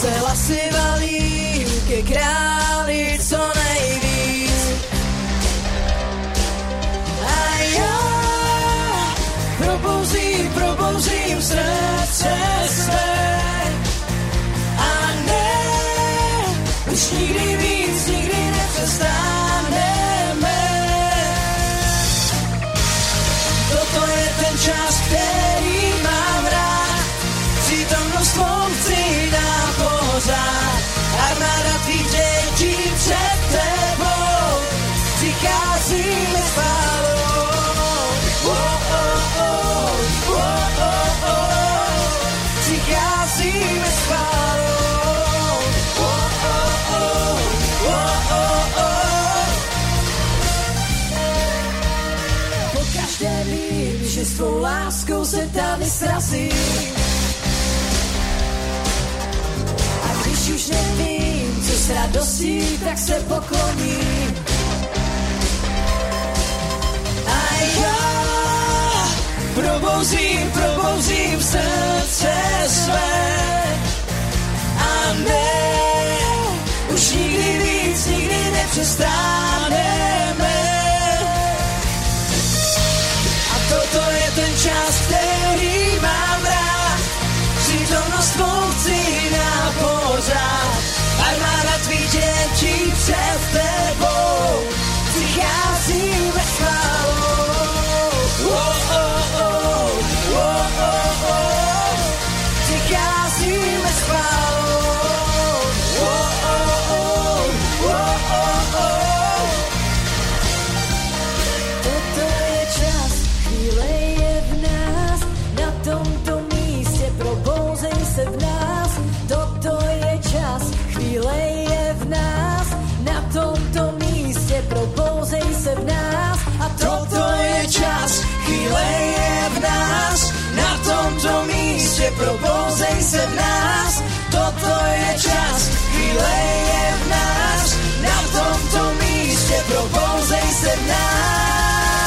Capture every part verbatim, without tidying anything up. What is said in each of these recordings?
se hlasy valí ke králi co nejvíc. A já probouzím, probouzím srdce své. A ne, už nikdy víc, nikdy nepřestaneme. Toto je ten čas, který mám rád. Přítomnost tvou chci na pořád. Armáda tvých dětí před tebou přicházíme s chválou. Oh, oh, oh, oh, oh, oh. Přicházíme s chválou. Oh, oh, oh, oh, oh, oh. Pokaždé vím, že s tvou láskou se tady srazím. Když už nevím, co s radostí, tak se pokloním. A já probouzím, probouzím srdce své. A ne, už nikdy víc, nikdy nepřestaneme. A toto je ten čas, který mám rád. Přítomnost tvou chci na pořád. Armáda tvých dětí před tebou přicházíme s chválou. Oh, oh, oh, oh, oh, oh. Přicházíme s chválou. Oh, oh, oh, oh, oh, oh. Toto je čas, chvíle je v nás, na tomto místě probouzej se v nás. Toto je čas, chvíle je v nás, na tomto místě probouzej se v nás. A toto je čas, chvíle je v nás, na tomto místě probouzej se v nás. Toto je čas, chvíle je v nás, na tomto místě probouzej se v nás.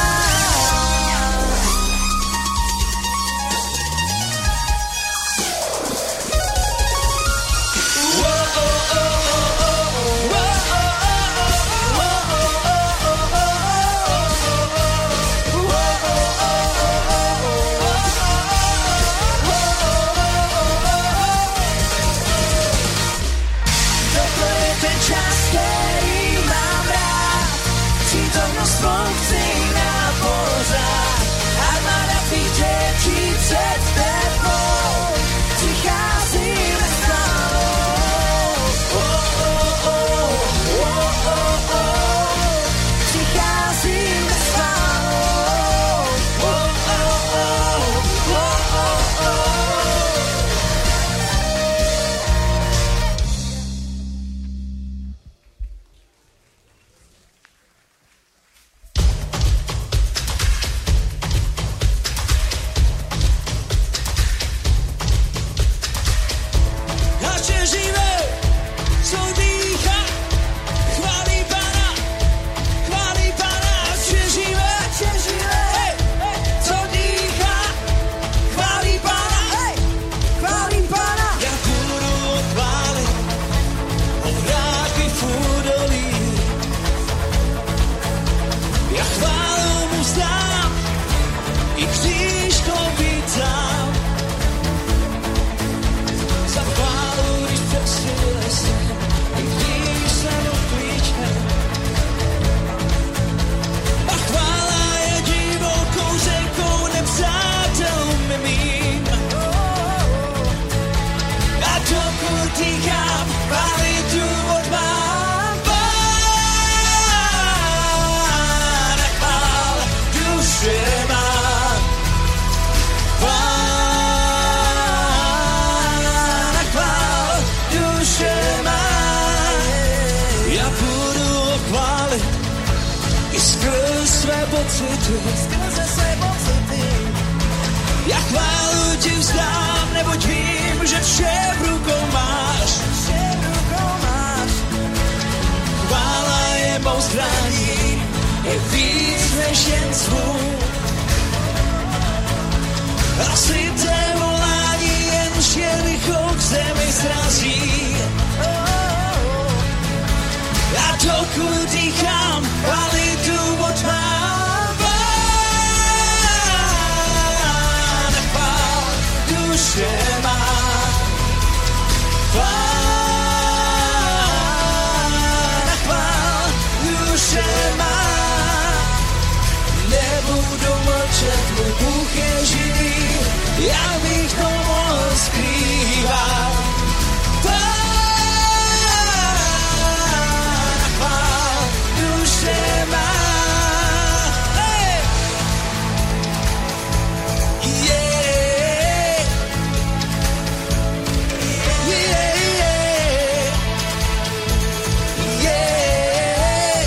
Skrze své pocity. Já chválu ti vzdám, neboť vím, že vše v rukou máš. Vše v rukou máš. Chvála je mou zbraní, je víc než jen zvuk. A slyté volání jen lichou k zemi srazí. můj Bůh je živý, já bych to mohl skrývat. Pána chvál, duše má. Hey! Yeah. Yeah, yeah. Yeah.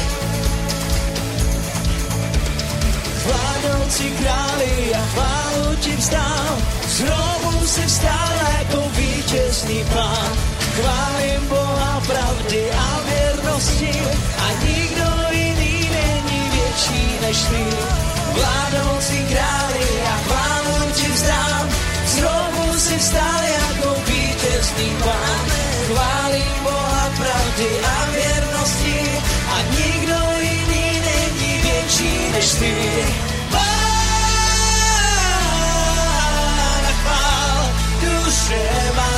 Vládnoucí králi, já chválu ti vzdám, z hrobu si vstal jako vítězný pán. Chválím Boha pravdy a věrnosti a nikdo jiný není větší než ty. Vládnoucí králi, já chválu ti vzdám, z hrobu si vstal jako vítězný pán. Chválím Boha pravdy a věrnosti a nikdo jiný není větší než ty. Pána chvál, duše má.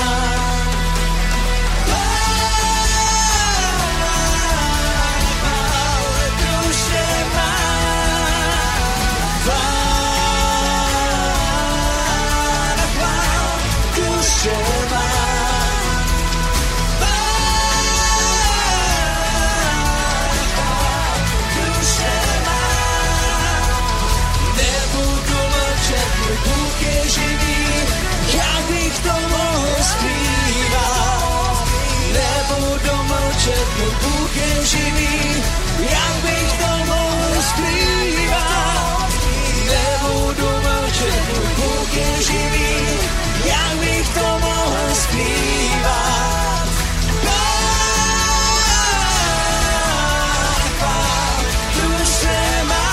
Můj Bůh je živý, jak bych to mohl skrývat. Nebudu mlčet, můj Bůh je živý, jak bych to mohl skrývat. Pána chvál, duše má.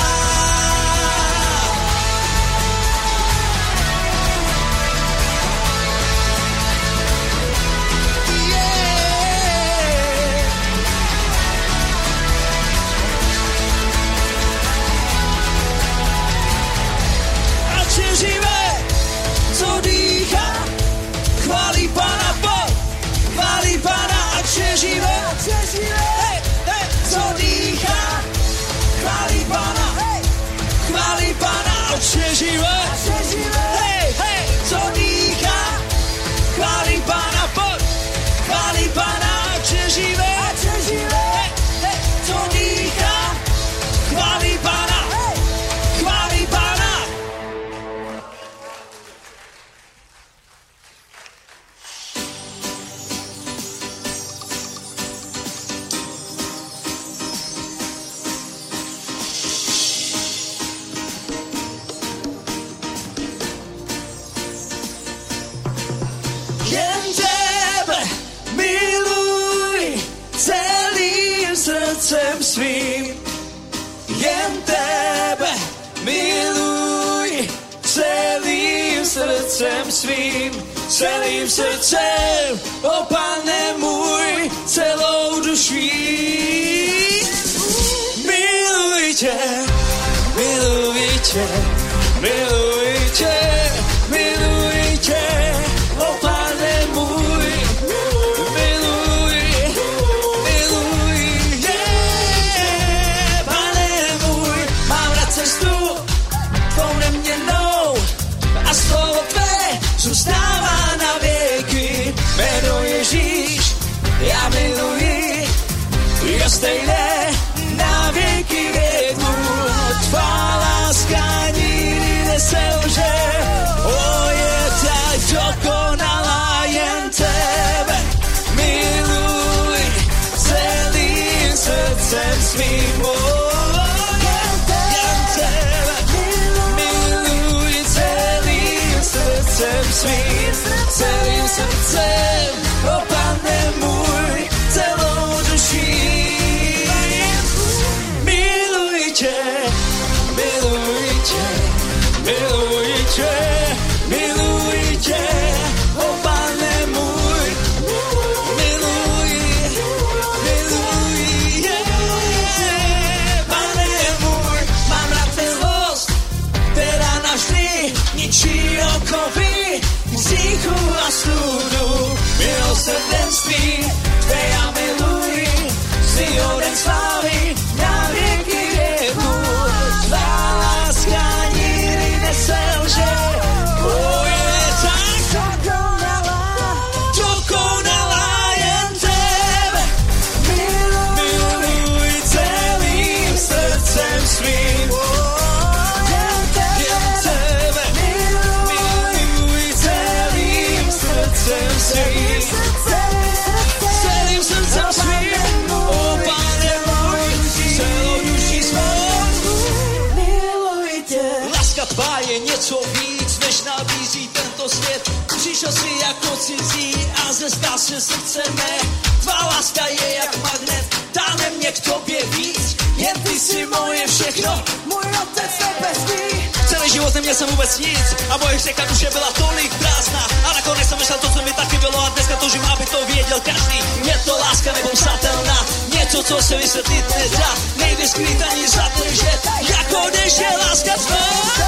Hey, hey, co dýchá, chválí Pána, hey, chválí Pána, ať je živé. Hey, hey, co dýchá, chválí Pána, pojď, chválí Pána, ať je živé. Hey, hey, co dýchá, chválí Pána, chválí Pána. Jen tebe miluj celým srdcem svým. Jen tebe miluj celým srdcem svým. Celým srdcem, o Pane můj, celou duší. Miluj tě, miluj tě, miluj tě, miluj tě, o Pane můj, miluj, miluj, yeah. Pane můj, mám rád cestu tou neměnnou a slovo tvé zůstává na věky. Jméno Ježíš, já miluji, je stejné na věky věku. Tvá láska nikdy neselže. srdcem svým, celým srdcem svým, o Pane můj, celou duší svou. Miluji tě. Láska tvá je něco víc, než nabízí tento svět. Přišel si jako cizí a zestal se srdce mé. Tvá láska je jak magnet, táhne mě k tobě víc. Jen ty jsi moje všechno, Můj otec nebeský. celý život neměl jsem vůbec nic a moje řeka duše byla tolik prázdná. A nakonec jsem vyšel to, co mi taky bylo a dneska toužím, aby to věděl každý. Je to láska nebo psatelná, něco, co se vysvětlit nedá. Nejde skrýt ani zadržet, jako než je láska tvá.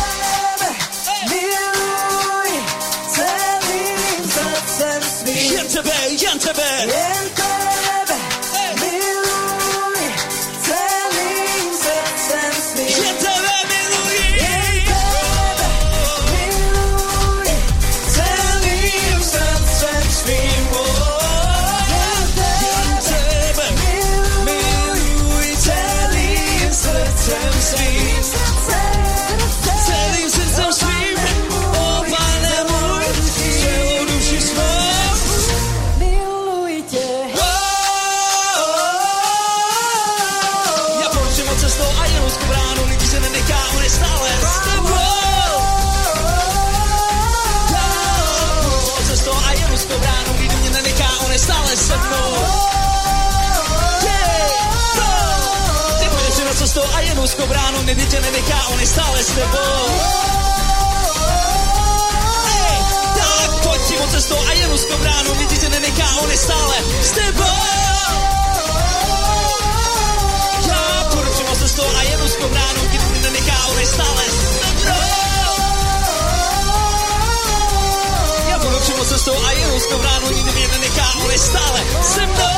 Miluj celým srdcem svým. Jen tebe, jen tebe. Jen tebe. Miluj celým srdcem svým. Jen tebe miluji. Jen tebe. Miluj celým srdcem svým. Jen tebe. Miluji celým srdcem svým. Celým srdcem svým, o Pane můj, celou duši svou. Miluji tě. Já poručím od cestou a jenom z bránu, lidi se nenechá, on je stále s tebou. Od cestou a jenom z bránu, lidi mě nenechá, on je stále se mnou. Ty půjdeš si na cestou a jenom z bránu, lidi tě nenechá, on je stále s tebou. Tak pojď si od cestou a jenom z bránu, lidi tě nenechá, on je stále s tebou. Já půjdu přímo cestou a jedu z bránu, nikdo mě nenechá, on je stále se mnou. Já půjdu přímo cestou a jedu z bránu, nikdo mě nenechá, on je stále se mnou.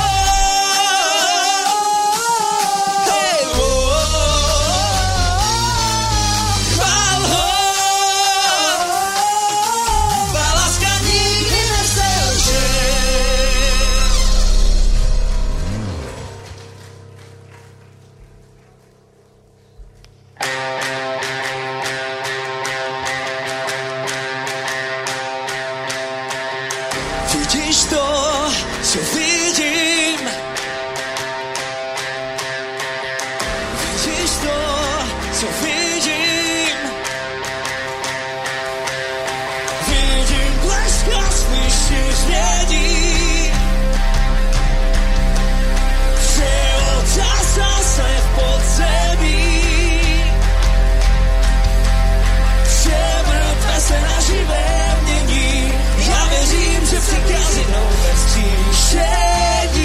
Hej, oh, chvál ho, tvá láska nikdy neselže. Vidíš to, co vidím? Vidíš to, co vidím? Vidím blesk a slyším změní. Že otázal se v podzemí. Že mrtvé se na živé mění. Já věřím, že přichází nové vzkříšení.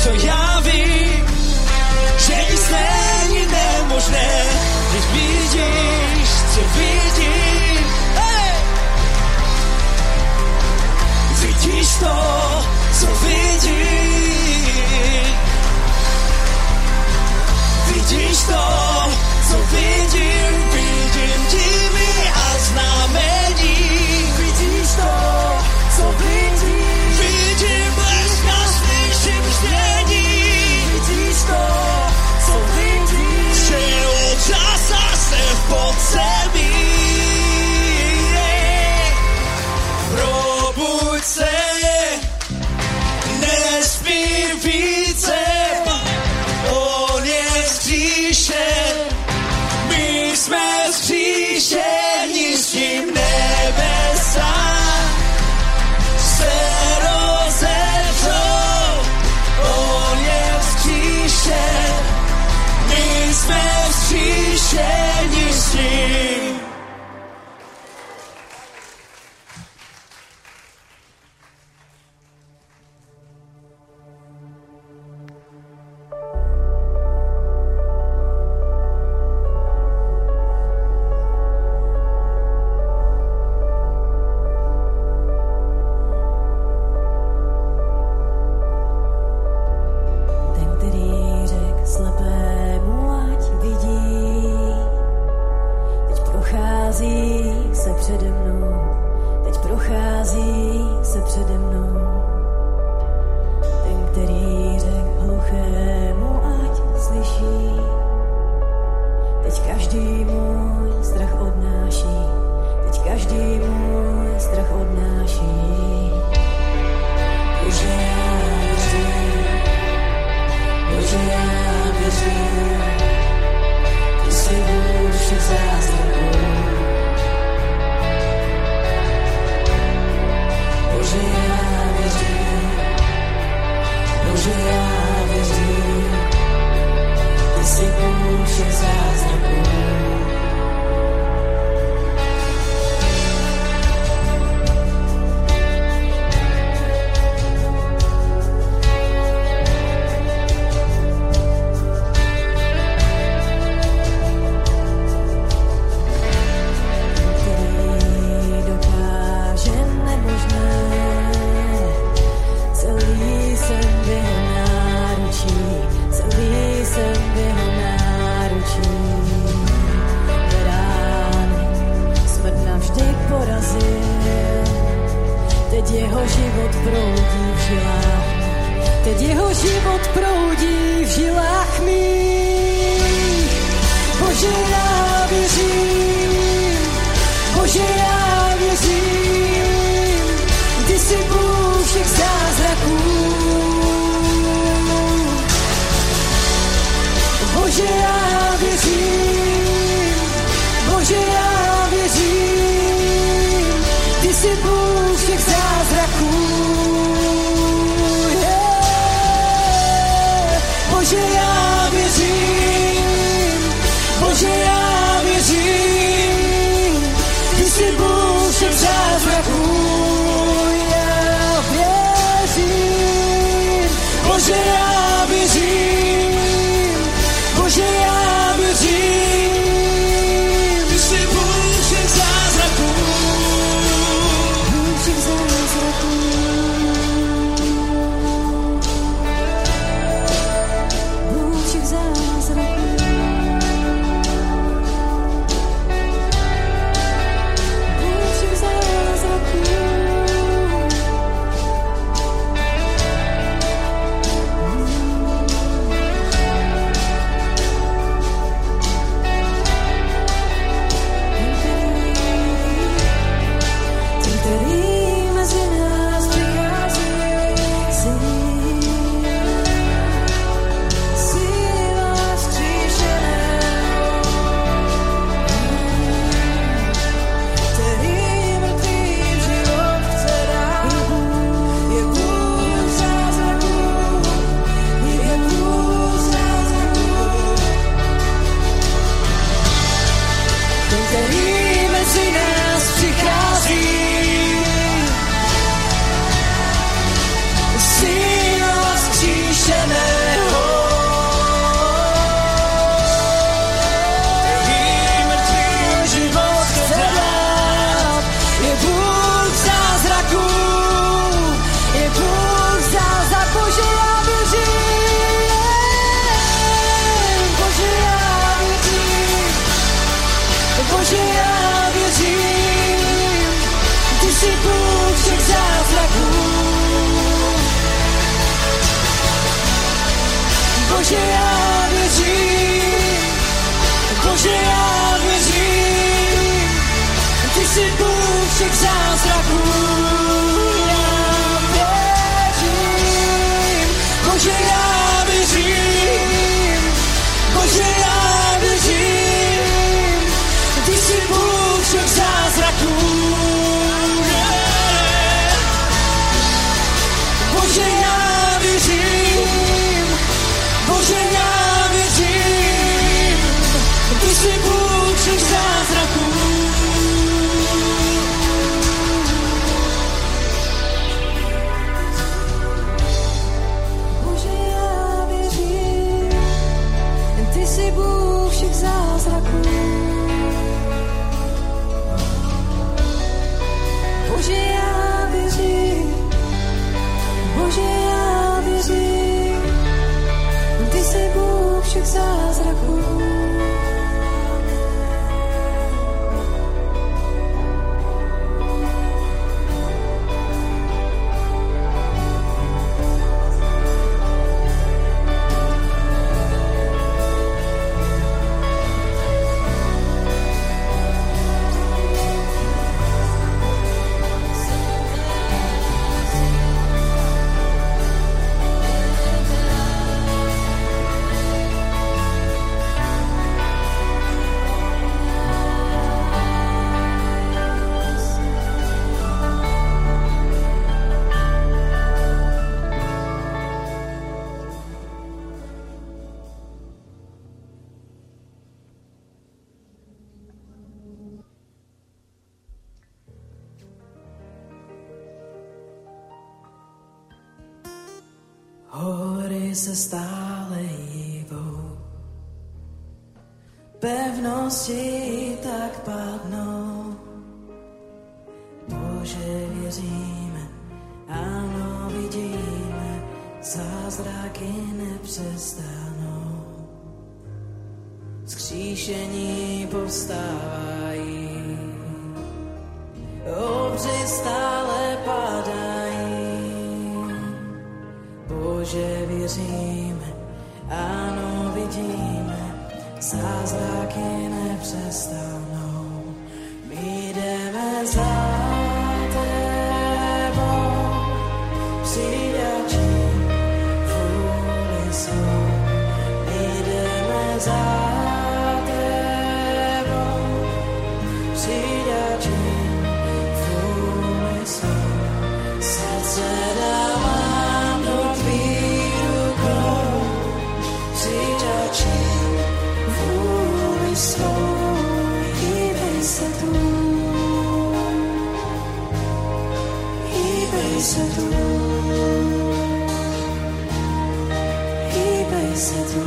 co já vím, že nic není nemožné, když vidíš, co vidím. Hey! Vidíš to, co vidím. Vidíš to, co vidím, vidím divy a znamení. Vidíš to, co vidím, vidím blesk a slyším ždění. Vidíš to, co vidím, že očasa se v podzemí. Probuď se, nespí více, on je vzkříšen, my jsme vzkříšeni s tím nebesa. Se rozevřou, on je vzkříšen, my jsme vzkříšeni s tím. Bože, já věřím, Bože, já věřím, ty jsi Bůh všech zázraků. Já věřím, Bože, já věřím, Bože, já věřím, ty jsi Bůh všech zázraků. Bože, já věřím, Bože, já věřím, ty jsi Bůh všech zázraků. Bože, já věřím, ty jsi Bůh všech zázraků. Bože, já věřím, Bože, já věřím, ty jsi Bůh všech zázraků. Hory se stále hýbou, pevnosti tak padnou. Bože, věříme, ano, vidíme, zázraky nepřestanou. Vzkříšení povstávají, obři stále padají. Bože, věříme, ano, vidíme, zázraky nepřestanou. My jdeme za tebou, přidačí vůli svou. My jdeme za tebou, přidačí vůli svou. Srdce dávám do tvých rukou, přidačí vůli svou. Hýbej se tu, hýbej se tu, hýbej se tu,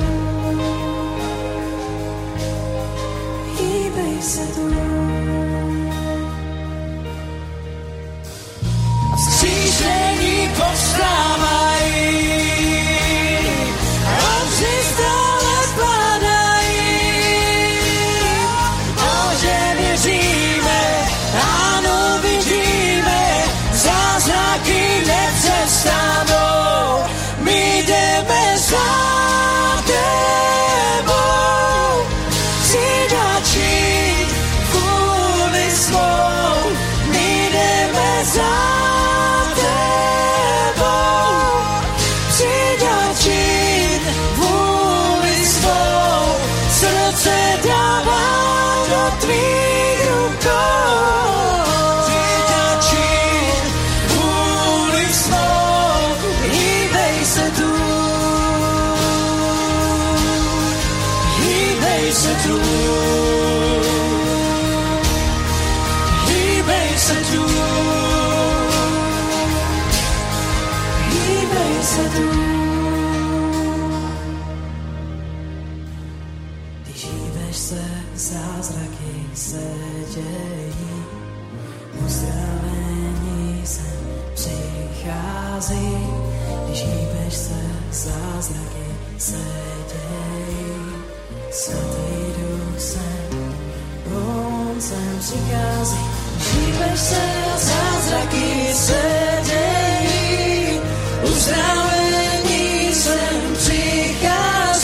hýbej se tu. A vzkříšení povstávají, obři stále padají. Bože, věříme, ano, vidíme, zázraky nepřestanou. My jdeme za tebou, přidačí vůli svou. My jdeme za tebou, přidačí vůli svou. Srdce dávám do tvých rukou, přidačí vůli svou. Hýbej se tu, hýbej se tu, hýbej se tu, hýbej se tu. Když hýbeš se, zázraky se dějí, uzdravení sem přichází. Když hýbeš se, zázraky se dějí, Svatý Duch sem, on sem přichází. Když hýbeš se, zázraky se dějí, uzdravení sem přichází.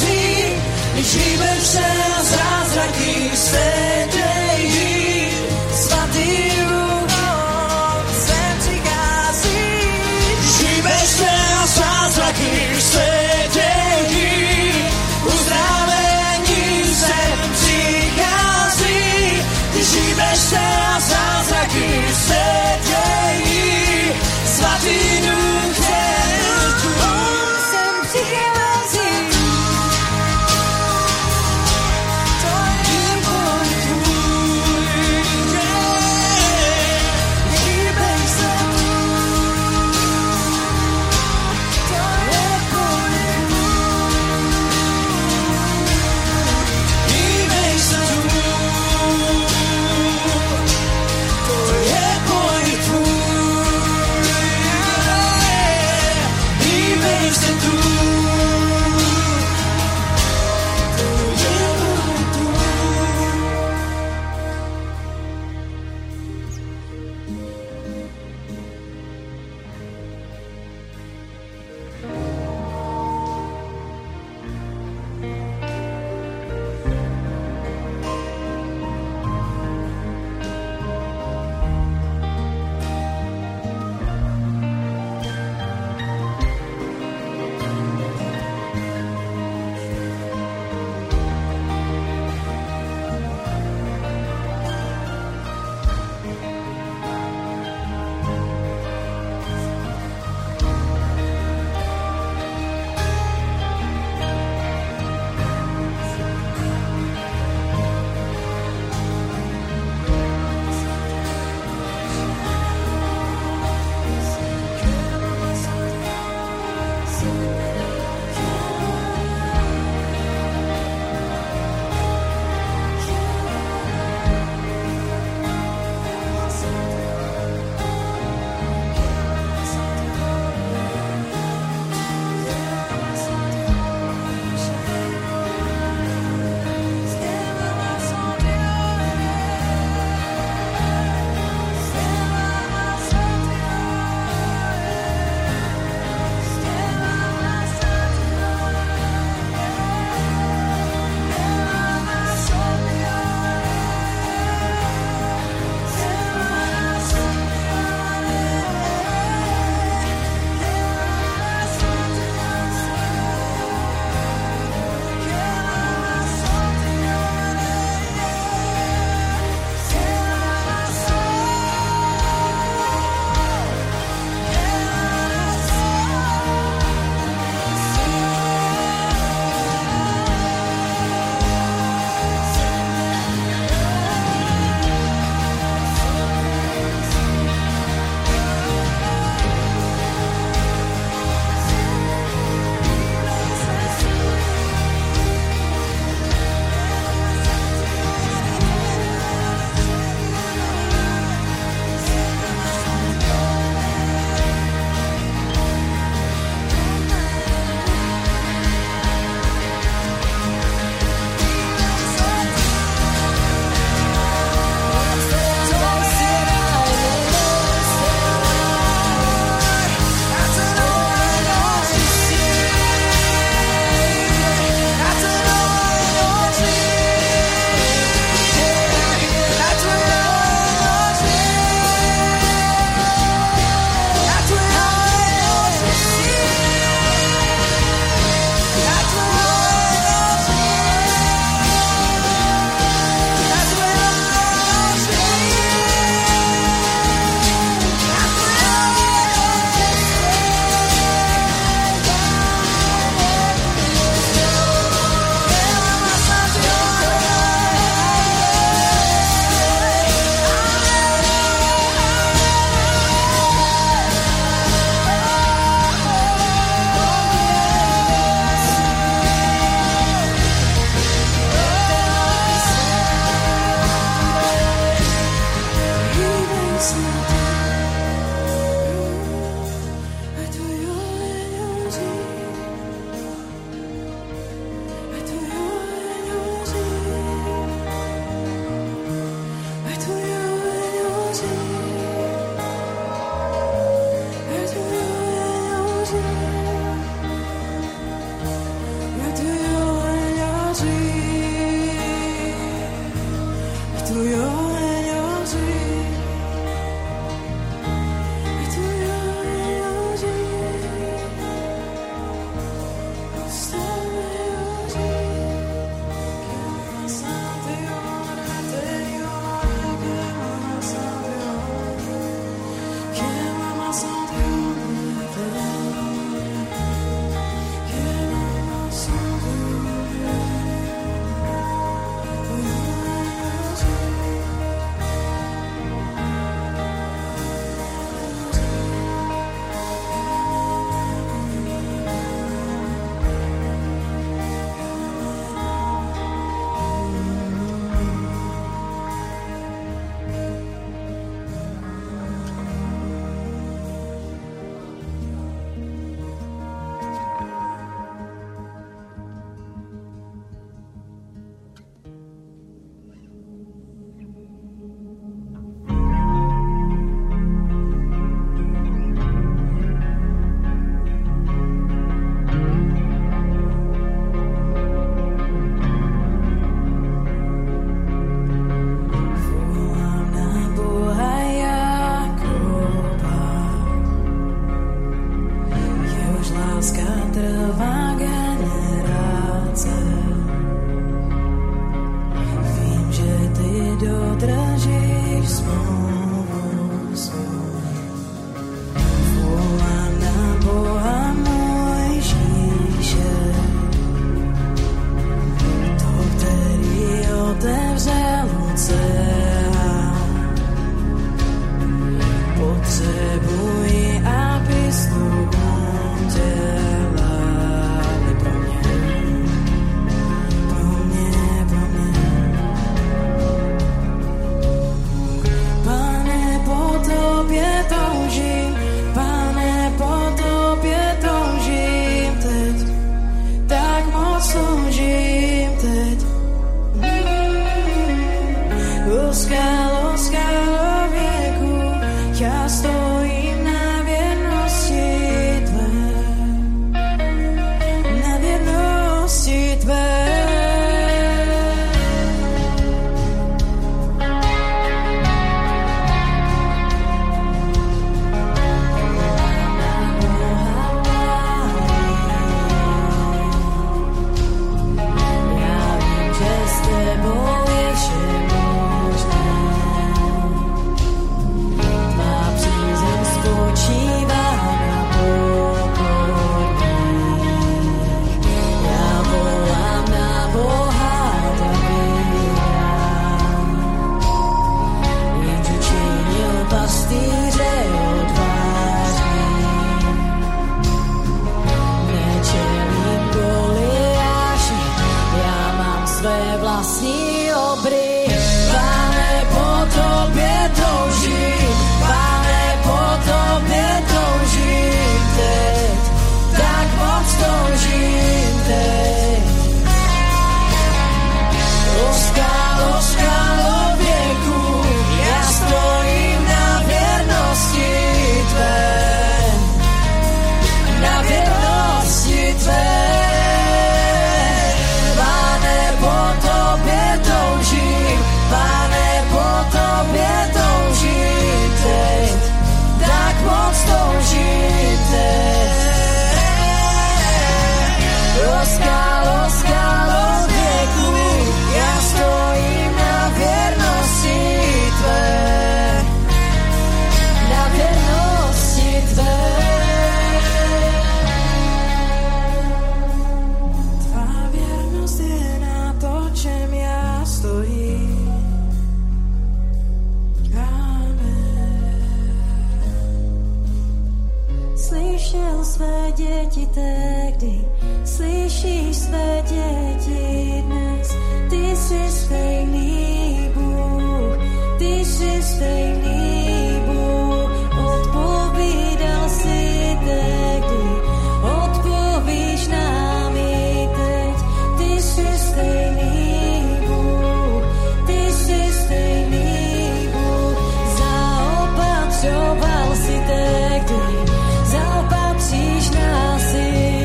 Zaopatříš nás i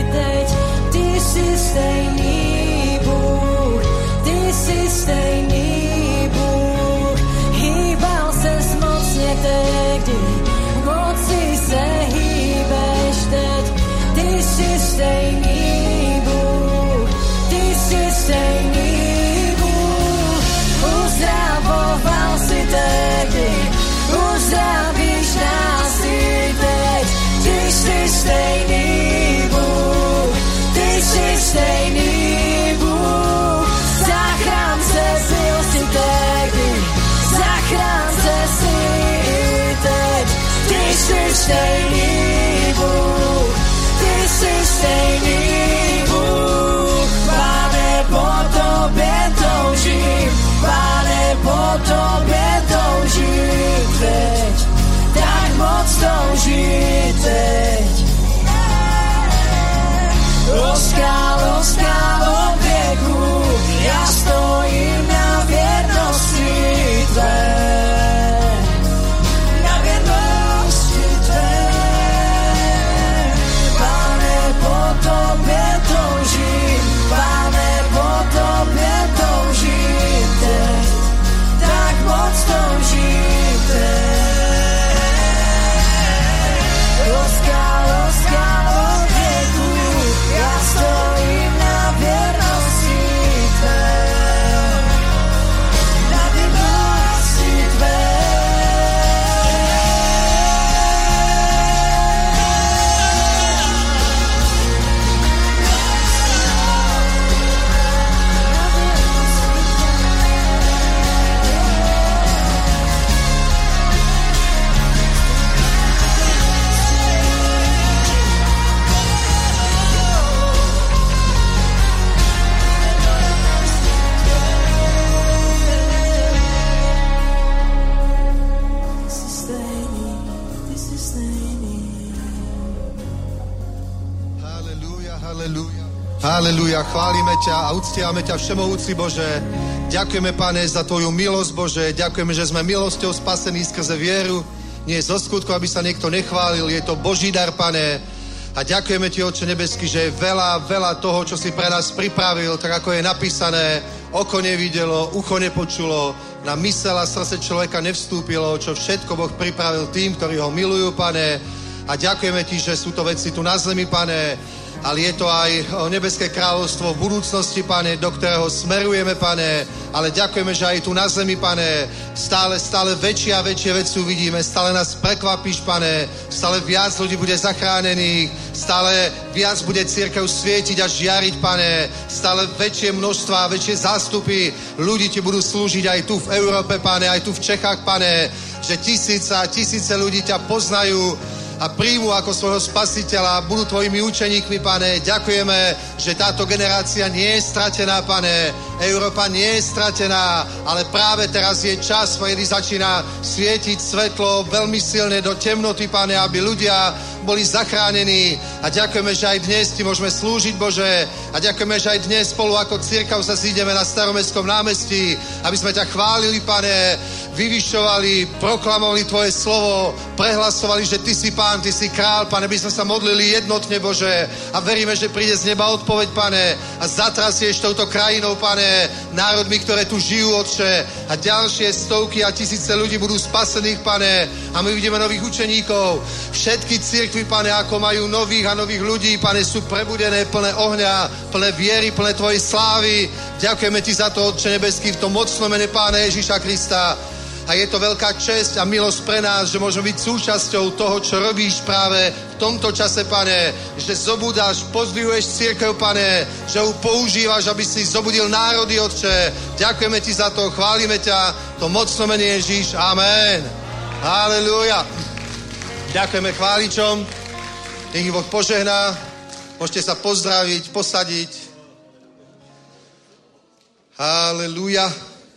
jsi stejný Bůh, ty jsi stejný Bůh. Pane, po tobě toužím, Pane, po tobě toužím teď, tak moc toužím teď. O skálo, skálo věku, já stojím na věrnosti tvé. Na věrnosti tvé. Pane, po tobě toužím, Pane, po tobě toužím teď, tak moc toužím teď. O skálo, skálo věku, já stojím na věrnosti tvé, na věrnosti tvé. Halelúja, chválime ťa a uctiame ťa, všemohúci Bože. Ďakujeme, Pane, za tvoju milosť, Bože. Ďakujeme, že sme milosťou spasení skrze vieru. Nie zo skutku, aby sa niekto nechválil. Je to Boží dar, Pane. A ďakujeme ti, Otče nebeský, že je veľa, veľa toho, čo si pre nás pripravil, tak ako je napísané. Oko nevidelo, ucho nepočulo, na mysel a srdce človeka nevstúpilo, čo všetko Boh pripravil tým, ktorí ho milujú, Pane. A ďakujeme ti, že sú to veci tu na zemi, Pane, ale je to aj nebeské kráľovstvo v budúcnosti, Pane, do ktorého smerujeme, Pane, ale ďakujeme, že aj tu na zemi, Pane, stále, stále väčšie a väčšie veci uvidíme, stále nás prekvapíš, Pane, stále viac ľudí bude zachránených, stále viac bude cirkev svietiť a žiariť, Pane, stále väčšie množstva a väčšie zástupy ľudí ti budú slúžiť aj tu v Európe, Pane, aj tu v Čechách, Pane, že tisíce a tisíce ľudí ťa poznajú a príjmu ako svojho spasiteľa, budú tvojimi učeníkmi, Pane. Ďakujeme, že táto generácia nie je stratená, Pane. Európa nie je stratená, ale práve teraz je čas, kedy začína svietiť svetlo veľmi silne do temnoty, Pane, aby ľudia boli zachránení. A ďakujeme, že aj dnes ti môžeme slúžiť, Bože. A ďakujeme, že aj dnes spolu ako cirkev sa zídeme na Staromestskom námestí, aby sme ťa chválili, Pane, vyvyšovali, proklamovali tvoje slovo, prehlasovali, že ty si Pán, ty si král, Pane, by sme sa modlili jednotne, Bože, a veríme, že príde z neba odpoveď, Pane, a zatrasieš touto krajinou, Pane, národmi, ktoré tu žijú, Otče, a ďalšie stovky a tisíce ľudí budú spasených, Pane, a my vidíme nových učeníkov. Všetky cirkvi, Pane, ako majú nových a nových ľudí, Pane, sú prebudené, plné ohňa, plné viery, plné tvojej slávy. Ďakujeme ti za to, Otče nebeský, v tom mocnom mene Pána Ježiša Krista. A je to veľká česť a milosť pre nás, že môžeme byť súčasťou toho, čo robíš práve v tomto čase, Pane. Že zobúdaš, pozdvihuješ cirkev, Pane. Že ju používaš, aby si zobudil národy, Otče. Ďakujeme ti za to, chválime ťa. To mocno mene Ježíš. Amen. Halelúja. Ďakujeme chváličom. Nech ich Boh požehná. Môžete sa pozdraviť, posadiť. Halelúja.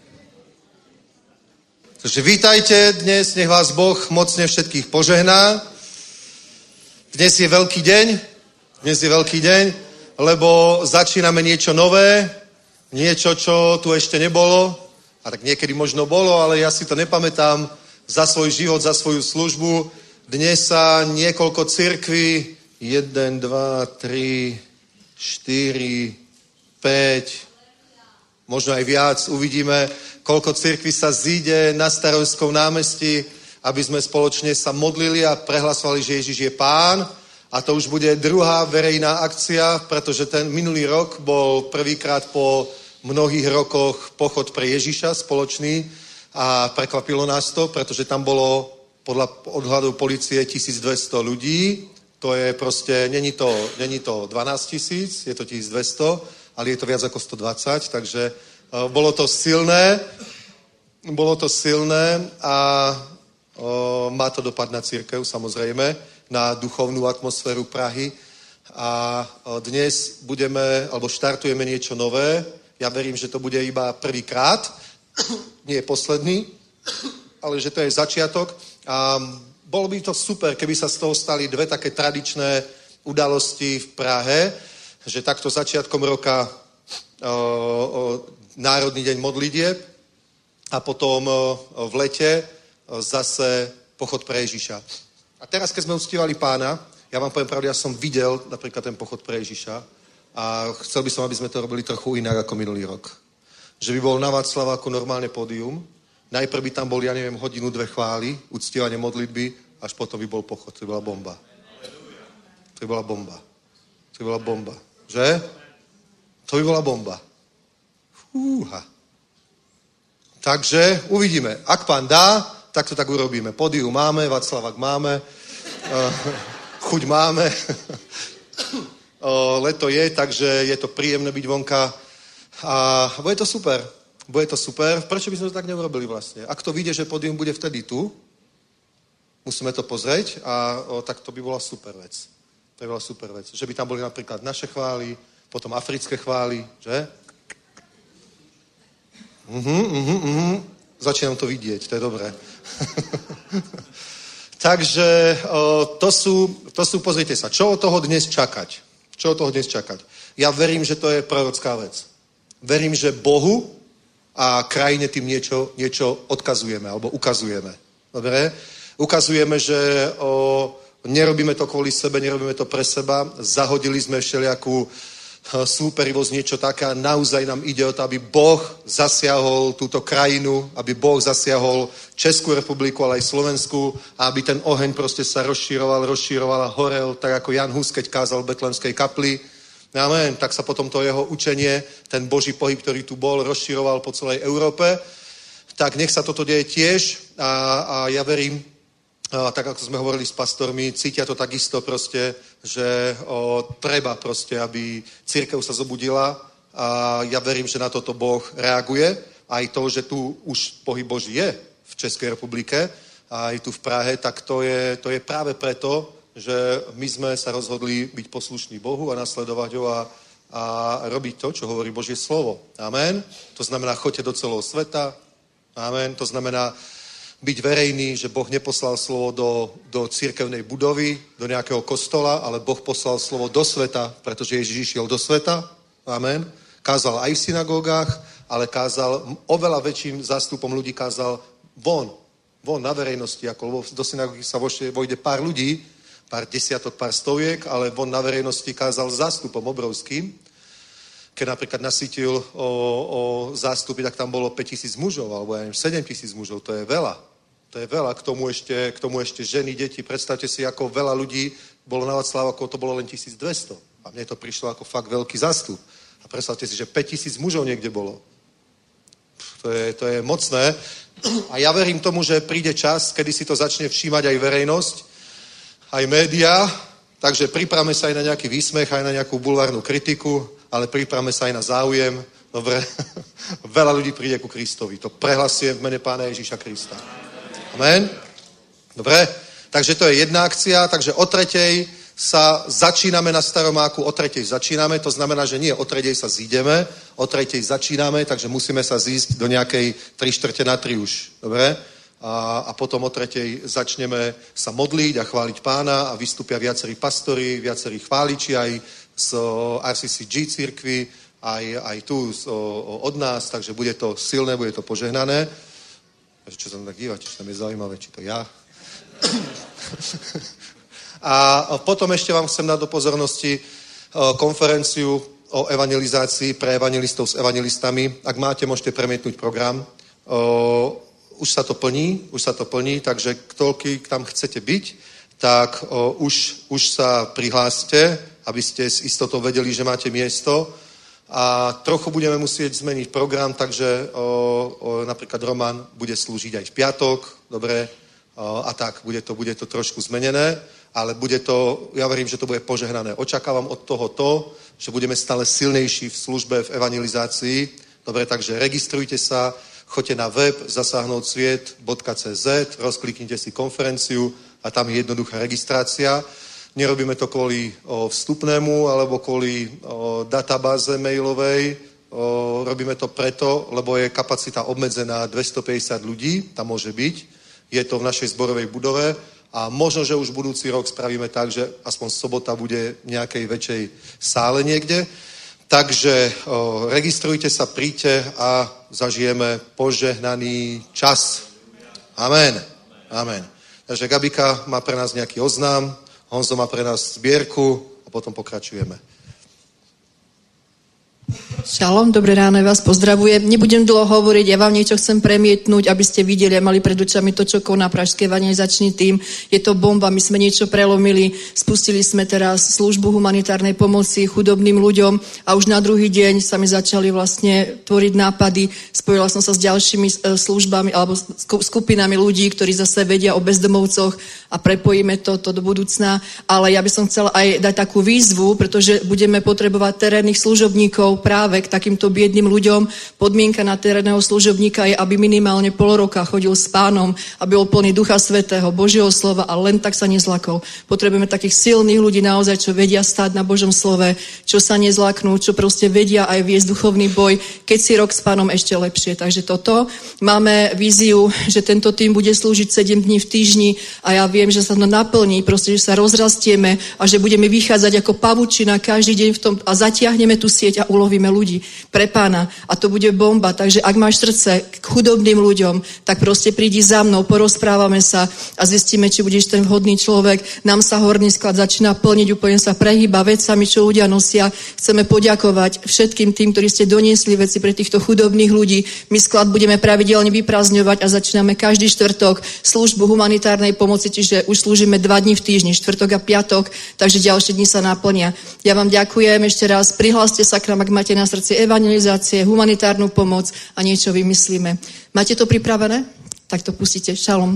Takže vítajte dnes, nech vás Boh mocne všetkých požehná. Dnes je veľký deň, dnes je veľký deň, lebo začíname niečo nové, niečo, čo tu ešte nebolo, a tak niekedy možno bolo, ale ja si to nepamätám za svoj život, za svoju službu. Dnes sa niekoľko cirkví, jeden, dva, tri, štyri, päť, možno aj viac, uvidíme, koľko cirkví sa zíde na Starovskom námestí, aby sme spoločne sa modlili a prehlasovali, že Ježiš je Pán. A to už bude druhá verejná akcia, pretože ten minulý rok bol prvýkrát po mnohých rokoch pochod pre Ježiša spoločný a prekvapilo nás to, pretože tam bolo podľa odhľadu policie tisícdvesto ľudí. To je proste, není to, není to dvanásť tisíc, je to tisícdvesto, ale je to viac ako stodvadsať, takže bolo to silné, bolo to silné a O, má to dopad na cirkev, samozrejme, na duchovnú atmosféru Prahy. A o, dnes budeme, alebo štartujeme niečo nové. Ja verím, že to bude iba prvýkrát, nie je posledný, ale že to je začiatok. A bolo by to super, keby sa z toho stali dve také tradičné udalosti v Prahe, že takto začiatkom roka o, o, Národný deň modlitieb a potom o, v lete o, zase pochod pre Ježiša. A teraz, keď sme uctívali Pána, ja vám poviem pravdu, ja som videl napríklad ten pochod pre Ježiša a chcel by som, aby sme to robili trochu inak ako minulý rok. Že by bol na Václaváku normálne pódium, najprv by tam bol, ja neviem, hodinu, dve chvály, uctívanie modlitby, až potom by bol pochod. To by bola bomba. To by bola bomba. To by bola bomba. Že? To by bola bomba. Fúha. Takže uvidíme. Ak Pán dá, tak to tak urobíme. Pódium máme, Václavák máme, chuť máme. Leto je, takže je to príjemné byť vonka. A bude to super. Bude to super. Prečo by sme to tak neurobili vlastne? Ak to vyjde, že pódium bude vtedy tu, musíme to pozrieť a o, tak to by bola super vec. To by bola super vec. Že by tam boli napríklad naše chvály, potom africké chvály, že? Mhm, mhm, mhm. Začínam to vidieť, to je dobré. Takže o, to, sú, to sú, pozrite sa, čo od toho dnes čakať? Čo od toho dnes čakať? Ja verím, že to je prorocká vec. Verím, že Bohu a krajine tým niečo, niečo odkazujeme alebo ukazujeme. Dobre? Ukazujeme, že o, nerobíme to kvôli sebe, nerobíme to pre seba. Zahodili sme všelijakú súperivosť, niečo také a naozaj nám ide o to, aby Boh zasiahol túto krajinu, aby Boh zasiahol Českú republiku, ale aj Slovensku a aby ten oheň proste sa rozšíroval, rozšíroval a horel, tak ako Jan Hus, keď kázal v Betlémskej kapli. Amen. Tak sa potom to jeho učenie, ten Boží pohyb, ktorý tu bol, rozširoval po celej Európe. Tak nech sa toto deje tiež a, a ja verím, a tak ako sme hovorili s pastormi, cítia to takisto proste, že o, treba proste, aby cirkev sa zobudila a ja verím, že na toto Boh reaguje. Aj to, že tu už pohyb Boží je v Českej republike a aj tu v Prahe, tak to je, to je práve preto, že my sme sa rozhodli byť poslušní Bohu a nasledovať ho a, a robiť to, čo hovorí Božie slovo. Amen. To znamená, choďte do celého sveta. Amen. To znamená byť verejný, že Boh neposlal slovo do, do cirkevnej budovy, do nejakého kostola, ale Boh poslal slovo do sveta, pretože Ježiš išiel do sveta. Amen. Kázal aj v synagógach, ale kázal oveľa väčším zástupom ľudí, kázal von, von na verejnosti, ako do synagógy sa vojde pár ľudí, pár desiatok, pár stoviek, ale von na verejnosti kázal zástupom obrovským. Keď napríklad nasýtil o, o zástupy, tak tam bolo päťtisíc mužov, alebo ja neviem, sedemtisíc mužov, to je veľa. To je veľa, k tomu ešte, k tomu ešte ženy, deti. Predstavte si, ako veľa ľudí bolo na Václaváku, to bolo len tisícdvesto. A mne to prišlo ako fakt veľký zástup. A predstavte si, že päťtisíc mužov niekde bolo. To je, to je mocné. A ja verím tomu, že príde čas, kedy si to začne všímať aj verejnosť, aj médiá, takže pripravme sa aj na nejaký výsmech, aj na nejakú bulvárnu kritiku, ale pripravme sa aj na záujem. Dobre, veľa ľudí príde ku Kristovi. To prehlasujem v mene Pána Ježíša Krista. Amen. Dobre, takže to je jedna akcia, takže o tretej sa začíname na Staromáku, o tretej začíname, to znamená, že nie o tretej sa zídeme, o tretej začíname, takže musíme sa zísť do nejakej tri štvrte na tri už. Dobre? A, a potom o tretej začneme sa modliť a chváliť Pána a vystúpia viacerí pastori, viacerí chváliči aj z er cé cé gé cirkvi, aj, aj tu z, o, od nás, takže bude to silné, bude to požehnané. Čo sa tak dívate, čo tam je zaujímavé, či to ja? A potom ešte vám chcem dať do pozornosti konferenciu o evangelizácii pre evangelistov s evangelistami. Ak máte, môžete premietnúť program. Už sa to plní, už sa to plní, takže ktoľký tam chcete byť, tak už, už sa prihláste, aby ste s istotou vedeli, že máte miesto. A trochu budeme musieť zmeniť program, takže o, o, napríklad Roman bude slúžiť aj v piatok, dobre, o, a tak, bude to, bude to trošku zmenené, ale bude to, ja verím, že to bude požehnané. Očakávam od toho to, že budeme stále silnejší v službe, v evangelizácii, dobre, takže registrujte sa, choďte na web zasáhnout sviet bodka cé zet, rozkliknite si konferenciu a tam je jednoduchá registrácia. Nerobíme to kvôli o, vstupnému alebo kvôli o, databáze mailovej. O, robíme to preto, lebo je kapacita obmedzená dvestopäťdesiat ľudí, tam môže byť. Je to v našej zborovej budove a možno, že už budúci rok spravíme tak, že aspoň sobota bude v nejakej väčšej sále niekde. Takže o, registrujte sa, príďte a zažijeme požehnaný čas. Amen. Amen. Takže Gabika má pre nás nejaký oznám, Honzo má pre nás zbierku a potom pokračujeme. Šalom, dobré ráno, vás pozdravujem. Nebudem dlho hovoriť, ja vám niečo chcem premietnúť, aby ste videli a mali pred očami to, čo koná Pražský evangelizačný tím. Je to bomba, my sme niečo prelomili, spustili sme teraz službu humanitárnej pomoci chudobným ľuďom a už na druhý deň sa mi začali vlastne tvoriť nápady. Spojila som sa s ďalšími službami alebo skupinami ľudí, ktorí zase vedia o bezdomovcoch a prepojíme to, to do budúcna. Ale ja by som chcela aj dať takú výzvu, pretože budeme potrebovať terénnych služobníkov práve k takýmto biedným ľuďom. Podmienka na terénneho služobníka je, aby minimálne pol roka chodil s Pánom, aby bol plný Ducha Svätého, Božieho slova a len tak sa nezlakol. Potrebujeme takých silných ľudí naozaj, čo vedia stáť na Božom slove, čo sa nezlaknú, čo proste vedia aj viesť duchovný boj, keď si rok s Pánom ešte lepšie. Takže toto. Máme víziu, že tento tým bude slúžiť sedem dní v týždni a ja viem, že sa to naplní, proste, že sa rozrastieme a že budeme vychádzať ako pavučina každý deň v tom a zatiahneme tú sieť a ulovíme ľudí pre Pána a to bude bomba. Takže ak máš srdce k chudobným ľuďom, tak proste prídi za mnou, porozprávame sa a zistíme, či budeš ten vhodný človek. Nám sa horný sklad začína plniť, úplne sa prehýba vecami, čo ľudia nosia. Chceme poďakovať všetkým tým, ktorí ste doniesli veci pre týchto chudobných ľudí. My sklad budeme pravidelne vyprázdňovať a začíname každý štvrtok službu humanitárnej pomoci, čiže už slúžime dva dní v týždni, štvrtok a piatok, takže ďalšie dni sa naplnia. Ja vám ďakujem ešte raz, prihláste sa k nám, ak máte na srdci evangelizácie, humanitárnu pomoc a niečo vymyslíme. Máte to pripravené? Tak to pustíte. Šalom.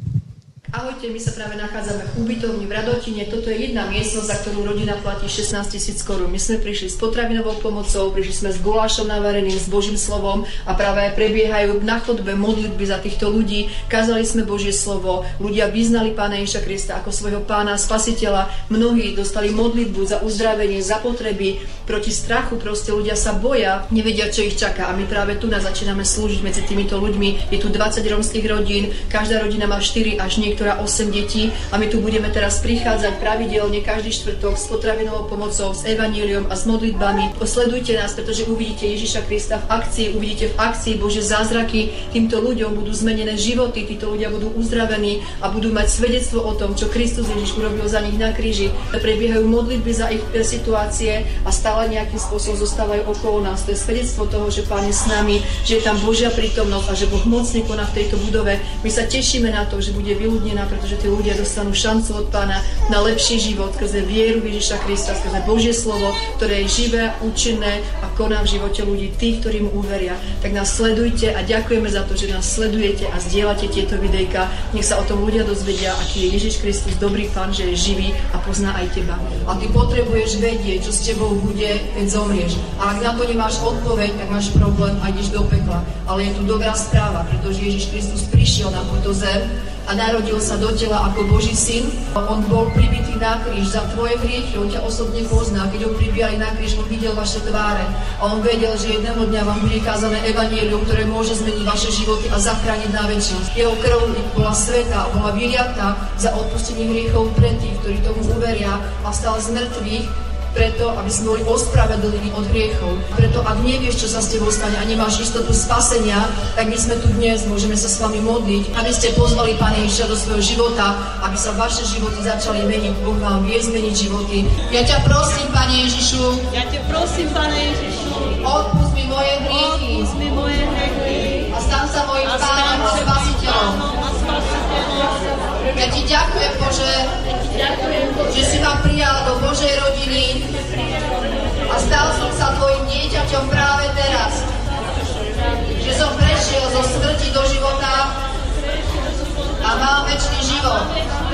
Ahojte, my sa práve nachádzame v ubytovni v Radotine. Toto je jedna miestnosť, za ktorú rodina platí šestnásť tisíc korún. My sme prišli s potravinovou pomocou, prišli sme s gulášom navareným, s Božím slovom a práve aj prebiehajú na chodbe modlitby za týchto ľudí. Kázali sme Božie slovo, ľudia vyznali Pána Ježiša Krista ako svojho Pána, Spasiteľa. Mnohí dostali modlitbu za uzdravenie, za potreby, proti strachu. Proste ľudia sa boja, nevedia, čo ich čaká. A my práve tu nás začíname slúžiť medzi týmito ľuďmi. Je tu dvadsať rómskych rodín, každá rodina má štyri až niektoré osem detí a my tu budeme teraz prichádzať pravidelne každý štvrtok s potravinovou pomocou, s evanjeliom a s modlitbami. Sledujte nás, pretože uvidíte Ježiša Krista v akcii, uvidíte v akcii Božie zázraky. Týmto ľuďom budú zmenené životy, títo ľudia budú uzdravení a budú mať svedectvo o tom, čo Kristus Ježiš urobil za nich na kríži. Prebiehajú modlitby za ich situácie a stále nejakým spôsobom zostávajú okolo nás. To je svedectvo toho, že Pán je s nami, že je tam Božia prítomnosť a že Boh mocne koná v tejto budove. My sa tešíme na to, že bude vyľudnená, pretože tí ľudia dostanú šancu od Pána na lepší život skrze vieru Ježiša Krista, skrze Božie slovo, ktoré je živé, účinné a koná v živote ľudí, tých, ktorí mu uveria. Tak nás sledujte a ďakujeme za to, že nás sledujete a zdieľate tieto videjka. Nech sa o tom ľudia dozvedia, aký je Ježiš Kristus dobrý Pán, že je živý a pozná aj teba. A ty potrebuješ vedieť, čo s tebou bude, keď zomrieš. A ak na to nemáš odpoveď, tak máš problém a ideš do pekla. Ale je tu dobrá správa, pretože Ježiš Kristus prišiel na túto zem a narodil sa do tela ako Boží syn. On bol pribitý na kríž za tvoje hriechy, on ťa osobne pozná. Keď ho pribíjali na kríž, on videl vaše tváre a on vedel, že jedného dňa vám bude kázané evanjelium, ktoré môže zmeniť vaše životy a zachrániť na večnosť. Jeho krv bola svätá, bola vyliatá za odpustenie hriechov pre tých, ktorí tomu uveria, a vstal z mŕtvych preto, aby sme boli ospravedlnení od hriechov. Preto, ak nevieš, čo sa s tebou stane a nemáš istotu spasenia, tak my sme tu dnes, môžeme sa s vami modliť, aby ste pozvali Pána Ježiša do svojho života, aby sa vaše životy začali meniť. Boh vám vie zmeniť životy. Ja ťa prosím, Pane Ježišu, ja ťa prosím, Pane Ježišu, odpusť mi moje hriechy, odpusť mi moje hriechy a stan sa mojím Pánom a Spasiteľom. Ja ti ďakujem, Bože, že si ma prijal do Božej rodiny a stal som sa tvojim dieťaťom práve teraz. Že som prešiel zo smrti do života a mám večný život.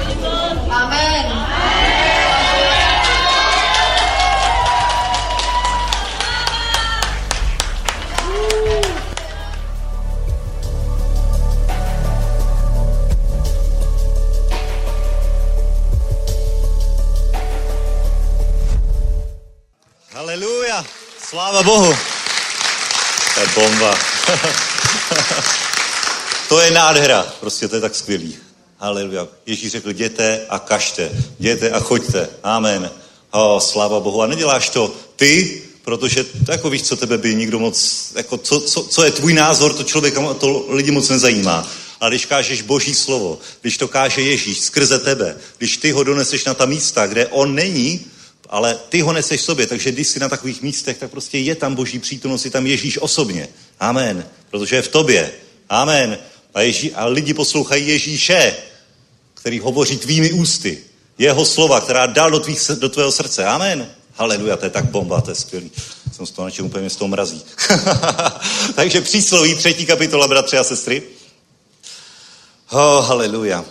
Amen. Haleluja, sláva Bohu. To je bomba. To je nádhera, prostě to je tak skvělý. Haleluja. Ježíš řekl, jděte a kažte, jděte a choďte. Amen. Oh, sláva Bohu. A neděláš to ty, protože to jako víš, co tebe by nikdo moc, jako co, co, co je tvůj názor, to člověka, to lidi moc nezajímá. Ale když kážeš Boží slovo, když to káže Ježíš skrze tebe, když ty ho doneseš na ta místa, kde on není, ale ty ho neseš sobě, takže když jsi na takových místech, tak prostě je tam Boží přítomnost, je tam Ježíš osobně. Amen. Protože je v tobě. Amen. A, Ježí, a lidi poslouchají Ježíše, který hovoří tvými ústy. Jeho slova, která dal do, tvých, do tvého srdce. Amen. Haleluja, to je tak bomba, to je skvělý. Jsem z toho načem úplně z toho mrazí. Takže přísloví, třetí kapitola, bratři a sestry. Oh, haleluja.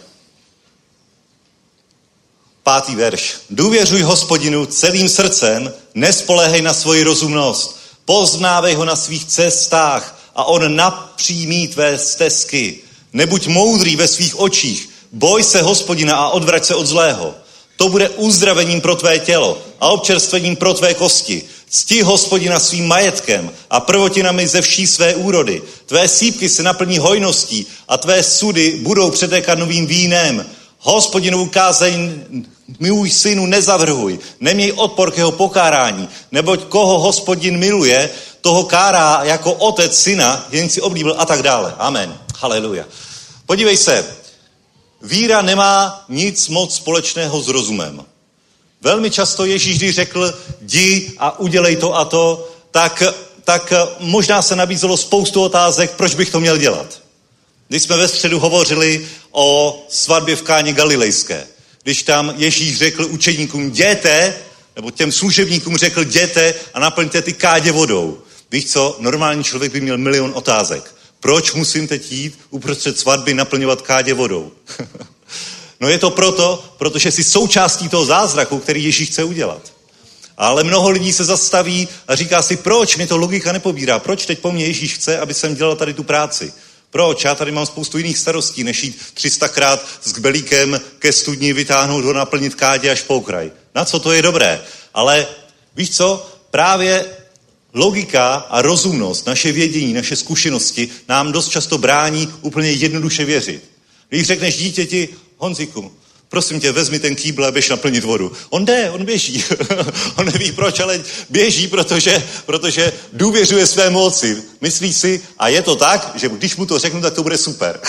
Pátý verš. Důvěřuj Hospodinu celým srdcem, nespoléhej na svoji rozumnost. Poznávej ho na svých cestách a on napřímí tvé stezky. Nebuď moudrý ve svých očích, boj se Hospodina a odvrať se od zlého. To bude uzdravením pro tvé tělo a občerstvením pro tvé kosti. Cti Hospodina svým majetkem a prvotinami ze vší své úrody. Tvé sýpky se naplní hojností a tvé sudy budou přetékat novým vínem. Hospodinovu kázeň, můj synu, nezavrhuj, neměj odpor k jeho pokárání, neboť koho Hospodin miluje, toho kárá jako otec syna, jen si oblíbil a tak dále. Amen. Haleluja. Podívej se, víra nemá nic moc společného s rozumem. Velmi často Ježíš, když řekl, jdi a udělej to a to, tak, tak možná se nabízelo spoustu otázek, proč bych to měl dělat. Když jsme ve středu hovořili o svatbě v Káně Galilejské, když tam Ježíš řekl učeníkům, jděte, nebo těm služebníkům řekl, jděte a naplňte ty kádě vodou. Víš co, normální člověk by měl milion otázek. Proč musím teď jít uprostřed svatby naplňovat kádě vodou? No je to proto, protože jsi součástí toho zázraku, který Ježíš chce udělat. Ale mnoho lidí se zastaví a říká si, proč mi to logika nepobírá, proč teď po mně Ježíš chce, aby jsem dělal tady tu práci. Proč? Já tady mám spoustu jiných starostí, než jít tři sta krát s kbelíkem ke studni, vytáhnout ho, naplnit kádě až po okraj. Na co to je dobré? Ale víš co? Právě logika a rozumnost, naše vědění, naše zkušenosti nám dost často brání úplně jednoduše věřit. Když řekneš dítěti, Honziku, prosím tě, vezmi ten kýbl a běž naplnit vodu. On jde, on běží. On neví proč, ale běží, protože, protože důvěřuje své moci. Myslí si, a je to tak, že když mu to řeknu, tak to bude super.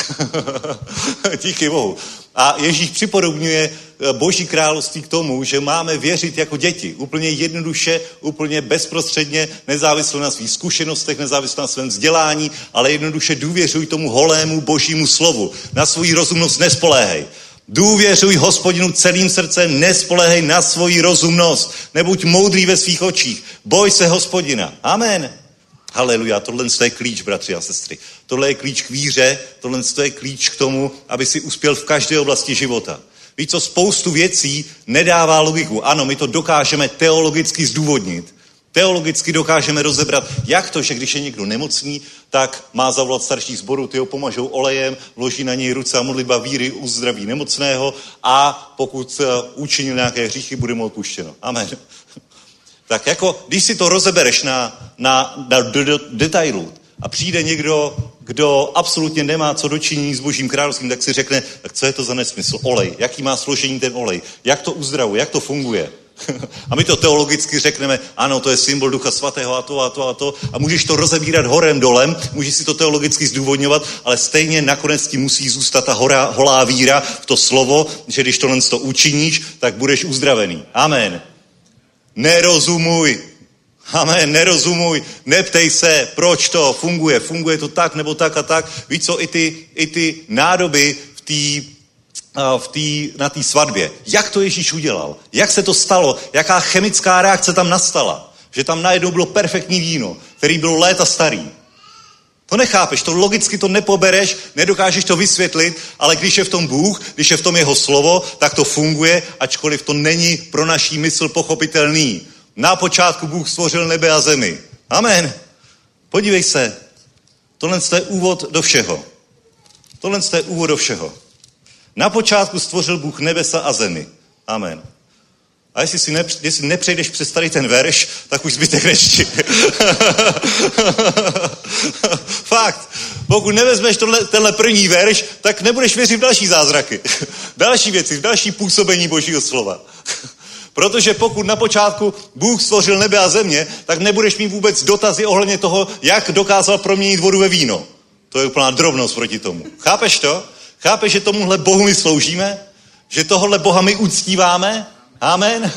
Díky Bohu. A Ježíš připodobňuje Boží království k tomu, že máme věřit jako děti. Úplně jednoduše, úplně bezprostředně, nezávisle na svých zkušenostech, nezávisle na svém vzdělání, ale jednoduše důvěřuj tomu holému Božímu slovu. Na svou rozumnost nespoléhej. Důvěřuj Hospodinu celým srdcem, nespoléhej na svoji rozumnost. Nebuď moudrý ve svých očích. Boj se Hospodina. Amen. Haleluja, tohle je klíč, bratři a sestry. Tohle je klíč k víře, tohle je klíč k tomu, aby si uspěl v každé oblasti života. Víš co, spoustu věcí nedává logiku. Ano, my to dokážeme teologicky zdůvodnit. Teologicky dokážeme rozebrat, jak to, že když je někdo nemocný, tak má zavolat starší sboru, ty ho pomažou olejem, vloží na něj ruce a modlitba víry uzdraví nemocného a pokud učinil nějaké hříchy, bude mu odpuštěno. Amen. Tak jako, když si to rozebereš na, na, na do, do, detailu a přijde někdo, kdo absolutně nemá co dočinění s Božím královstvím, tak si řekne, tak co je to za nesmysl? Olej. Jaký má složení ten olej? Jak to uzdravuje? Jak to funguje? A my to teologicky řekneme, ano, to je symbol Ducha Svatého a to a to a to. A můžeš to rozebírat horem dolem, můžeš si to teologicky zdůvodňovat, ale stejně nakonec ti musí zůstat ta hora, holá víra v to slovo, že když tohle to učiníš, tak budeš uzdravený. Amen. Nerozumuj. Amen, nerozumuj, neptej se, proč to funguje, funguje to tak nebo tak a tak. Víš co, i ty, i ty nádoby v té v tý, na té svatbě. Jak to Ježíš udělal? Jak se to stalo? Jaká chemická reakce tam nastala? Že tam najednou bylo perfektní víno, který bylo léta starý. To nechápeš, to logicky to nepobereš, nedokážeš to vysvětlit, ale když je v tom Bůh, když je v tom jeho slovo, tak to funguje, ačkoliv to není pro naší mysl pochopitelný. Na počátku Bůh stvořil nebe a zemi. Amen. Podívej se, tohle je úvod do všeho. Tohle je úvod do všeho. Na počátku stvořil Bůh nebesa a zemi. Amen. A jestli, si nepř, jestli nepřejdeš přes tady ten verš, tak už zbytek nečti. Fakt. Pokud nevezmeš tohle, tenhle první verš, tak nebudeš věřit v další zázraky. Další věci, v další působení Božího slova. Protože pokud na počátku Bůh stvořil nebe a země, tak nebudeš mít vůbec dotazy ohledně toho, jak dokázal proměnit vodu ve víno. To je úplná drobnost proti tomu. Chápeš to? Chápeš, že tomuhle Bohu my sloužíme? Že tohle Boha my uctíváme? Amen.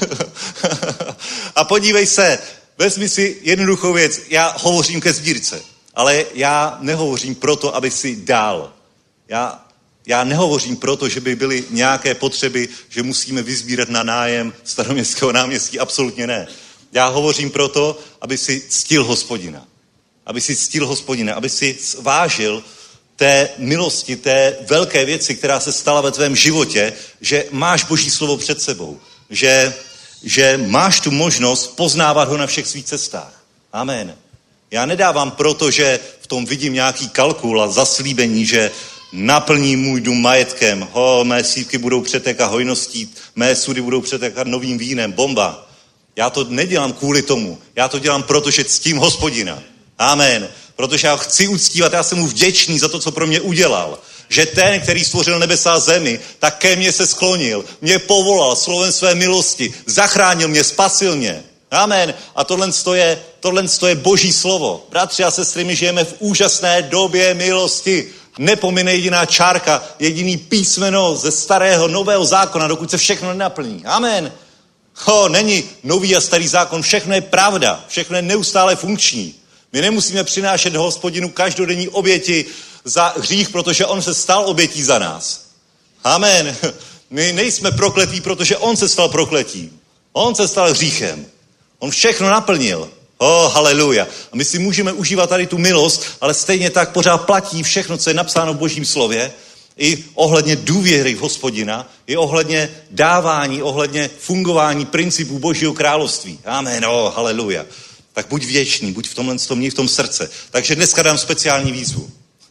A podívej se, vezmi si jednoduchou věc. Já hovořím ke sbírce, ale já nehovořím proto, aby si dál. Já, já nehovořím proto, že by byly nějaké potřeby, že musíme vysbírat na nájem Staroměstského náměstí. Absolutně ne. Já hovořím proto, aby si ctil Hospodina. Aby si ctil Hospodina, aby si vážil té milosti, té velké věci, která se stala ve tvém životě, že máš Boží slovo před sebou. Že, že máš tu možnost poznávat ho na všech svých cestách. Amen. Já nedávám proto, že v tom vidím nějaký kalkul a zaslíbení, že naplní můj dům majetkem, ho, mé sýpky budou přetékat hojností, mé sudy budou přetékat novým vínem, bomba. Já to nedělám kvůli tomu. Já to dělám proto, že ctím Hospodina. Amen. Protože já chci uctívat, já jsem mu vděčný za to, co pro mě udělal. Že ten, který stvořil nebesa a zemi, tak ke mně se sklonil, mě povolal slovem své milosti, zachránil mě, spasil mě. Amen. A tohle je, tohle je Boží slovo. Bratři a sestry, my žijeme v úžasné době milosti. Nepomine jediná čárka, jediný písmeno ze starého, nového zákona, dokud se všechno nenaplní. Amen. Ho, není nový a starý zákon, všechno je pravda, všechno je neustále funkční. My nemusíme přinášet Hospodinu každodenní oběti za hřích, protože on se stal obětí za nás. Amen. My nejsme prokletí, protože on se stal prokletím. On se stal hříchem. On všechno naplnil. Oh, haleluja. A my si můžeme užívat tady tu milost, ale stejně tak pořád platí všechno, co je napsáno v Božím slově, i ohledně důvěry v Hospodina, i ohledně dávání, ohledně fungování principů Božího království. Amen. Oh, haleluja. Tak buď věčný, buď v tomhle tom, v tom srdce. Takže dneska dám speciální výzvu.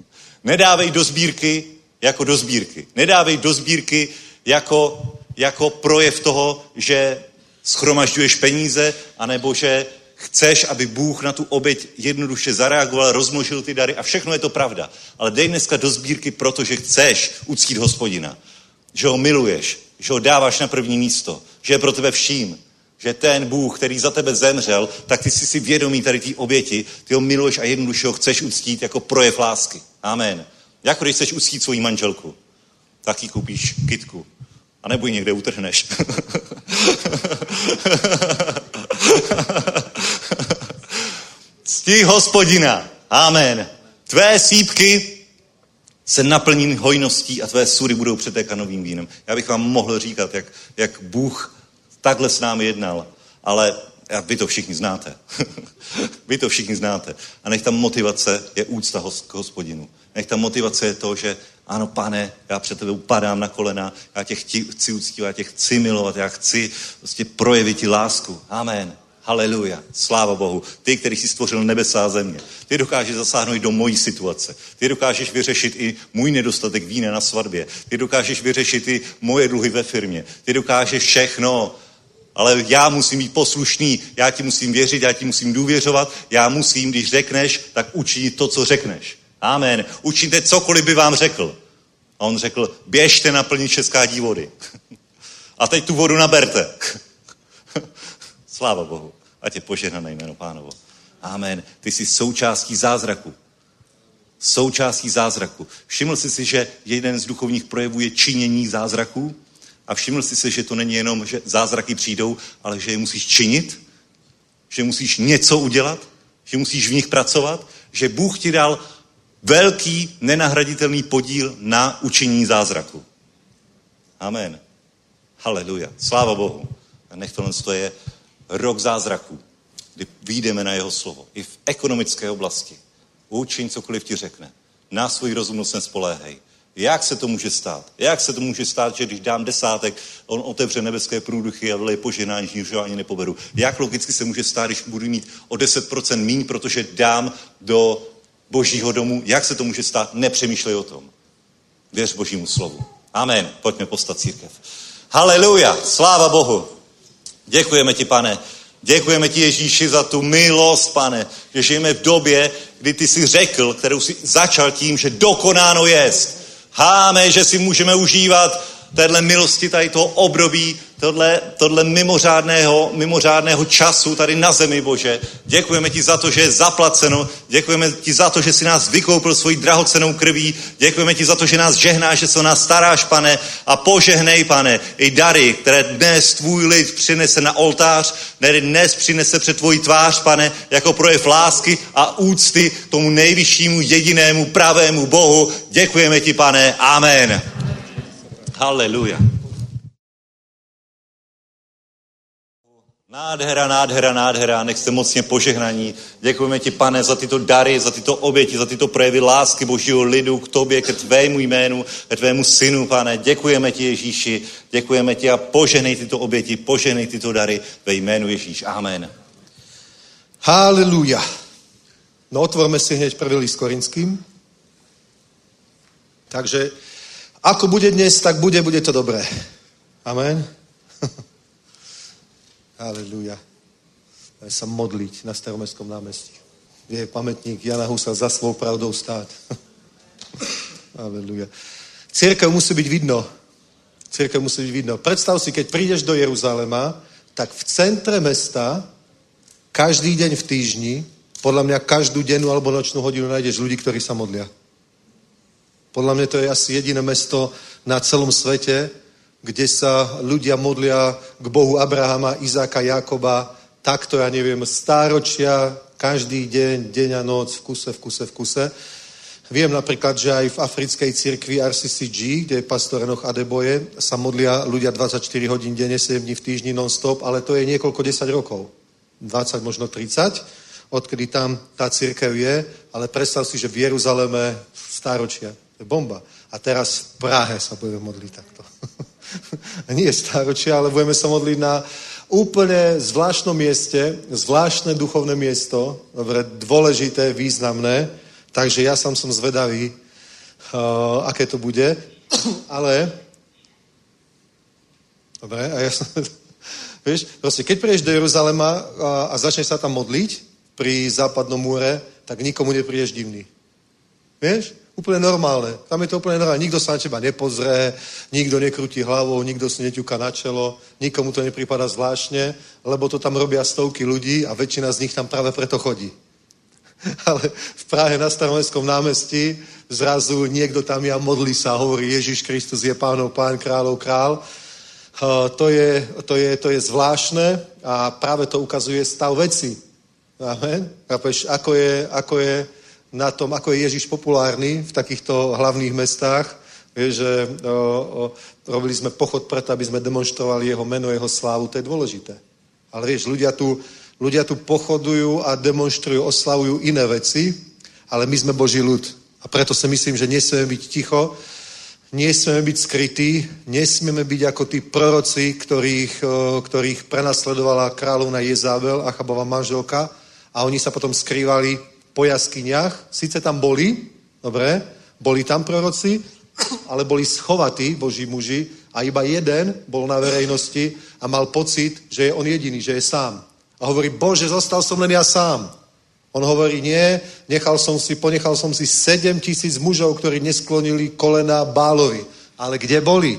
Nedávej do sbírky jako do sbírky. Nedávej do sbírky jako, jako projev toho, že schromažďuješ peníze, anebo že chceš, aby Bůh na tu oběť jednoduše zareagoval, rozmnožil ty dary a všechno je to pravda. Ale dej dneska do sbírky, protože chceš uctít Hospodina. Že ho miluješ, že ho dáváš na první místo, že je pro tebe vším. Že ten Bůh, který za tebe zemřel, tak ty jsi si vědomý tady té oběti, ty ho miluješ a jednoduše ho chceš uctít jako projev lásky. Amen. Jako když chceš uctít svoji manželku, tak jí koupíš kytku. A nebo ji někde utrhneš. Cti Hospodina. Amen. Tvé sýpky se naplní hojností a tvé sudy budou přetékat novým vínem. Já bych vám mohl říkat, jak, jak Bůh takhle s námi jednal, ale vy to všichni znáte. Vy to všichni znáte. A nech tam motivace je úcta k Hospodinu. Nech tam motivace je to, že ano, Pane, já před tebe upadám na kolena, já tě chci uctívat, já tě chci milovat, já chci prostě projevit ti lásku. Amen. Haleluja. Sláva Bohu. Ty, který jsi stvořil nebesa a země. Ty dokážeš zasáhnout do mojí situace. Ty dokážeš vyřešit i můj nedostatek vína na svatbě. Ty dokážeš vyřešit i moje dluhy ve firmě. Ty dokážeš všechno. Ale já musím být poslušný, já ti musím věřit, já ti musím důvěřovat, já musím, když řekneš, tak učinit to, co řekneš. Amen. Učiňte cokoliv by vám řekl. A on řekl, běžte naplnit šestkrát vody. A teď tu vodu naberte. Sláva Bohu. Ať je požehnané jméno Pánovo. Amen. Ty jsi součástí zázraku. Součástí zázraku. Všiml jsi si, že jeden z duchovních projevů je činění zázraků? A všiml jsi si, že to není jenom, že zázraky přijdou, ale že je musíš činit? Že musíš něco udělat? Že musíš v nich pracovat? Že Bůh ti dal velký, nenahraditelný podíl na učinění zázraku. Amen. Haleluja. Sláva Bohu. A nech tohle je rok zázraků, kdy vyjdeme na jeho slovo. I v ekonomické oblasti. Učiň, cokoliv ti řekne. Na svůj rozumnost nespoléhej. Jak se to může stát? Jak se to může stát, že když dám desátek, on otevře nebeské průduchy a vyleje požehnání, že ho ani nepoberu? Jak logicky se může stát, když budu mít o deset procent míň, protože dám do Božího domu? Jak se to může stát? Nepřemýšlej o tom. Věř Božímu slovu. Amen. Pojďme postat církev. Haleluja. Sláva Bohu. Děkujeme ti, pane. Děkujeme ti, Ježíši, za tu milost, pane, že žijeme v době, kdy ty jsi řekl, kterou jsi začal tím, že dokonáno jest. Háme, že si můžeme užívat téhle milosti, tady toho období, tohle, tohle mimořádného, mimořádného času tady na zemi, Bože. Děkujeme ti za to, že je zaplaceno. Děkujeme ti za to, že jsi nás vykoupil svojí drahocennou krví. Děkujeme ti za to, že nás žehnáš, že se o nás staráš, pane. A požehnej, pane, i dary, které dnes tvůj lid přinese na oltář, které dnes přinese před tvoji tvář, pane, jako projev lásky a úcty tomu nejvyššímu, jedinému, pravému Bohu. Děkujeme ti, pane. Amen. Haleluja. Nádhera, nádhera, nádhera, nech jste mocně požehnaní. Děkujeme ti, pane, za tyto dary, za tyto oběti, za tyto projevy lásky Božího lidu k tobě, ke tvému jménu, ke tvému synu, pane. Děkujeme ti, Ježíši, děkujeme ti a požehnej tyto oběti, požehnej tyto dary ve jménu Ježíš. Amen. Haleluja. No otvorme si hneď prvý list Korinským. Takže ako bude dnes, tak bude, bude to dobré. Amen. Haleluja. Máme sa modliť na Staromestskom námestí. Je pamätník Jana Husa za svou pravdou stát. Haleluja. Cirkev musí byť vidno. Cirkev musí byť vidno. Predstav si, keď prídeš do Jeruzalema, tak v centre mesta každý deň v týždni, podľa mňa každú dennú alebo nočnú hodinu nájdeš ľudí, ktorí sa modlia. Podľa mňa to je asi jediné mesto na celom svete, kde sa ľudia modlia k Bohu Abrahama, Izáka, Jakoba, takto, ja neviem, stáročia, každý deň, deň a noc, v kuse, v kuse, v kuse. Viem napríklad, že aj v africkej cirkvi R C C G, kde je pastor Enoch Adeboye, sa modlia ľudia dvadsaťštyri hodín denne, sedem dní v týždni non-stop, ale to je niekoľko desať rokov. dvadsať, možno tridsať, odkedy tam tá cirkev je, ale predstav si, že v Jeruzaleme stáročia. To je bomba. A teraz v Prahe sa budeme modliť takto. Nie stáročia, ale budeme sa modliť na úplne zvláštnom mieste, zvláštne duchovné miesto, dobre, dôležité, významné, takže ja sám som zvedavý, uh, aké to bude, ale dobre, a ja som, vieš, proste, keď prídeš do Jeruzalema a, a začneš sa tam modliť pri západnom múre, tak nikomu neprídeš divný. Vieš? Úplne normálne. Tam je to úplne normálne. Nikto sa na teba nepozrie, nikto nekrúti hlavou, nikto si neťuka na čelo, nikomu to nepripada zvláštne, lebo to tam robia stovky ľudí a väčšina z nich tam práve preto chodí. Ale v Prahe na Staromestskom námestí zrazu niekto tam je a modlí sa, hovorí Ježiš Kristus je pánov pán, kráľov král. Uh, to, je, to, je, to je zvláštne a práve to ukazuje stav veci. Amen. Chápeš, ako je, ako je na tom, ako je Ježiš populárny v takýchto hlavných mestách. Vieš, že o, o, robili sme pochod preto, aby sme demonstrovali jeho meno, jeho slávu, to je dôležité. Ale vieš, ľudia tu, ľudia tu pochodujú a demonstrujú, oslavujú iné veci, ale my sme Boží ľud. A preto si myslím, že nesmieme byť ticho, nesmieme byť skrytí, nesmieme byť ako tí proroci, ktorých, o, ktorých prenasledovala kráľovna Jezabel, Achabova manželka, a oni sa potom skrývali po jaskyniach, síce tam boli, dobre, boli tam proroci, ale boli schovatí Boží muži a iba jeden bol na verejnosti a mal pocit, že je on jediný, že je sám. A hovorí, Bože, zostal som len ja sám. On hovorí, nie, nechal som si, ponechal som si sedem tisíc mužov, ktorí nesklonili kolena Bálovi. Ale kde boli?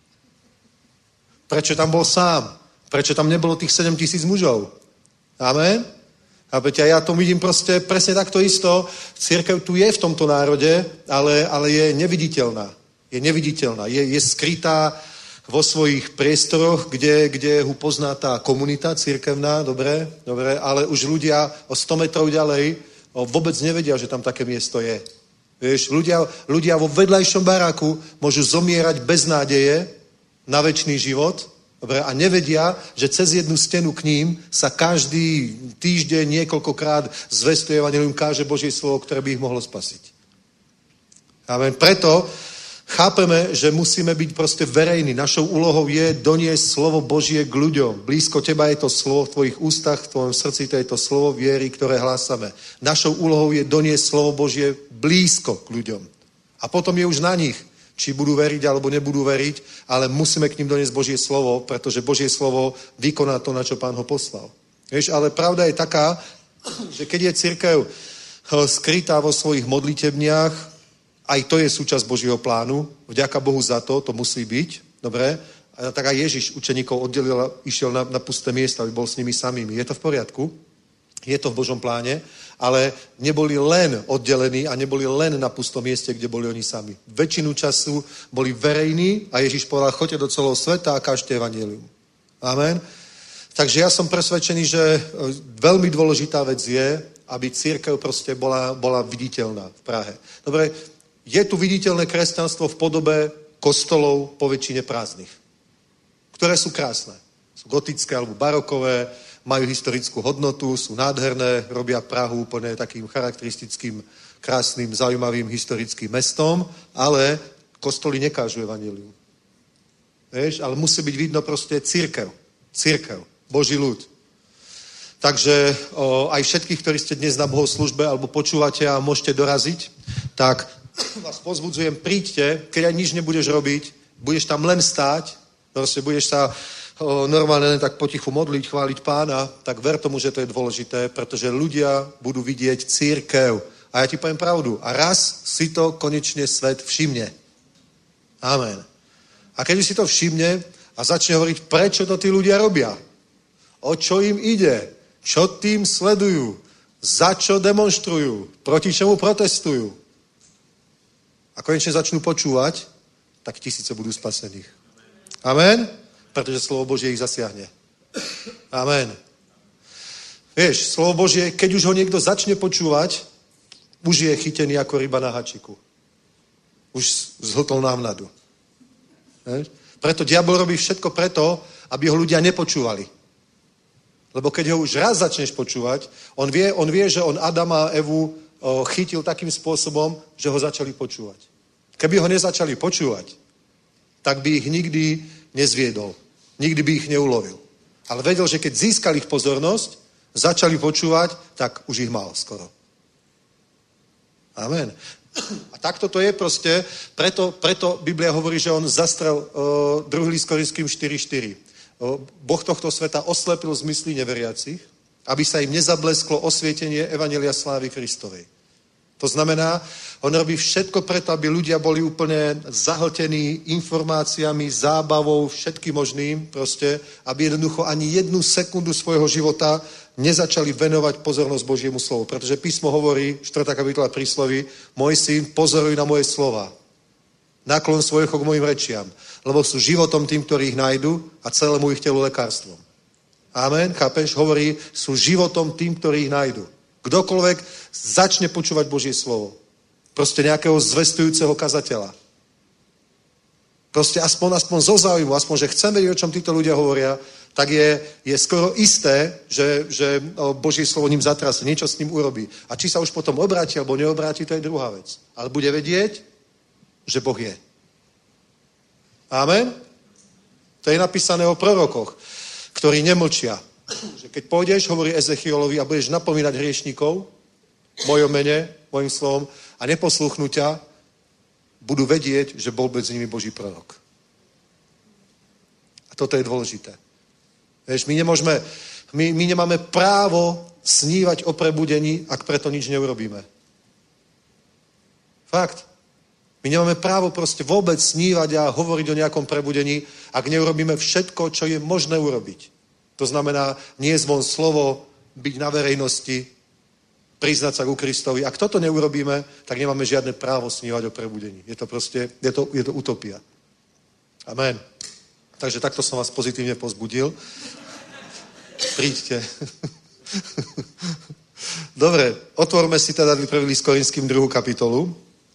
Prečo tam bol sám? Prečo tam nebolo tých sedem tisíc mužov? Amen? A ja to vidím proste presne takto isto. Cirkev tu je v tomto národe, ale, ale je neviditeľná. Je neviditeľná. Je, je skrytá vo svojich priestoroch, kde, kde ho pozná tá komunita cirkevná, dobre, dobre, ale už ľudia o sto metrov ďalej vôbec nevedia, že tam také miesto je. Vieš, ľudia, ľudia vo vedľajšom baráku môžu zomierať bez nádeje na večný život, dobre, a nevedia, že cez jednu stenu k ním sa každý týždeň niekoľkokrát zvestuje evanjelium, káže Božie slovo, ktoré by ich mohlo spasiť. Amen. Preto chápeme, že musíme byť proste verejní. Našou úlohou je doniesť slovo Božie k ľuďom. Blízko teba je to slovo v tvojich ústach, v tvojom srdci to je to slovo viery, ktoré hlásame. Našou úlohou je doniesť slovo Božie blízko k ľuďom. A potom je už na nich, či budú veriť, alebo nebudú veriť, ale musíme k ním doniesť Božie slovo, pretože Božie slovo vykoná to, na čo Pán ho poslal. Vieš, ale pravda je taká, že keď je cirkev skrytá vo svojich modlitebniach, aj to je súčasť Božieho plánu, vďaka Bohu za to, to musí byť, dobre? A tak aj Ježiš učeníkov oddelil a išiel na, na pusté miesta, aby bol s nimi samými. Je to v poriadku? Je to v Božom pláne, ale neboli len oddelení a neboli len na pustom mieste, kde boli oni sami. Väčšinu času boli verejní a Ježiš povedal, choďte do celého sveta a kážte evanjelium. Amen. Takže ja som presvedčený, že veľmi dôležitá vec je, aby cirkev proste bola, bola viditeľná v Prahe. Dobre, je tu viditeľné kresťanstvo v podobe kostolov po väčšine prázdnych, ktoré sú krásne. Sú gotické alebo barokové, majú historickú hodnotu, sú nádherné, robia Prahu úplne takým charakteristickým, krásnym, zaujímavým historickým mestom, ale kostoly nekážu evanjelium. Vieš, ale musí byť vidno proste cirkev. Cirkev. Boží ľud. Takže o, aj všetkých, ktorí ste dnes na bohoslúžbe alebo počúvate a môžete doraziť, tak vás pozbudzujem, príďte, keď aj nič nebudeš robiť, budeš tam len stáť, proste budeš sa o, normálne len tak potichu modliť, chváliť Pána, tak ver tomu, že to je dôležité, pretože ľudia budú vidieť cirkev. A ja ti poviem pravdu. A raz si to konečne svet všimne. Amen. A keď si to všimne a začne hovoriť, prečo to tí ľudia robia, o čo im ide, čo tým sledujú, za čo demonštrujú, proti čomu protestujú. A konečne začnú počúvať, tak tisíce budú spasených. Amen? Pretože slovo Božie ich zasiahne. Amen. Vieš, slovo Božie, keď už ho niekto začne počúvať, už je chytený ako ryba na hačiku. Už zhltol návnadu. Vieš? Preto diabol robí všetko preto, aby ho ľudia nepočúvali. Lebo keď ho už raz začneš počúvať, on vie, on vie, že on Adama a Evu o, chytil takým spôsobom, že ho začali počúvať. Keby ho nezačali počúvať, tak by ich nikdy nezviedol. Nikdy by ich neulovil. Ale vedel, že keď získali ich pozornosť, začali počúvať, tak už ich mal skoro. Amen. A takto to je proste, preto, preto Biblia hovorí, že on zastrel uh, druhý list Korinským štyri štyri. Uh, boh tohto sveta oslepil zmysly neveriacich, aby sa im nezablesklo osvietenie evanjelia slávy Kristovej. To znamená, on robí všetko preto, aby ľudia boli úplne zahltení informáciami, zábavou, všetkým možným, proste, aby jednoducho ani jednu sekundu svojho života nezačali venovať pozornosť Božiemu slovu. Pretože písmo hovorí, štvrtá kapitola prísloví, môj syn, pozoruj na moje slova. Naklon svoj ucho k mojim rečiam, lebo sú životom tým, ktorí ich nájdu a celému ich telu lekárstvom. Amen, chápeš? Hovorí, sú životom tým, ktorí ich nájdu. Kdokoľvek začne počúvať Božie slovo. Proste nejakého zvestujúceho kazateľa. Proste aspoň, aspoň zo záujmu, aspoň, že chcem vedieť, o čom títo ľudia hovoria, tak je, je skoro isté, že, že Božie slovo ním zatrasie, niečo s ním urobí. A či sa už potom obráti alebo neobráti, to je druhá vec. Ale bude vedieť, že Boh je. Amen? To je napísané o prorokoch, ktorí nemlčia. Že keď pôjdeš, hovorí Ezechiolovi, a budeš napomínať hriešnikov, mojom mene, mojim slovom, a neposluchnú ťa, budú vedieť, že bol bez nimi Boží prorok. A toto je dôležité. Vieš, my nemôžeme, my, my nemáme právo snívať o prebudení, ak preto nič neurobíme. Fakt. My nemáme právo proste vôbec snívať a hovoriť o nejakom prebudení, ak neurobíme všetko, čo je možné urobiť. To znamená, nie zvon slovo, byť na verejnosti, priznať sa ku Kristovi. Ak toto neurobíme, tak nemáme žiadne právo snívať o prebudení. Je to proste, je to, je to utopia. Amen. Takže takto som vás pozitívne pozbudil. Príďte. Dobre, otvorme si teda prvý list Korinským druhú kapitolu.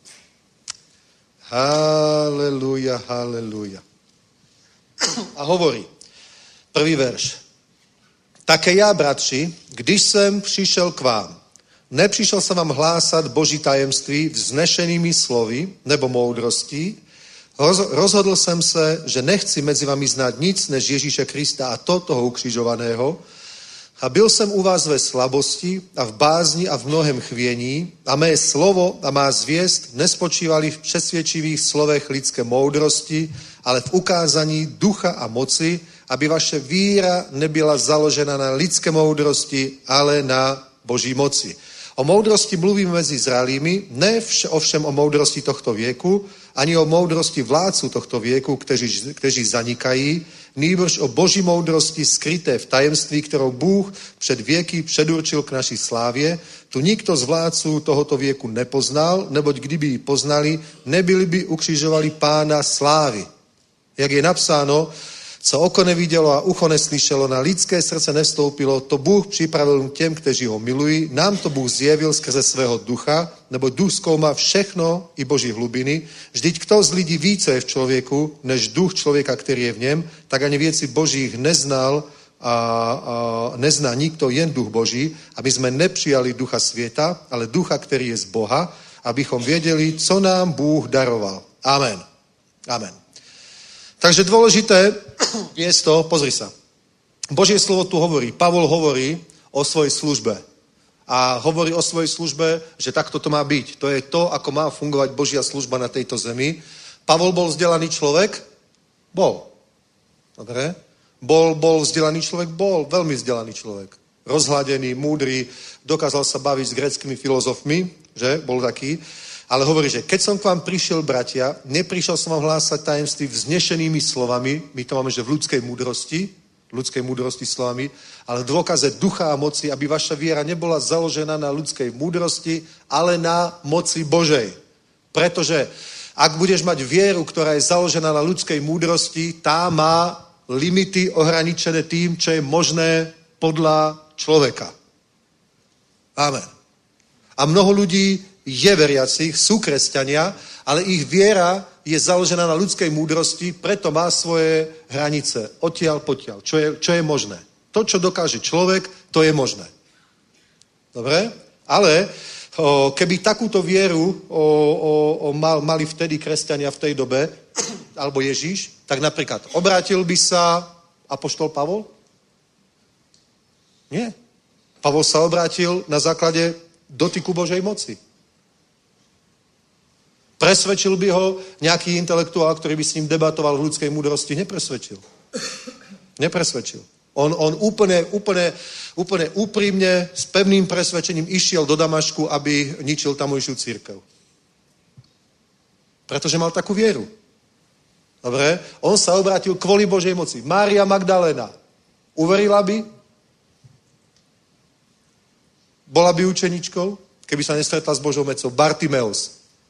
Haleluja, haleluja. A hovorí, prvý verš. Také já, bratři, když jsem přišel k vám, nepřišel jsem vám hlásat Boží tajemství vznešenými slovy nebo moudrostí, rozhodl jsem se, že nechci mezi vami znát nic než Ježíše Krista a to toho ukřižovaného, A byl jsem u vás ve slabosti a v bázni a v mnohem chvění a mé slovo a má zvěst nespočívali v přesvědčivých slovech lidské moudrosti, ale v ukázání ducha a moci, aby vaše víra nebyla založena na lidské moudrosti, ale na Boží moci. O moudrosti mluvíme mezi zralými, ne vš- ovšem o moudrosti tohto věku, ani o moudrosti vládců tohto věku, kteří, kteří zanikají, nýbrž o Boží moudrosti skryté v tajemství, kterou Bůh před věky předurčil k naší slávě. Tu nikdo z vládců tohoto věku nepoznal, neboť kdyby ji poznali, nebyli by ukřižovali Pána slávy. Jak je napsáno, co oko nevidělo a ucho neslyšelo, na lidské srdce nevstoupilo, to Bůh připravil těm, kteří ho milují. Nám to Bůh zjevil skrze svého ducha, nebo duch zkoumá všechno i Boží hlubiny. Vždyť kdo z lidí ví, co je v člověku, než duch člověka, který je v něm, tak ani věci Božích neznal a, a nezná nikdo, jen duch Boží. A my jsme nepřijali ducha světa, ale ducha, který je z Boha, abychom věděli, co nám Bůh daroval. Amen. Amen. Takže dôležité je to, pozri sa. Božie slovo tu hovorí, Pavol hovorí o svojej službe. A hovorí o svojej službe, že takto to má byť. To je to, ako má fungovať Božia služba na tejto zemi. Pavol bol vzdelaný človek? Bol. Dobre? Bol, bol vzdelaný človek? Bol. Veľmi vzdelaný človek. Rozhladený, múdry, dokázal sa baviť s gréckymi filozofmi, že? Bol taký. Ale hovorí, že keď som k vám prišiel, bratia, neprišiel som vám hlásať tajemství vznešenými slovami, my to máme, že v ľudskej múdrosti, v ľudskej múdrosti slovami, ale v dôkaze ducha a moci, aby vaša viera nebola založená na ľudskej múdrosti, ale na moci Božej. Pretože ak budeš mať vieru, ktorá je založená na ľudskej múdrosti, tá má limity ohraničené tým, čo je možné podľa človeka. Amen. A mnoho ľudí je veriacich, sú kresťania, ale ich viera je založená na ľudskej múdrosti, preto má svoje hranice. Odtiaľ, potiaľ. Čo je, čo je možné. To, čo dokáže človek, to je možné. Dobre? Ale o, keby takúto vieru o, o, o, mal, mali vtedy kresťania v tej dobe, alebo Ježíš, tak napríklad obrátil by sa apoštol Pavol? Nie. Pavol sa obrátil na základe dotyku Božej moci. Presvedčil by ho nejaký intelektuál, ktorý by s ním debatoval v ľudskej múdrosti? Nepresvedčil. Nepresvedčil. On, on úplne, úplne, úplne úprimne, s pevným presvedčením išiel do Damašku, aby ničil tamojšiu církev. Pretože mal takú vieru. Dobre? On sa obrátil kvôli Božej moci. Mária Magdaléna. Uverila by? Bola by učeničkou, keby sa nestretla s Božou mocou? Bartimeus.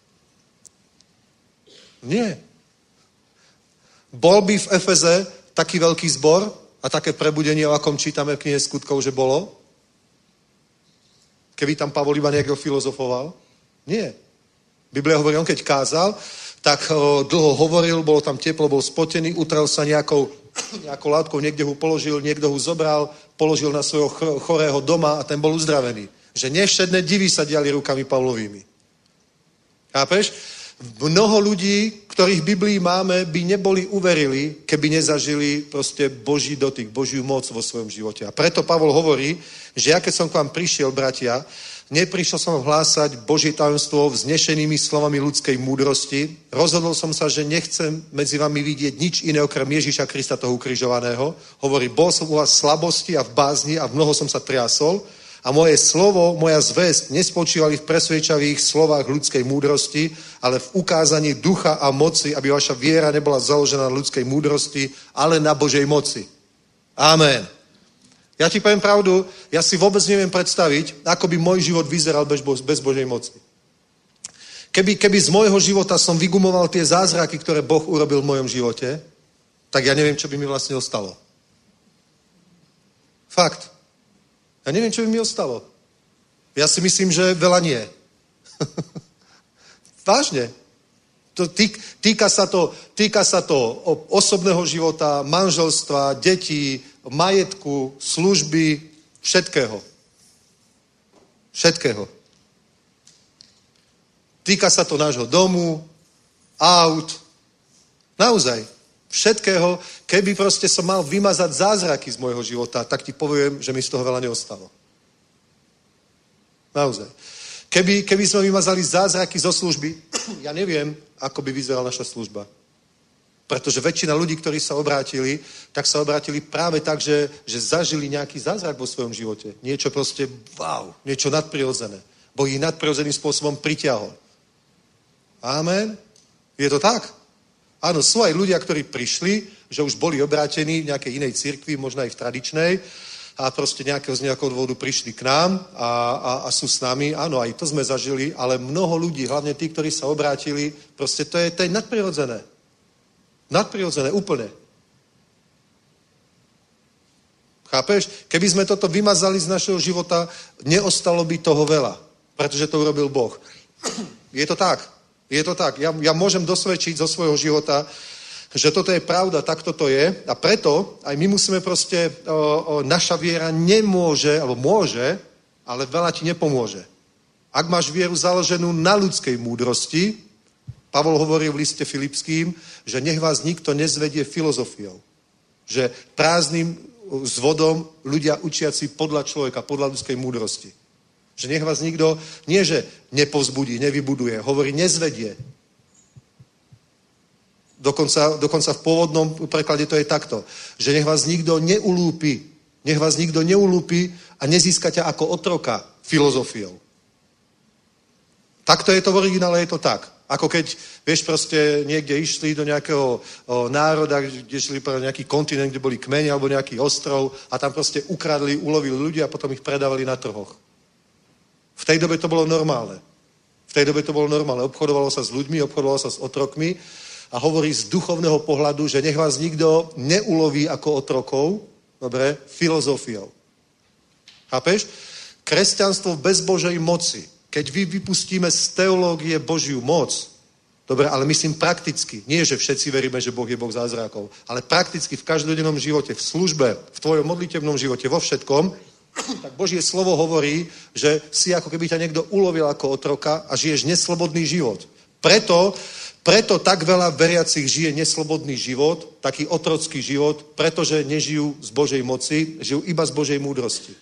Nie. Bol by v Efeze taký veľký zbor a také prebudenie, o akom čítame v knihe Skutkov, že bolo? Keby tam Pavol iba niekto filozofoval? Nie. Biblia hovorí, on keď kázal, tak o, dlho hovoril, bolo tam teplo, bol spotený, utrel sa nejakou, nejakou látkou, niekde ho položil, niekto ho zobral, položil na svojho chorého doma a ten bol uzdravený. Že nevšedné divy sa diali rukami Pavlovými. Chápeš? Mnoho ľudí, ktorých v Biblii máme, by neboli uverili, keby nezažili proste Boží dotyk, Božiu moc vo svojom živote. A preto Pavol hovorí, že ja keď som k vám prišiel, bratia, neprišiel som vám hlásať Božie tajomstvo vznešenými slovami ľudskej múdrosti. Rozhodol som sa, že nechcem medzi vami vidieť nič iné okrem Ježíša Krista, toho ukrižovaného. Hovorí, bol som u vás v slabosti a v bázni a v mnoho som sa triasol. A moje slovo, moja zvesť nespočívali v presvedčavých slovách ľudskej múdrosti, ale v ukázaní ducha a moci, aby vaša viera nebola založená na ľudskej múdrosti, ale na Božej moci. Amen. Ja ti poviem pravdu, ja si vôbec neviem predstaviť, ako by môj život vyzeral bez, bez Božej moci. Keby, keby z môjho života som vygumoval tie zázraky, ktoré Boh urobil v mojom živote, tak ja neviem, čo by mi vlastne ostalo. Fakt. Ja neviem, čo by mi ostalo. Ja si myslím, že veľa nie. Vážne. To týk, týka, sa to, týka sa to osobného života, manželstva, detí, majetku, služby, všetkého. Všetkého. Týka sa to nášho domu, aut. Naozaj. Všetkého, keby proste som mal vymazať zázraky z môjho života, tak ti poviem, že mi z toho veľa neostalo. Naozaj. Keby, keby sme vymazali zázraky zo služby, ja neviem, ako by vyzerala naša služba. Pretože väčšina ľudí, ktorí sa obrátili, tak sa obrátili práve tak, že, že zažili nejaký zázrak vo svojom živote. Niečo proste, wow, niečo nadprirodzené. Boh ich nadprirodzeným spôsobom pritiahol. Amen. Je to tak? Áno, sú aj ľudia, ktorí prišli, že už boli obrátení v nejakej inej cirkvi, možno aj v tradičnej, a proste nejakého z nejakého dôvodu prišli k nám a, a, a sú s nami. Áno, aj to sme zažili, ale mnoho ľudí, hlavne tí, ktorí sa obrátili, proste to je, to je nadprirodzené. Nadprirodzené, úplne. Chápeš? Keby sme toto vymazali z našeho života, neostalo by toho veľa, pretože to urobil Boh. Je to tak. Je to tak. Ja, ja môžem dosvedčiť zo svojho života, že toto je pravda, tak toto je. A preto aj my musíme proste, o, o, naša viera nemôže, alebo môže, ale veľa ti nepomôže. Ak máš vieru založenú na ľudskej múdrosti, Pavol hovorí v liste Filipským, že nech vás nikto nezvedie filozofiou. Že prázdnym zvodom ľudia učiaci podľa človeka, podľa ľudskej múdrosti. Že nech vás nikto, nie že nepovzbudí, nevybuduje, hovorí nezvedie. Dokonca, dokonca v pôvodnom preklade to je takto, že nech vás nikto neulúpi, nech vás nikto neulúpi a nezíska ťa ako otroka filozofiou. Takto je to v originále, je to tak. Ako keď, vieš, proste niekde išli do nejakého o, národa, kde šli pre nejaký kontinent, kde boli kmene alebo nejaký ostrov a tam proste ukradli, ulovili ľudia a potom ich predávali na trhoch. V tej dobe to bolo normálne. V tej dobe to bolo normálne. Obchodovalo sa s ľuďmi, obchodovalo sa s otrokmi a hovorí z duchovného pohľadu, že nech vás nikto neuloví ako otrokov, dobre, filozofiou. Chápeš? Kresťanstvo bez Božej moci. Keď vy vypustíme z teológie Božiu moc, dobre, ale myslím prakticky, nie, že všetci veríme, že Boh je Boh zázrakov, ale prakticky v každodennom živote, v službe, v tvojom modlitevnom živote, vo všetkom, tak Božie slovo hovorí, že si ako keby ťa niekto ulovil ako otroka a žiješ neslobodný život. Preto, preto tak veľa veriacich žije neslobodný život, taký otrocký život, pretože nežijú z Božej moci, žijú iba z Božej múdrosti.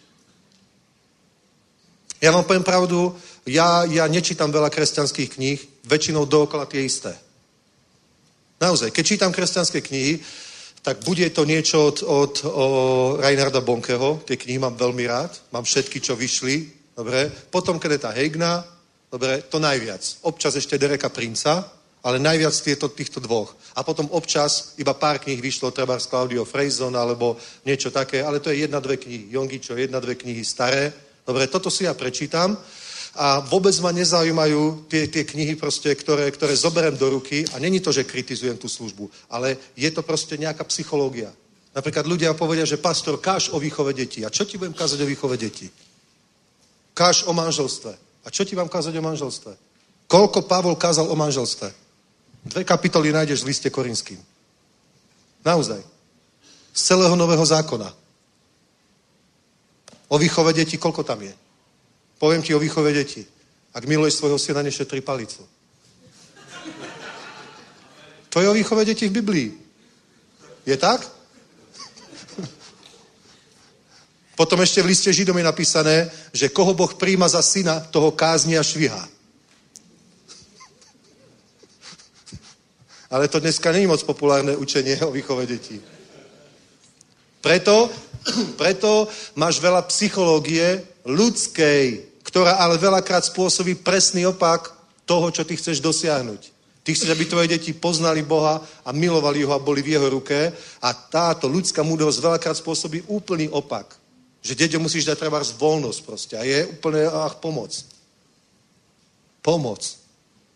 Ja vám poviem pravdu, ja, ja nečítam veľa kresťanských kníh, väčšinou dookola tie isté. Naozaj, keď čítam kresťanské knihy, tak bude to niečo od, od o, Reinharda Bonkeho, tie knihy mám veľmi rád, mám všetky, čo vyšli, dobre, potom Kennetha Hagina, dobre, to najviac. Občas ešte Dereka Princa, ale najviac tieto, týchto dvoch. A potom občas iba pár kníh vyšlo, treba z Claudio Freyson, alebo niečo také, ale to je jedna, dve knihy. Jongičo, jedna, dve knihy staré. Dobre, toto si ja prečítam a vôbec ma nezaujímajú tie, tie knihy, proste, ktoré, ktoré zoberiem do ruky a není to, že kritizujem tú službu, ale je to proste nejaká psychológia. Napríklad ľudia povedia, že pastor, káž o výchove detí. A čo ti budem kázať o výchove detí? Káž o manželstve. A čo ti mám kázať o manželstve? Koľko Pavol kázal o manželstve? Dve kapitoly nájdeš v liste Korinským. Naozaj. Z celého nového zákona. O výchove detí, koľko tam je? Poviem ti o výchove detí. Ak miluješ svojho syna, nešetri palicu. To je o výchove detí v Biblii. Je tak? Potom ešte v liste Židom je napísané, že koho Boh príjma za syna, toho kázni a švihá. Ale to dneska není moc populárne učenie o výchove detí. Preto, preto máš veľa psychológie ľudskej, ktorá ale veľakrát spôsobí presný opak toho, čo ty chceš dosiahnuť. Ty chceš, aby tvoje deti poznali Boha a milovali ho a boli v jeho ruke a táto ľudská múdrosť veľakrát spôsobí úplný opak. Že deťom musíš dať trebárs voľnosť proste a je úplne ach, pomoc. Pomoc.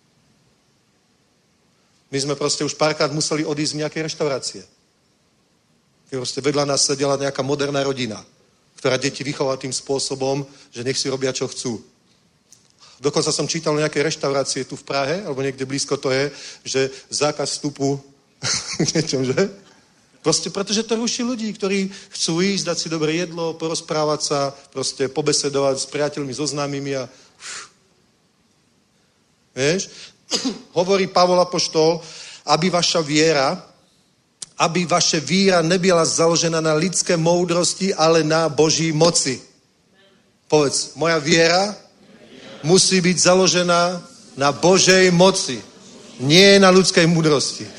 My sme proste už párkrát museli odísť z nejakej reštaurácie. Proste vedľa nás sedela nejaká moderná rodina, ktorá deti vychovala tým spôsobom, že nech si robia, čo chcú. Dokonca som čítal o nejakej reštaurácie tu v Prahe, alebo niekde blízko to je, že zákaz vstupu niečom, že? Proste pretože to ruší ľudí, ktorí chcú ísť, dať si dobré jedlo, porozprávať sa, proste pobesedovať s priateľmi, so známymi a... Vieš? Hovorí Pavol apoštol, aby vaša viera aby vaše víra nebyla založená na lidské moudrosti, ale na Boží moci. Povedz, moja viera musí byť založená na Božej moci, nie na ľudskej múdrosti.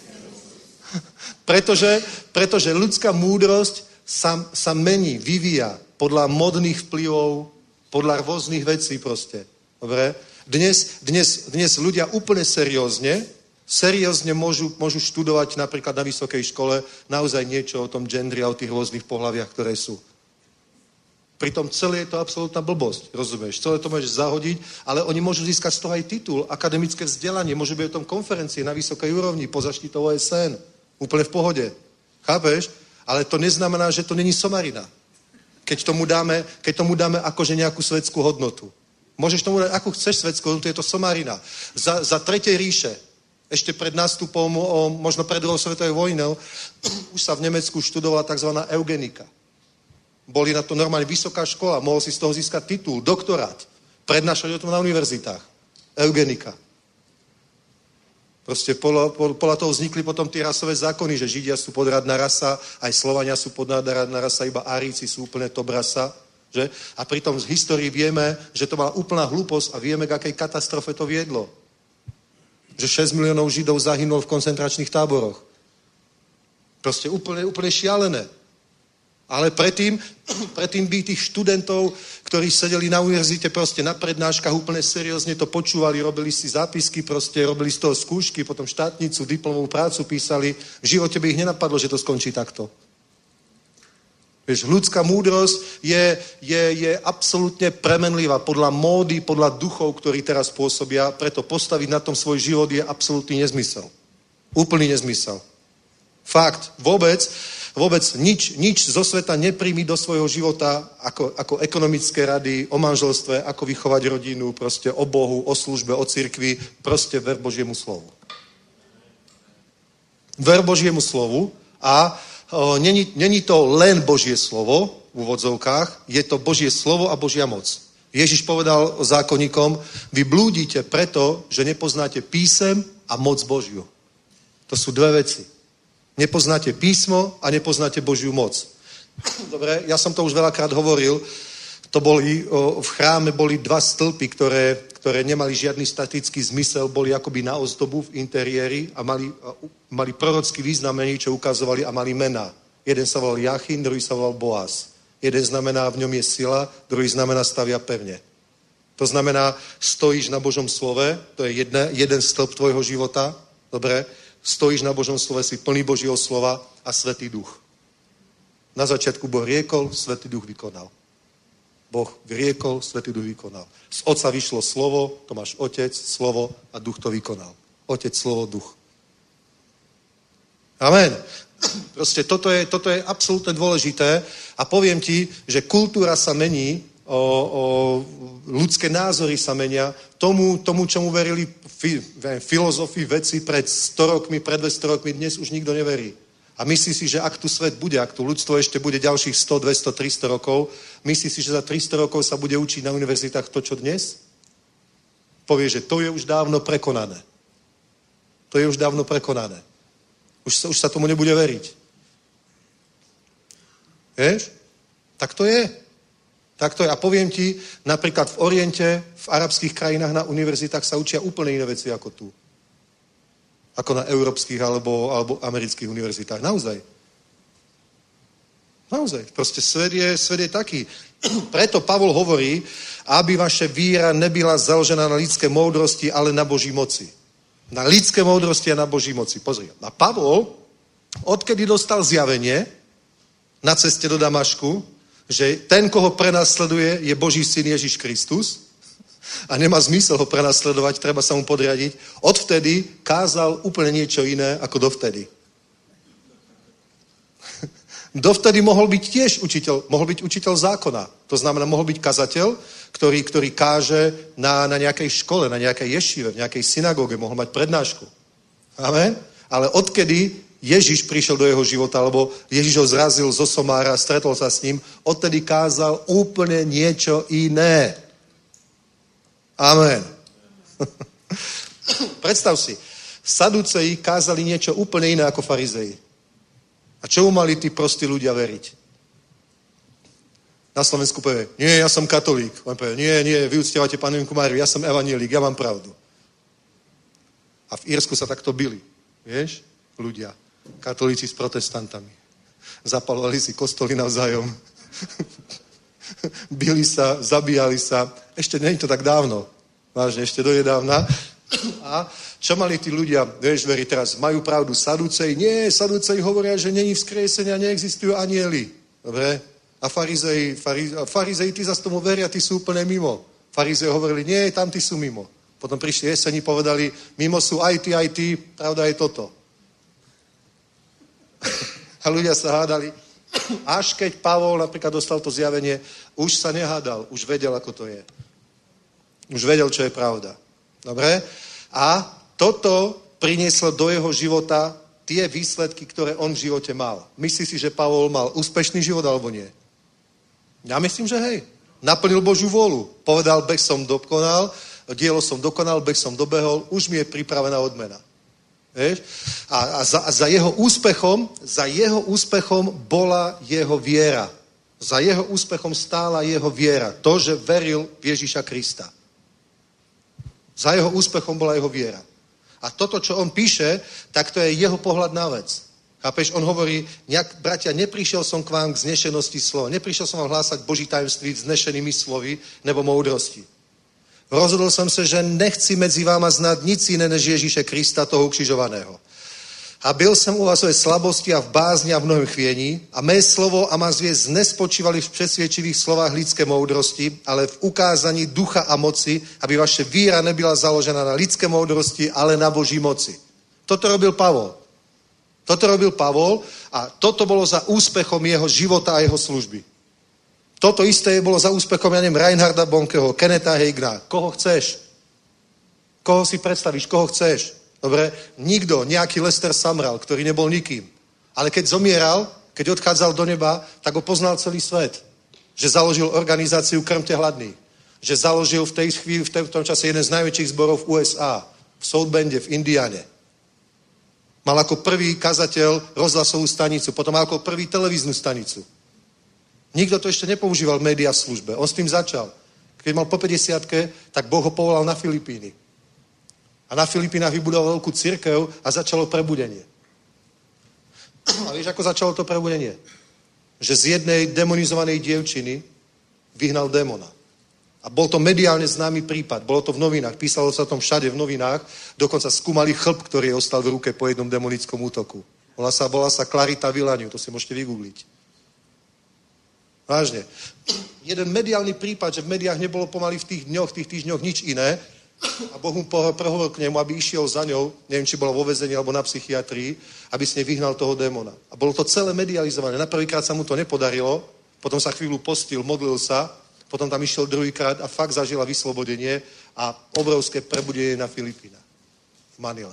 pretože, pretože ľudská múdrosť sa, sa mení, vyvíja podľa modných vplyvov, podľa rôznych vecí proste. Dobre? Dnes, dnes, dnes ľudia úplne seriózne, seriózne môžu, môžu študovať napríklad na vysokej škole naozaj niečo o tom gendri a o tých rôznych pohľaviach, ktoré sú. Pritom celé je to absolútna blbosť, rozumieš? Celé to môžeš zahodiť, ale oni môžu získať z toho aj titul, akademické vzdelanie, môžu byť o tom konferencie na vysokej úrovni, pod zaštitou O S N, úplne v pohode. Chápeš? Ale to neznamená, že to není somarina. Keď tomu dáme, keď tomu dáme akože nejakú svetskú hodnotu. Môžeš tomu dať, ako chceš svetskú hodnotu, je to somarina. Za, za tretej ríše, ešte pred nástupom, o, možno pred druhou svetovou vojnou, už sa v Nemecku študovala tzv. Eugenika. Boli na to normálne vysoká škola, mohol si z toho získať titul, doktorát, prednášať o tom na univerzitách. Eugenika. Proste podľa, podľa toho vznikli potom tie rasové zákony, že Židia sú podradná rasa, aj Slovania sú podradná rasa, iba Árici sú úplne top rasa. Že? A pritom z histórii vieme, že to bola úplná hlúposť a vieme, k akej katastrofe to viedlo. Že šesť miliónov Židov zahynulo v koncentračných táboroch. Proste úplne, úplne šialené. Ale predtým, predtým by tých študentov, ktorí sedeli na univerzite proste na prednáškach, úplne seriózne to počúvali, robili si zápisky, proste robili z toho skúšky, potom štátnicu, diplomovú prácu písali. V živote by ich nenapadlo, že to skončí takto. Vieš, ľudská múdrosť je, je, je absolútne premenlivá podľa módy, podľa duchov, ktorí teraz pôsobia, preto postaviť na tom svoj život je absolútny nezmysel. Úplný nezmysel. Fakt, vôbec, vôbec nič, nič zo sveta nepríjmi do svojho života ako, ako ekonomické rady o manželstve, ako vychovať rodinu, proste o Bohu, o službe, o cirkvi, proste ver Božiemu slovu. Ver Božiemu slovu a o, není, není to len Božie slovo v úvodzovkách, je to Božie slovo a Božia moc. Ježiš povedal zákonníkom, vy blúdite preto, že nepoznáte písem a moc Božiu. To sú dve veci. Nepoznáte písmo a nepoznáte Božiu moc. Dobre, ja som to už veľakrát hovoril, to boli, o, v chráme boli dva stĺpy, ktoré, ktoré nemali žiadny statický zmysel, boli akoby na ozdobu v interiéri a mali, a, mali prorocký význam, čo ukazovali a mali mená. Jeden sa volal Jachin, druhý sa volal Boaz. Jeden znamená, v ňom je sila, druhý znamená stavia pevne. To znamená, stojíš na Božom slove, to je jedne, jeden stĺp tvojho života, dobre, stojíš na Božom slove, si plný Božieho slova a Svätý Duch. Na začiatku Boh riekol, Svätý Duch vykonal. Boh riekol, Svätý Duch vykonal. Z Otca vyšlo slovo, to máš Otec, slovo a Duch to vykonal. Otec, slovo, Duch. Amen. Proste toto je, toto je absolútne dôležité a poviem ti, že kultúra sa mení, o, o, ľudské názory sa menia tomu, tomu čomu verili fi, filozofi, veci pred sto rokmi, pred dvesto rokmi, dnes už nikto neverí. A myslí si, že ak tu svet bude, ak tu ľudstvo ešte bude ďalších sto, dvesto, tristo rokov, myslí si, že za tristo rokov sa bude učiť na univerzitách to, čo dnes? Povie, že to je už dávno prekonané. To je už dávno prekonané. Už sa, už sa tomu nebude veriť. Vieš? Tak to je. Tak to je. A poviem ti, napríklad v Oriente, v arabských krajinách na univerzitách sa učia úplne iné veci ako tu. Ako na európskych alebo, alebo amerických univerzitách. Naozaj. Naozaj. Proste svet je, svet je taký. Preto Pavol hovorí, aby vaše víra nebyla založená na lidské moudrosti, ale na Boží moci. Na lidské moudrosti a na Boží moci. Pozri. A Pavol, odkedy dostal zjavenie na ceste do Damašku, že ten, koho prenasleduje, je Boží syn Ježiš Kristus a nemá zmysel ho prenasledovať, treba sa mu podriadiť, odvtedy kázal úplne niečo iné ako dovtedy. Dovtedy mohol byť tiež učiteľ, mohol byť učiteľ zákona. To znamená, mohol byť kazateľ, ktorý, ktorý káže na, na nejakej škole, na nejakej ješive, v nejakej synagóge, mohol mať prednášku. Amen? Ale odkedy Ježiš prišiel do jeho života, alebo Ježiš ho zrazil zo somára, stretol sa s ním, odtedy kázal úplne niečo iné. Amen. Predstav si, Saduceji kázali niečo úplne iné ako farizeji. A čomu mali tí prostí ľudia veriť? Na Slovensku povie, nie, ja som katolík. On povie, nie, nie, vy uctievate panenku Máriu, ja som evanjelík, ja mám pravdu. A v Írsku sa takto bili, vieš, ľudia, katolíci s protestantami. Zapalovali si kostoly navzájom. Bili sa, zabíjali sa. Ešte nie je to tak dávno. Vážne, ešte donedávna. A čo mali tí ľudia, vieš, veri teraz, majú pravdu Saduceji? Nie, Saduceji hovoria, že není vzkriesenia, neexistujú anjeli. Dobre? A farizeji, farizeji, farizeji tí zase tomu veria, tí sú úplne mimo. Farizeji hovorili, nie, tam tí sú mimo. Potom prišli jeseni, povedali, mimo sú aj tí, aj tí, pravda je toto. A ľudia sa hádali. Až keď Pavol napríklad dostal to zjavenie, už sa nehádal, už vedel, ako to je. Už vedel, čo je pravda. Dobre? A toto prinieslo do jeho života tie výsledky, ktoré on v živote mal. Myslíš si, že Pavol mal úspešný život, alebo nie? Ja myslím, že hej. Naplnil Božiu vôľu. Povedal, beh som dokonal, dielo som dokonal, beh som dobehol, už mi je pripravená odmena. Vieš? A, a, za, a za jeho úspechom, za jeho úspechom bola jeho viera. Za jeho úspechom stála jeho viera. To, že veril v Ježíša Krista. Za jeho úspechom bola jeho viera. A toto, čo on píše, tak to je jeho pohľad na vec. Chápeš? On hovorí, nejak, bratia, neprišiel som k vám k znešenosti slova. Neprišiel som vám hlásať Boží tajemství vznešenými slovy nebo moudrosti. Rozhodol som sa, že nechci medzi váma znať nic iné než Ježíše Krista, toho ukřižovaného. A byl jsem u vás ve slabosti a v bázni a v mnohém chvění a mé slovo a má zvěst nespočívali v přesvědčivých slovách lidské moudrosti, ale v ukázání ducha a moci, aby vaše víra nebyla založena na lidské moudrosti, ale na Boží moci. Toto robil Pavol. Toto robil Pavol a toto bolo za úspechom jeho života a jeho služby. Toto isté bolo za úspechom, ja neviem, Reinharda Bonkeho, Kenneta Hagina. Koho chceš? Koho si predstavíš? Koho chceš? Dobre? Nikto, nejaký Lester Sumrall, ktorý nebol nikým. Ale keď zomieral, keď odchádzal do neba, tak ho poznal celý svet. Že založil organizáciu Krmte hladných. Že založil v tej chvíli, v tom čase jeden z najväčších zborov v U S A. V South Bende, v Indiane. Mal ako prvý kazateľ rozhlasovú stanicu, potom mal ako prvý televíznu stanicu. Nikto to ešte nepoužíval v médiá službe. On s tým začal. Keď mal po päťdesiatke, tak Boh ho povolal na Filipíny. A na Filipínach vybudoval veľkú cirkev a začalo prebudenie. A vieš, ako začalo to prebudenie? Že z jednej demonizovanej dievčiny vyhnal démona. A bol to mediálne známy prípad. Bolo to v novinách. Písalo sa o tom všade v novinách. Dokonca skúmali chlp, ktorý ostal v ruke po jednom demonickom útoku. Volá sa, volá sa Clarita Villaniu. To si môžete vygoogliť. Vážne. Jeden mediálny prípad, že v médiách nebolo pomaly v tých dňoch, v tých týždňoch nič iné a Boh mu prehovoril k nemu, aby išiel za ňou, neviem, či bola vo väzení alebo na psychiatrii, aby s nej vyhnal toho démona. A bolo to celé medializované. Na prvýkrát sa mu to nepodarilo, potom sa chvíľu postil, modlil sa, potom tam išiel druhýkrát a fakt zažila vyslobodenie a obrovské prebudenie na Filipínach. V Manile.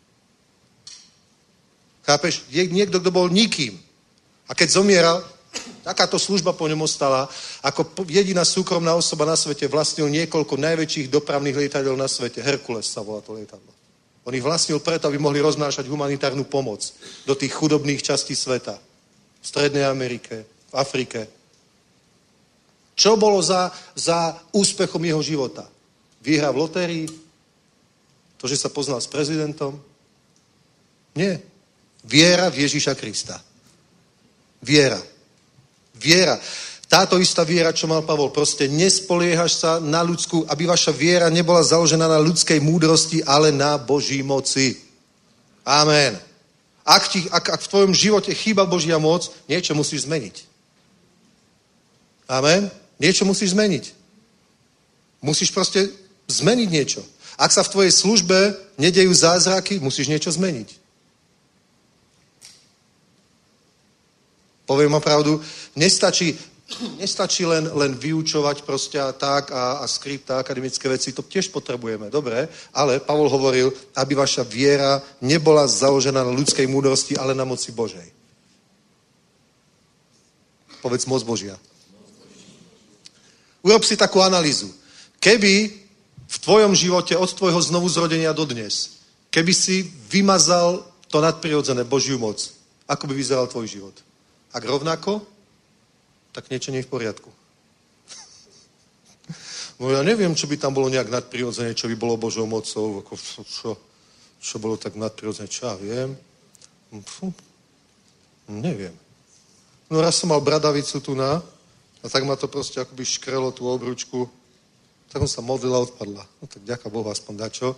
Chápeš? Je niekto, kto bol nikým. A keď zomieral, takáto služba po ňom ostala. Ako jediná súkromná osoba na svete vlastnil niekoľko najväčších dopravných lietadiel na svete. Herkules sa volá to lietadlo. On ich vlastnil preto, aby mohli roznášať humanitárnu pomoc do tých chudobných častí sveta. V Strednej Amerike, v Afrike. Čo bolo za, za úspechom jeho života? Výhra v lotérii? To, že sa poznal s prezidentom? Nie. Viera v Ježíša Krista. Viera. Viera. Táto istá viera, čo mal Pavol, proste nespoliehaš sa na ľudskú, aby vaša viera nebola založená na ľudskej múdrosti, ale na Boží moci. Amen. Ak, ti, ak, ak v tvojom živote chýba Božia moc, niečo musíš zmeniť. Amen. Niečo musíš zmeniť. Musíš proste zmeniť niečo. Ak sa v tvojej službe nedejú zázraky, musíš niečo zmeniť. Poviem vám pravdu, nestačí, nestačí len, len vyučovať proste a tak a, a skript a akademické veci, to tiež potrebujeme, dobre, ale Pavol hovoril, aby vaša viera nebola založená na ľudskej múdrosti, ale na moci Božej. Povedz moc Božia. Urob si takú analýzu. Keby v tvojom živote od tvojho znovuzrodenia do dnes, keby si vymazal to nadprirodzené Božiu moc, Ako by vyzeral tvoj život? Ak rovnako, tak niečo nie je v poriadku. No ja neviem, čo by tam bolo nejak nadprirodzené, čo by bolo Božou mocou, ako čo, čo bolo tak nadprirodzené, čo ja viem. Fú, neviem. No raz som mal bradavicu tu na a tak ma to proste akoby škrelo tú obručku. Tak som sa modlil a odpadla. No tak ďaká Bohu, aspoň dačo.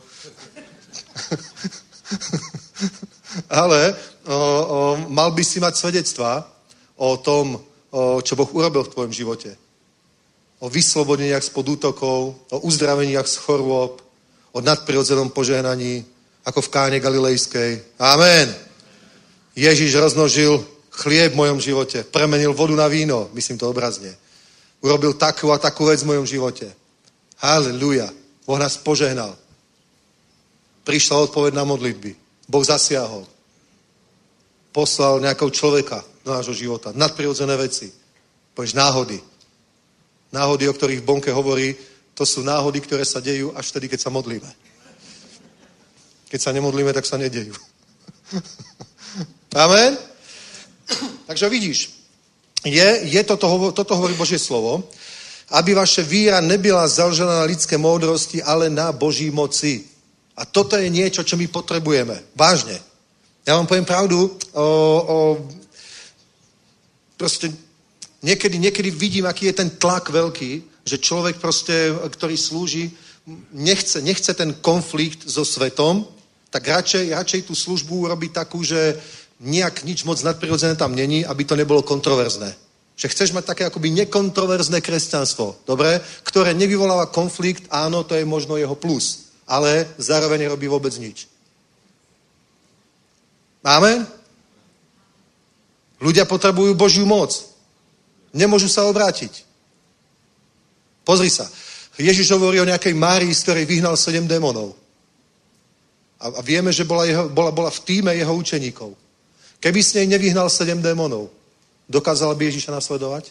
Ale o, o, mal by si mať svedectvá o tom, o, čo Boh urobil v tvojom živote. O vyslobodeniach spod útokov, o uzdraveniach z chorôb, o nadprirodzenom požehnaní, ako v Káne Galilejskej. Amen. Ježiš rozmnožil chlieb v mojom živote, premenil vodu na víno, myslím to obrazne. Urobil takú a takú vec v mojom živote. Halleluja. Boh nás požehnal. Prišla odpoveď na modlitby. Boh zasiahol. Poslal nejakého človeka do nášho života. Nadprirodzené veci. Povieš náhody. Náhody, o ktorých Bonke hovorí, to sú náhody, ktoré sa dejú až vtedy, keď sa modlíme. Keď sa nemodlíme, tak sa nedejú. Amen? Takže vidíš, je, je toto, toto hovorí Božie slovo, aby vaše víra nebyla založená na lidské moudrosti, ale na Boží moci. A toto je niečo, čo my potrebujeme. Vážne. Ja vám poviem pravdu, o, o, proste niekedy, niekedy vidím, aký je ten tlak veľký, že človek proste, ktorý slúži, nechce, nechce ten konflikt so svetom, tak radšej, radšej tú službu urobí takú, že nejak nič moc nadprirodzené tam není, aby to nebolo kontroverzné. Že chceš mať také akoby nekontroverzné kresťanstvo, dobre? Ktoré nevyvoláva konflikt, áno, to je možno jeho plus, ale zároveň nerobí vôbec nič. Amen? Ľudia potrebujú Božiu moc. Nemôžu sa obrátiť. Pozri sa. Ježiš hovorí o nejakej Márii, z ktorej vyhnal sedem démonov. A, a vieme, že bola, jeho, bola, bola v tíme jeho učeníkov. Keby s nej nevyhnal sedem démonov, dokázala by Ježiša nasledovať?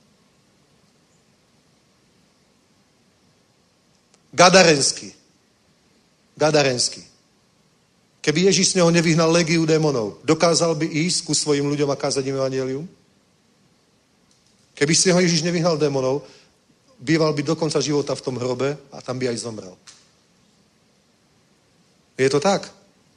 Gadarenský. Gadarenský. Keby Ježiš z neho nevyhnal legiu démonov, dokázal by ísť ku svojim ľuďom a kázať im evanjelium? Keby z neho Ježiš nevyhnal démonov, býval by do konca života v tom hrobe a tam by aj zomrel. Je to tak?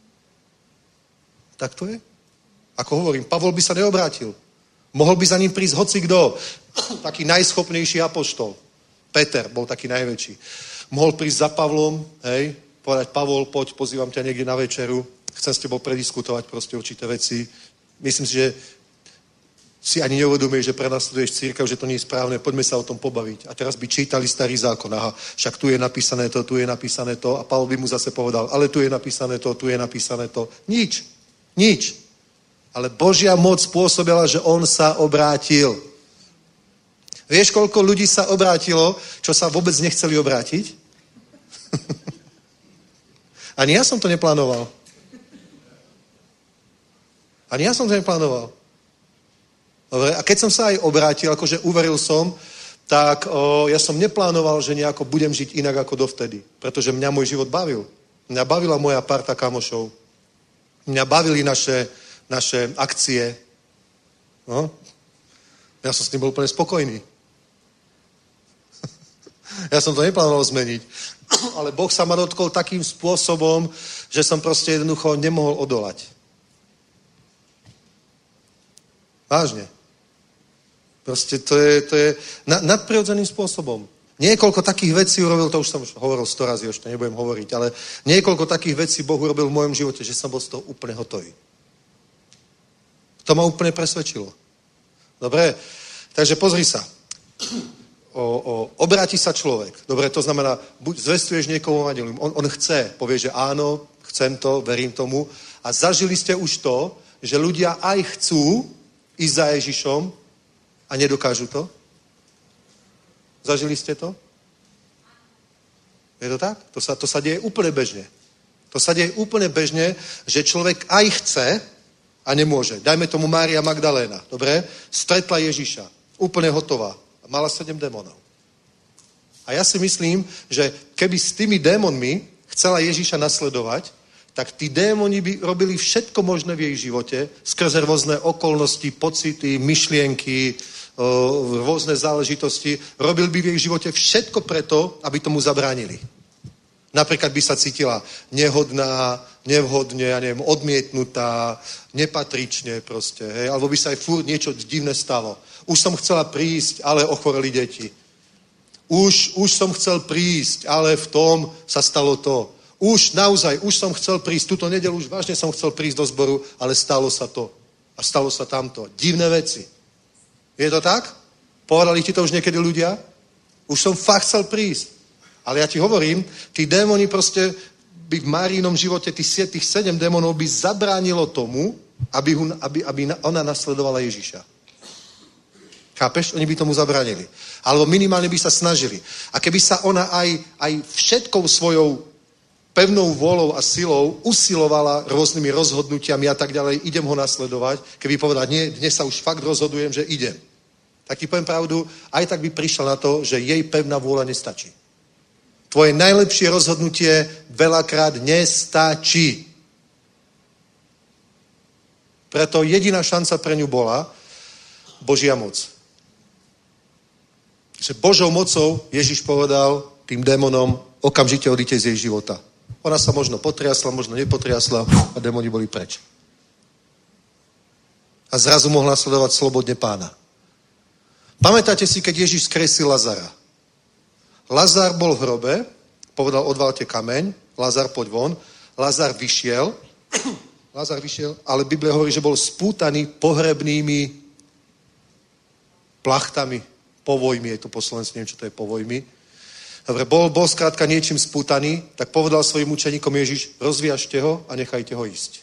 Tak to je? Ako hovorím, Pavol by sa neobrátil. Mohol by za ním prísť hocikdo, taký najschopnejší apoštol. Peter bol taký najväčší. Mohol prísť za Pavlom, hej, povedať, Pavol, poď, pozývam ťa niekde na večeru, chcem s tebou prediskutovať proste určité veci. Myslím si, že si ani neuvedomuješ, že prenasleduješ cirkev, že to nie je správne, poďme sa o tom pobaviť. A teraz by čítali starý zákon, aha, však tu je napísané to, tu je napísané to, a Pavol by mu zase povedal, ale tu je napísané to, tu je napísané to. Nič, nič. Ale Božia moc spôsobila, že on sa obrátil. Vieš, koľko ľudí sa obrátilo, čo sa vôbec nechceli obrátiť? Ani ja som to neplánoval. Ani ja som to neplánoval. Dobre, a keď som sa aj obrátil, akože uveril som, tak o, ja som neplánoval, že nejako budem žiť inak ako dovtedy. Pretože mňa môj život bavil. Mňa bavila moja parta kamošov. Mňa bavili naše, naše akcie. No. Ja som s tým bol úplne spokojný. Ja som to neplánoval zmeniť. Ale Boh sa ma dotkol takým spôsobom, že som proste jednoducho nemohol odolať. Vážne. Proste to je, to je na, nadprirodzeným spôsobom. Niekoľko takých vecí urobil, to už som hovoril sto razy, už to nebudem hovoriť, ale niekoľko takých vecí Boh urobil v mojom živote, že som bol z toho úplne hotový. To ma úplne presvedčilo. Dobre, takže pozri sa. O, o, obráti sa človek. Dobre, to znamená, buď zvestuješ niekomu evanjelium. On, on chce, povie, že áno, chcem to, verím tomu. A zažili ste už to, že ľudia aj chcú ísť za Ježišom a nedokážu to? Zažili ste to? Je to tak? To sa, to sa deje úplne bežne. To sa deje úplne bežne, že človek aj chce a nemôže. Dajme tomu Mária Magdaléna, dobre? Stretla Ježiša, úplne hotová. Mala sedem démonov. A ja si myslím, že keby s tými démonmi chcela Ježiša nasledovať, tak tí démoni by robili všetko možné v jej živote, skrze rôzne okolnosti, pocity, myšlienky, rôzne záležitosti. Robil by v jej živote všetko preto, aby tomu zabránili. Napríklad by sa cítila nehodná, nevhodne, ja neviem, odmietnutá, nepatrične proste, hej, alebo by sa aj furt niečo divné stalo. Už som chcela prísť, ale ochoreli deti. Už, už som chcel prísť, ale v tom sa stalo to. Už naozaj, už som chcel prísť, túto nedeľu už vážne som chcel prísť do zboru, ale stalo sa to. A stalo sa tamto. Divné veci. Je to tak? Povedali ti to už niekedy ľudia? Už som fakt chcel prísť. Ale ja ti hovorím, tí démoni proste by v Máriinom živote, tých, tých sedem démonov by zabránilo tomu, aby, hun, aby, aby ona nasledovala Ježiša. Chápeš? Oni by tomu zabránili. Alebo minimálne by sa snažili. A keby sa ona aj, aj všetkou svojou pevnou vôľou a silou usilovala rôznymi rozhodnutiami a tak ďalej, idem ho nasledovať, keby povedala, nie, dnes sa už fakt rozhodujem, že idem. Tak ti poviem pravdu, aj tak by prišla na to, že jej pevná vôľa nestačí. Tvoje najlepšie rozhodnutie veľakrát nestačí. Preto jediná šanca pre ňu bola Božia moc. Že Božou mocou Ježiš povedal tým démonom, okamžite odíte z jej života. Ona sa možno potriasla, možno nepotriasla a démoni boli preč. A zrazu mohla sledovať slobodne Pána. Pamätáte si, keď Ježiš skresil Lazara? Lazar bol v hrobe, povedal, odvalte kameň, Lazar, poď von. Lazar vyšiel, Lazar vyšiel, ale Biblia hovorí, že bol spútaný pohrebnými plachtami, povojmi, je to po slovensku, neviem, čo to je povojmi. Dobre, bol, bol skrátka niečím spútaný, tak povedal svojim učeníkom Ježiš, rozviažte ho a nechajte ho ísť.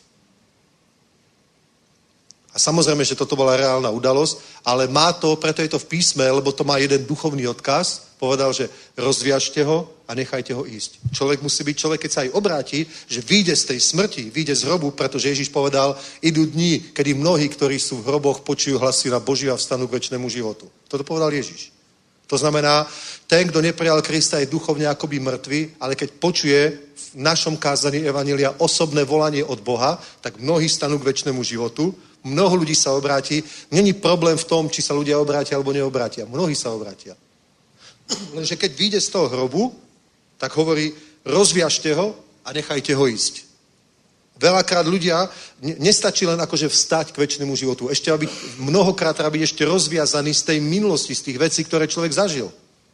A samozrejme, že toto bola reálna udalosť, ale má to, preto je to v písme, lebo to má jeden duchovný odkaz, povedal, že rozviažte ho a nechajte ho ísť. Človek musí byť človek, keď sa aj obráti, že vyjde z tej smrti, vyjde z hrobu, pretože Ježiš povedal, idú dni, kedy mnohí, ktorí sú v hroboch, počujú hlasy na Boží a vstanú k večnému životu. Toto povedal Ježiš. To znamená, ten, kto neprijal Krista, je duchovne akoby mŕtvy, ale keď počuje v našom kázaní evanjelia osobné volanie od Boha, tak mnohí stanú k večnému životu, mnoho ľudí sa obráti. Není problém v tom, či sa ľudia obrátia alebo neobrátia. Mnohí sa obrátia. Lenže keď vyjde z toho hrobu, tak hovorí, rozviažte ho a nechajte ho ísť. Veľakrát ľudia, nestačí len akože vstať k večnému životu. Ešte aby mnohokrát treba byť ešte rozviazaný z tej minulosti, z tých vecí, ktoré človek zažil.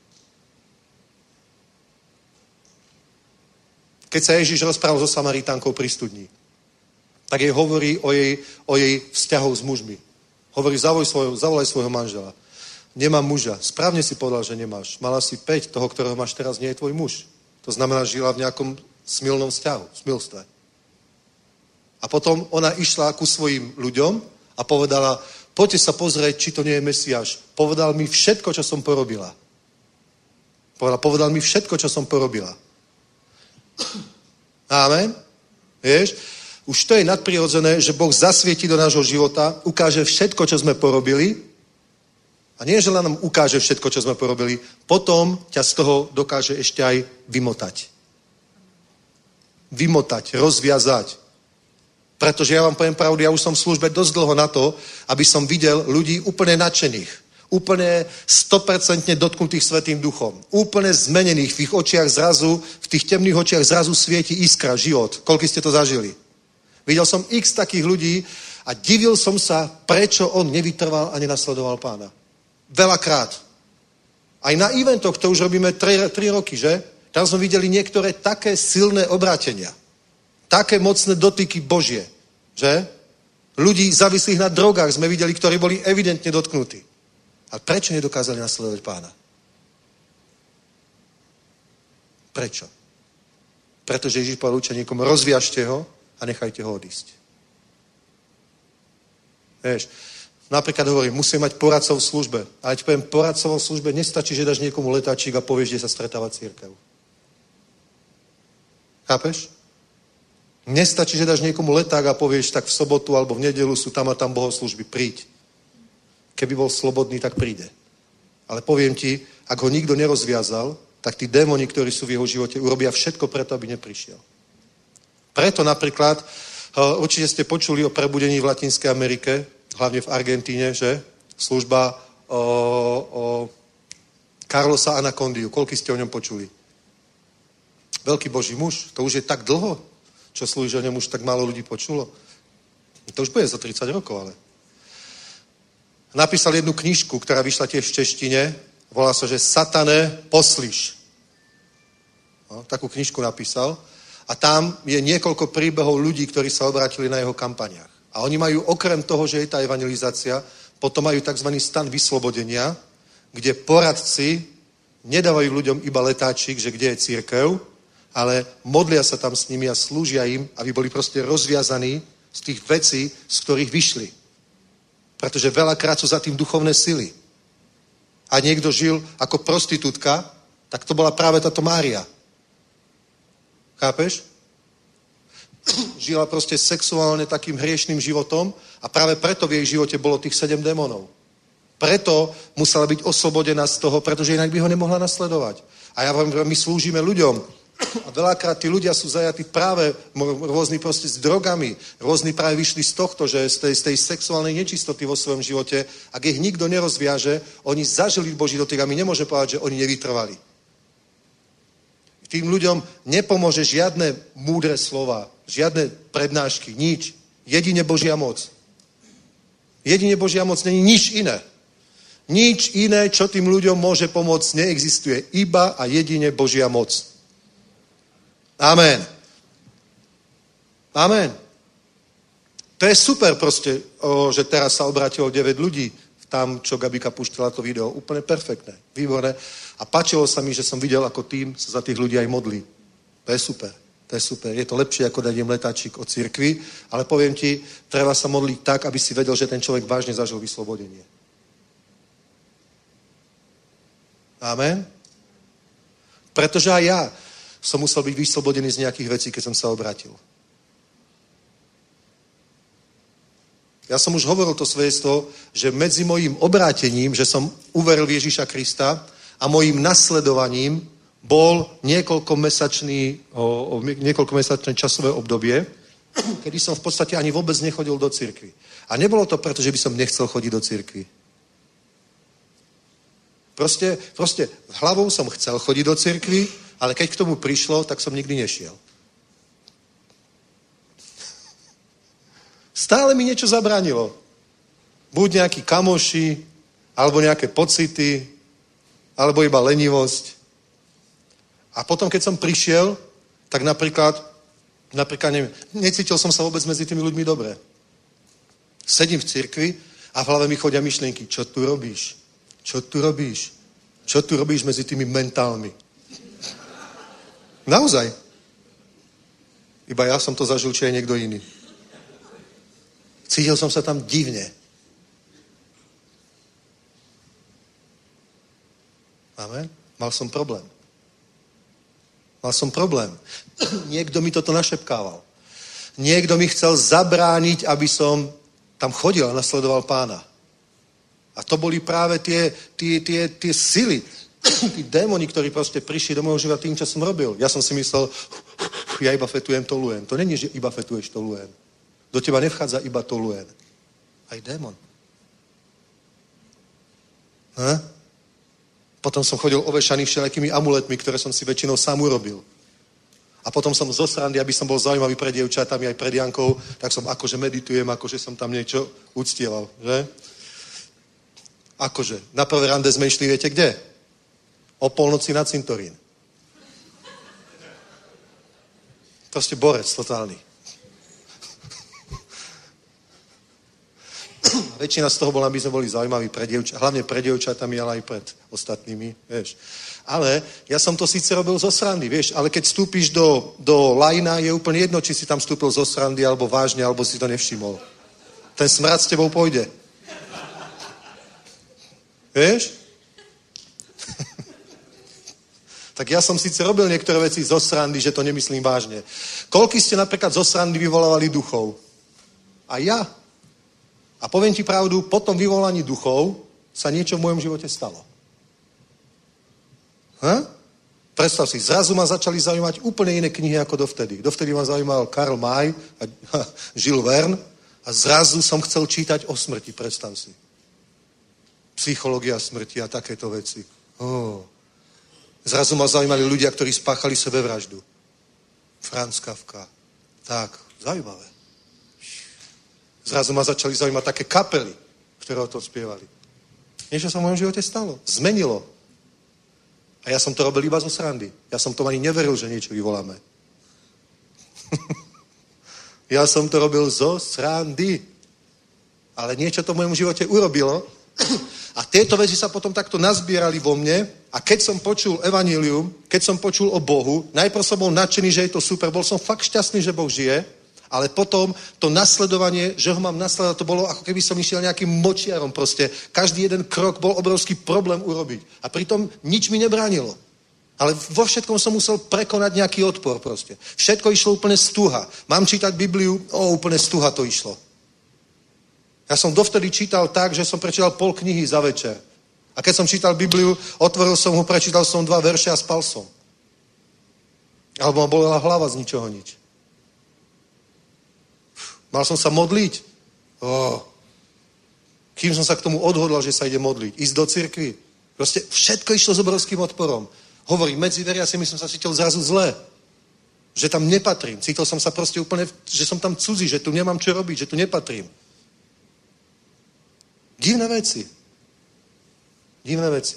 Keď sa Ježiš rozprával so Samaritánkou pri studni, tak jej hovorí o jej, o jej vzťahoch s mužmi. Hovorí, zavolaj svojho, zavolaj svojho manžela. Nemám muža. Správne si povedal, že nemáš. Mala si päť, toho, ktorého máš teraz, nie je tvoj muž. To znamená, žila v nejakom smilnom vzťahu, smilstve. A potom ona išla ku svojim ľuďom a povedala, poďte sa pozrieť, či to nie je Mesiáš. Povedal mi všetko, čo som porobila. Povedal, povedal mi všetko, čo som porobila. Amen. Vieš? Už to je nadprirodzené, že Boh zasvietí do nášho života, ukáže všetko, čo sme porobili. A nie, že len nám ukáže všetko, čo sme porobili, potom ťa z toho dokáže ešte aj vymotať. Vymotať, rozviazať. Pretože ja vám poviem pravdu, ja už som v službe dosť dlho na to, aby som videl ľudí úplne nadšených, úplne sto percent dotknutých Svätým Duchom, úplne zmenených, v ich očiach zrazu, v tých temných očiach zrazu svieti iskra, život. Koľko ste to zažili? Videl som x takých ľudí a divil som sa, prečo on nevytrval a nenasledoval Pána. Veľakrát. Aj na eventoch, to už robíme tri roky, že? Tam sme videli niektoré také silné obrátenia. Také mocné dotyky Božie, že? Ľudí závislých na drogách sme videli, ktorí boli evidentne dotknutí. A prečo nedokázali nasledovať Pána? Prečo? Pretože Ježiš povedal učeníkom, rozviažte ho a nechajte ho odísť. Vieš, napríklad hovorím, musím mať poradcov v službe. Ale ti poviem, poradcov v službe nestačí, že dáš niekomu letáčik a povieš, kde sa stretáva cirkev. Chápeš? Nestačí, že dáš niekomu leták a povieš, tak v sobotu alebo v nedelu sú tam a tam bohoslúžby, príď. Keby bol slobodný, tak príde. Ale poviem ti, ak ho nikto nerozviazal, tak tí démoni, ktorí sú v jeho živote, urobia všetko preto, aby neprišiel. Preto napríklad, uh, určite ste počuli o prebudení v Latinskej Amerike, hlavne v Argentíne, že? Služba o, o Carlosa Anacondiu. Koľko ste o ňom počuli? Veľký Boží muž. To už je tak dlho, čo slúži o ňom už tak málo ľudí počulo. To už bude za tridsať rokov, ale. Napísal jednu knižku, ktorá vyšla tiež v češtine. Volá sa, že Satane, poslíš. No, takú knižku napísal. A tam je niekoľko príbehov ľudí, ktorí sa obrátili na jeho kampaniách. A oni majú okrem toho, že je tá evangelizácia, potom majú tzv. Stan vyslobodenia, kde poradci nedávajú ľuďom iba letáčik, že kde je cirkev, ale modlia sa tam s nimi a slúžia im, aby boli proste rozviazaní z tých vecí, z ktorých vyšli. Pretože veľakrát sú za tým duchovné sily. A niekto žil ako prostitútka, tak to bola práve táto Mária. Chápeš? Žila proste sexuálne takým hriešným životom a práve preto v jej živote bolo tých sedem démonov. Preto musela byť oslobodená z toho, pretože inak by ho nemohla nasledovať. A ja vám, my slúžime ľuďom. A veľakrát tí ľudia sú zajatí práve rôzni proste s drogami. Rôzni práve vyšli z tohto, že z tej, z tej sexuálnej nečistoty vo svojom živote. Ak ich nikto nerozviaže, oni zažili Boží dotyk a my nemôžeme povedať, že oni nevytrvali. Tým ľuďom nepomôže žiadne múdre slova, žiadne prednášky, nič. Jedine Božia moc. Jedine Božia moc, není nič iné. Nič iné, čo tým ľuďom môže pomôcť, neexistuje. Iba a jedine Božia moc. Amen. Amen. To je super proste, o, že teraz sa obrátilo deväť ľudí tam, čo Gabika púštila to video. Úplne perfektné, výborné. A páčilo sa mi, že som videl, ako tým sa za tých ľudí aj modlí. To je super. To je super. Je to lepšie, ako dať im letáčik od cirkvi, ale poviem ti, treba sa modliť tak, aby si vedel, že ten človek vážne zažil vyslobodenie. Amen. Pretože aj ja som musel byť vyslobodený z nejakých vecí, keď som sa obrátil. Ja som už hovoril to svedectvo, že medzi mojím obrátením, že som uveril v Ježíša Krista a mojím nasledovaním bol niekoľkomesačný, o, o, niekoľkomesačné časové obdobie, kedy som v podstate ani vôbec nechodil do cirkvi. A nebolo to preto, že by som nechcel chodiť do cirkvi. Proste, proste hlavou som chcel chodiť do cirkvi, ale keď k tomu prišlo, tak som nikdy nešiel. Stále mi niečo zabránilo. Buď nejakí kamoši, alebo nejaké pocity, alebo iba lenivosť. A potom, keď som prišiel, tak napríklad, napríklad neviem, necítil som sa vôbec medzi tými ľuďmi dobre. Sedím v cirkvi a v hlave mi chodia myšlienky. Čo tu robíš? Čo tu robíš? Čo tu robíš medzi tými mentálmi? Naozaj. Iba ja som to zažil, či aj niekto iný. Cítil som sa tam divne. Amen. Mal som problém. Mal som problém. Niekto mi toto našepkával. Niekto mi chcel zabrániť, aby som tam chodil a nasledoval Pána. A to boli práve tie, tie, tie, tie sily, tí démoni, ktorí proste prišli do môjho života tým, čo som robil. Ja som si myslel, ja iba fetujem, tolujem. To není, že iba fetuješ, tolujem. Do teba nevchádza iba tolujem. Aj démon. Ha? Potom som chodil ovešaný všelijakými amuletmi, ktoré som si väčšinou sám urobil. A potom som zo srandy, aby som bol zaujímavý pred dievčatami aj pred Jankou, tak som akože meditujem, akože som tam niečo uctieval, že? Akože. Na prvé rande sme išli, viete kde? O polnoci na cintorín. Proste borec totálny. Väčšina z toho bola, aby sme boli zaujímaví pre dievča, hlavne pre dievčatami, ale aj pred ostatnými, vieš. Ale ja som to síce robil zo srandy, vieš, ale keď vstúpiš do, do lajna, je úplne jedno, či si tam vstúpil zo srandy, alebo vážne, alebo si to nevšimol. Ten smrad s tebou pôjde. Vieš? Tak ja som síce robil niektoré veci zo srandy, že to nemyslím vážne. Koľko ste napríklad zo srandy vyvolávali duchov? A ja. A poviem ti pravdu, po tom vyvolaní duchov sa niečo v mojom živote stalo. Ha? Predstav si, zrazu ma začali zaujímať úplne iné knihy ako dovtedy. Dovtedy ma zaujímal Karl May a Jules Verne a zrazu som chcel čítať o smrti, predstav si. Psychológia smrti a takéto veci. Oh. Zrazu ma zaujímali ľudia, ktorí spáchali sebevraždu. Franz Kafka. Tak, zaujímavé. Zrazu ma začali zaujímať také kapely, ktoré o tom spievali. Niečo sa v mojom živote stalo. Zmenilo. A ja som to robil iba zo srandy. Ja som tomu ani neveril, že niečo vyvoláme. Ja som to robil zo srandy. Ale niečo to v mojom živote urobilo. A tieto veci sa potom takto nazbierali vo mne. A keď som počul evanjelium, keď som počul o Bohu, najprv som bol nadšený, že je to super. Bol som fakt šťastný, že Boh žije. Ale potom to nasledovanie, že ho mám nasledovať, to bolo ako keby som išiel nejakým močiarom proste. Každý jeden krok bol obrovský problém urobiť. A pritom nič mi nebránilo. Ale vo všetkom som musel prekonať nejaký odpor proste. Všetko išlo úplne stuha. Mám čítať Bibliu? O, úplne stuha to išlo. Ja som dovtedy čítal tak, že som prečítal pol knihy za večer. A keď som čítal Bibliu, otvoril som ho, prečítal som dva verše a spal som. Alebo ma bolela hlava z ničoho nič. Mal som sa modliť. Oh. Kým som sa k tomu odhodlal, že sa ide modliť. Ísť do cirkvi. Proste všetko išlo s obrovským odporom. Hovorím, medzi veriacimi som sa cítil zrazu zle. Že tam nepatrím. Cítil som sa proste úplne, že som tam cudzí, že tu nemám čo robiť, že tu nepatrím. Divné veci. Divné veci.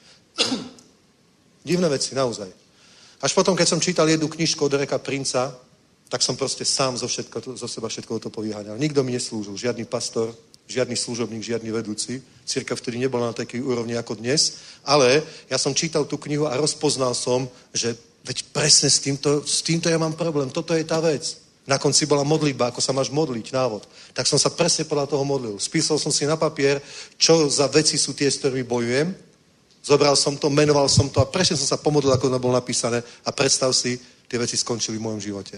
Divné veci, naozaj. Až potom, keď som čítal jednu knižku od Dereka Princa, tak som proste sám zo, všetko, zo seba všetko to povyháňal. Nikto mi neslúžil. Žiadny pastor, žiadny služobník, žiadny vedúci. Cirkev vtedy nebola na takej úrovni ako dnes. Ale ja som čítal tú knihu a rozpoznal som, že veď presne s týmto, s týmto ja mám problém. Toto je tá vec. Na konci bola modlitba, ako sa máš modliť, návod. Tak som sa presne podľa toho modlil. Spísal som si na papier, čo za veci sú tie, s ktorými bojujem. Zobral som to, menoval som to a presne som sa pomodlil, ako to bolo napísané. A predstav si, tie veci skončili v mojom živote.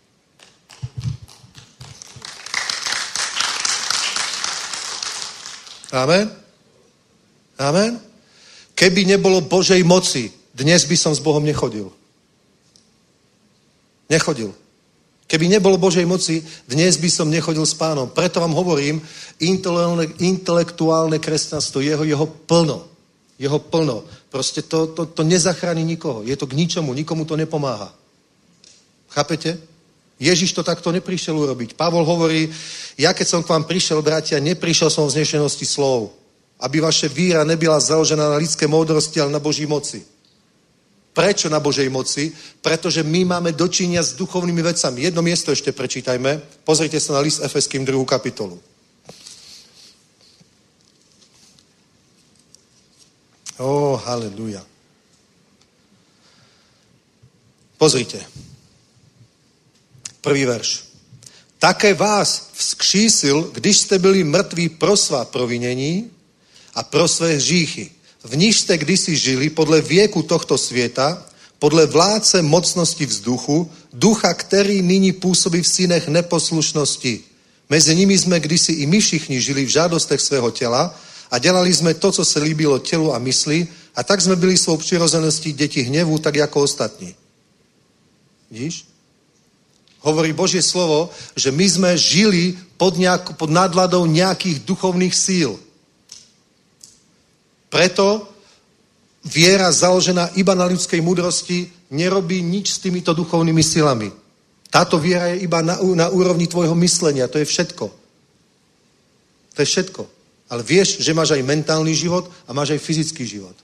Amen? Amen? Keby nebolo Božej moci, dnes by som s Bohom nechodil. Nechodil. Keby nebolo Božej moci, dnes by som nechodil s Pánom. Preto vám hovorím, intelektuálne kresťanstvo, jeho, jeho plno. Jeho plno. Proste to, to, to nezachráni nikoho. Je to k ničomu, nikomu to nepomáha. Chápete? Ježiš to takto neprišiel urobiť. Pavol hovorí, ja keď som k vám prišiel, bratia, neprišiel som v znešenosti slov, aby vaše víra nebyla založená na lidské moudrosti, ale na Boží moci. Prečo na Božej moci? Pretože my máme dočinia s duchovnými vecami. Jedno miesto ešte prečítajme. Pozrite sa na list Efeským druhú kapitolu. Ó, haleluja. Pozrite. Prvý verš. Také vás vzkřísil, když jste byli mrtví pro svá provinění a pro své hříchy. V níž jste kdysi žili podle věku tohto světa, podle vládce mocnosti vzduchu, ducha, který nyní působí v synech neposlušnosti. Mezi nimi jsme kdysi i my všichni žili v žádostech svého těla a dělali jsme to, co se líbilo tělu a mysli, a tak jsme byli svou přirozeností děti hněvu, tak jako ostatní. Vidíš? Hovorí Božie slovo, že my sme žili pod, nejak, pod nadvládou nejakých duchovných síl. Preto viera založená iba na ľudskej múdrosti nerobí nič s týmito duchovnými silami. Táto viera je iba na, na úrovni tvojho myslenia. To je všetko. To je všetko. Ale vieš, že máš aj mentálny život a máš aj fyzický život.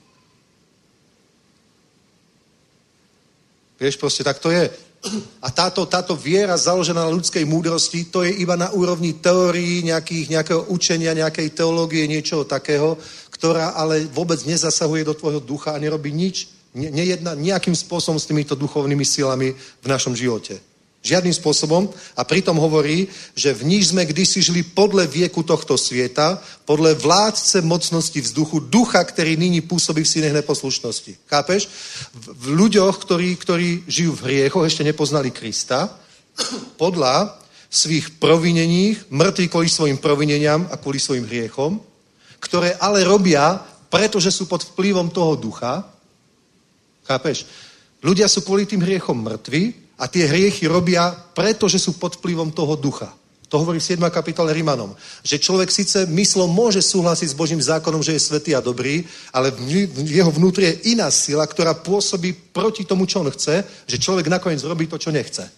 Vieš, proste tak to je. A táto, táto viera založená na ľudskej múdrosti, to je iba na úrovni teórií, nejakých, nejakého učenia, nejakej teológie, niečoho takého, ktorá ale vôbec nezasahuje do tvojho ducha a nerobí nič, ne, nejedna nejakým spôsobom s týmito duchovnými silami v našom živote. Žiadnym spôsobom. A pritom hovorí, že v níž sme kdysi žili podle vieku tohto svieta, podle vládce mocnosti vzduchu, ducha, ktorý nyní pôsobí v synech neposlušnosti. Chápeš? V, v ľuďoch, ktorí, ktorí žijú v hriechoch, ešte nepoznali Krista, podľa svých provineních, mŕtvi kvôli svojim provineniam a kvôli svojim hriechom, ktoré ale robia, pretože sú pod vplyvom toho ducha. Chápeš? Ľudia sú kvôli tým hriechom mŕtvi a tie hriechy robia, pretože sú pod vplyvom toho ducha. To hovorí siedma kapitola Rimanom. Že človek síce myslom môže súhlasiť s Božím zákonom, že je svätý a dobrý, ale v jeho vnútri je iná sila, ktorá pôsobí proti tomu, čo on chce, že človek nakoniec robí to, čo nechce.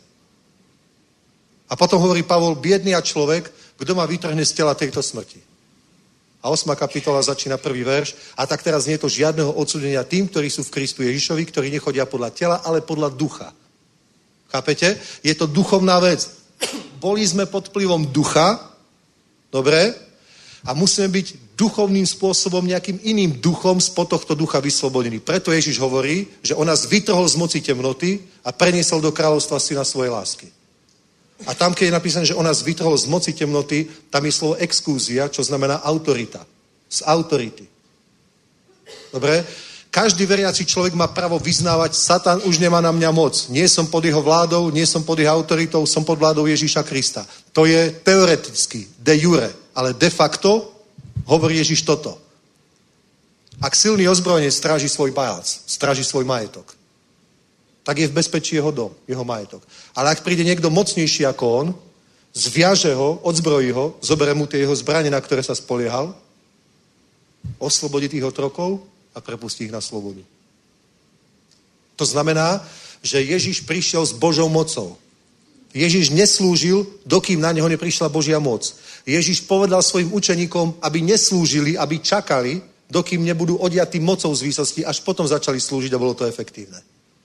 A potom hovorí Pavol, biedný a človek, kto ma vytrhne z tela tejto smrti. A osma kapitola začína prvý verš. A tak teraz nie je to žiadneho odsúdenia tým, ktorí sú v Kristu Ježišovi, ktorí nechodia podľa tela, ale podľa ducha. Chápete? Je to duchovná vec. Boli sme pod vplyvom ducha, dobre? A musíme byť duchovným spôsobom, nejakým iným duchom spod tohto ducha vyslobodení. Preto Ježiš hovorí, že on nás vytrhol z moci temnoty a preniesol do kráľovstva syna svojej lásky. A tam, keď je napísané, že on nás vytrhol z moci temnoty, tam je slovo exkúzia, čo znamená autorita. Z autority. Dobre? Každý veriaci človek má právo vyznávať, Satan už nemá na mňa moc. Nie som pod jeho vládou, nie som pod jeho autoritou, som pod vládou Ježíša Krista. To je teoreticky, de jure, ale de facto hovorí Ježíš toto. Ak silný ozbrojenec stráži svoj palác, stráži svoj majetok, tak je v bezpečí jeho dom, jeho majetok. Ale ak príde niekto mocnejší ako on, zviaže ho, odzbrojí ho, zoberie mu tie jeho zbrane, na ktoré sa spoliehal, oslobodí tých otrokov a prepustí ich na slobodu. To znamená, že Ježiš prišiel s Božou mocou. Ježiš neslúžil, dokým na neho neprišla Božia moc. Ježiš povedal svojim učeníkom, aby neslúžili, aby čakali, dokým nebudú odjatí mocou z výsosti, až potom začali slúžiť a bolo to efektívne.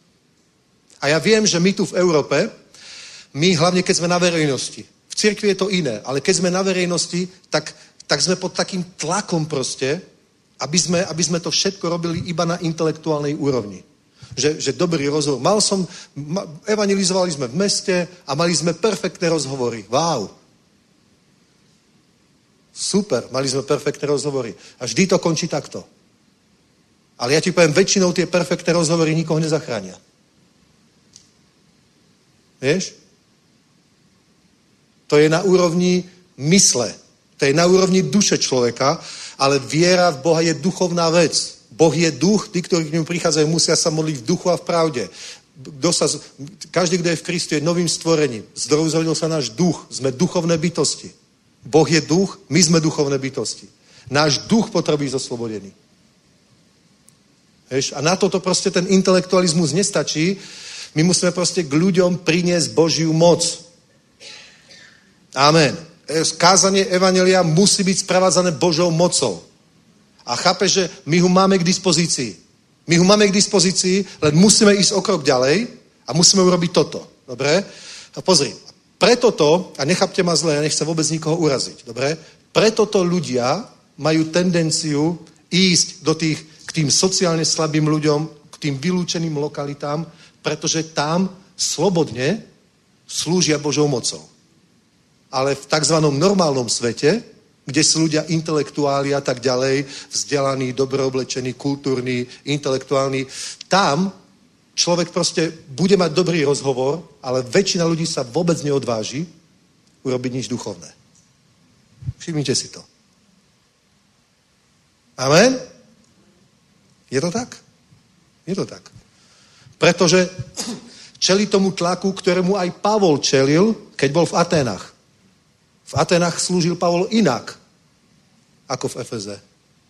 A ja viem, že my tu v Európe, my hlavne keď sme na verejnosti, v cirkvi je to iné, ale keď sme na verejnosti, tak, tak sme pod takým tlakom proste, aby sme, aby sme to všetko robili iba na intelektuálnej úrovni. Že, že dobrý rozhovor. Mal som, ma, evangelizovali sme v meste a mali sme perfektné rozhovory. Wow. Super, mali sme perfektné rozhovory. A vždy to končí takto. Ale ja ti poviem, väčšinou tie perfektné rozhovory nikoho nezachránia. Vieš? To je na úrovni mysle. To je na úrovni duše človeka, ale viera v Boha je duchovná vec. Boh je duch, tí, ktorí k ňu prichádzajú, musia sa modliť v duchu a v pravde. Kto sa, každý, kto je v Kristu, je novým stvorením. Zdrozhodil sa náš duch. Sme duchovné bytosti. Boh je duch, my sme duchovné bytosti. Náš duch potrebuje zoslobodený. Vieš? A na toto proste ten intelektualizmus nestačí. My musíme proste k ľuďom priniesť Božiu moc. Amen. Kázanie evanjelia musí byť sprevádzané Božou mocou. A chápe, že my ho máme k dispozícii. My ho máme k dispozícii, len musíme ísť o krok ďalej a musíme urobiť toto. Dobre? A pozri. Preto to, a nechápte ma zle, ja nechcem vôbec nikoho uraziť. Dobre? Preto to ľudia majú tendenciu ísť do tých, k tým sociálne slabým ľuďom, k tým vylúčeným lokalitám, pretože tam slobodne slúžia Božou mocou. Ale v takzvanom normálnom svete, kde sú ľudia intelektuáli a tak ďalej, vzdelaní, dobre oblečení, kultúrni, intelektuálni, tam človek proste bude mať dobrý rozhovor, ale väčšina ľudí sa vôbec neodváži urobiť nič duchovné. Všimnite si to. Amen? Je to tak? Je to tak. Pretože čeli tomu tlaku, ktorému aj Pavol čelil, keď bol v Aténach. V Aténach slúžil Pavol inak, ako v Efeze.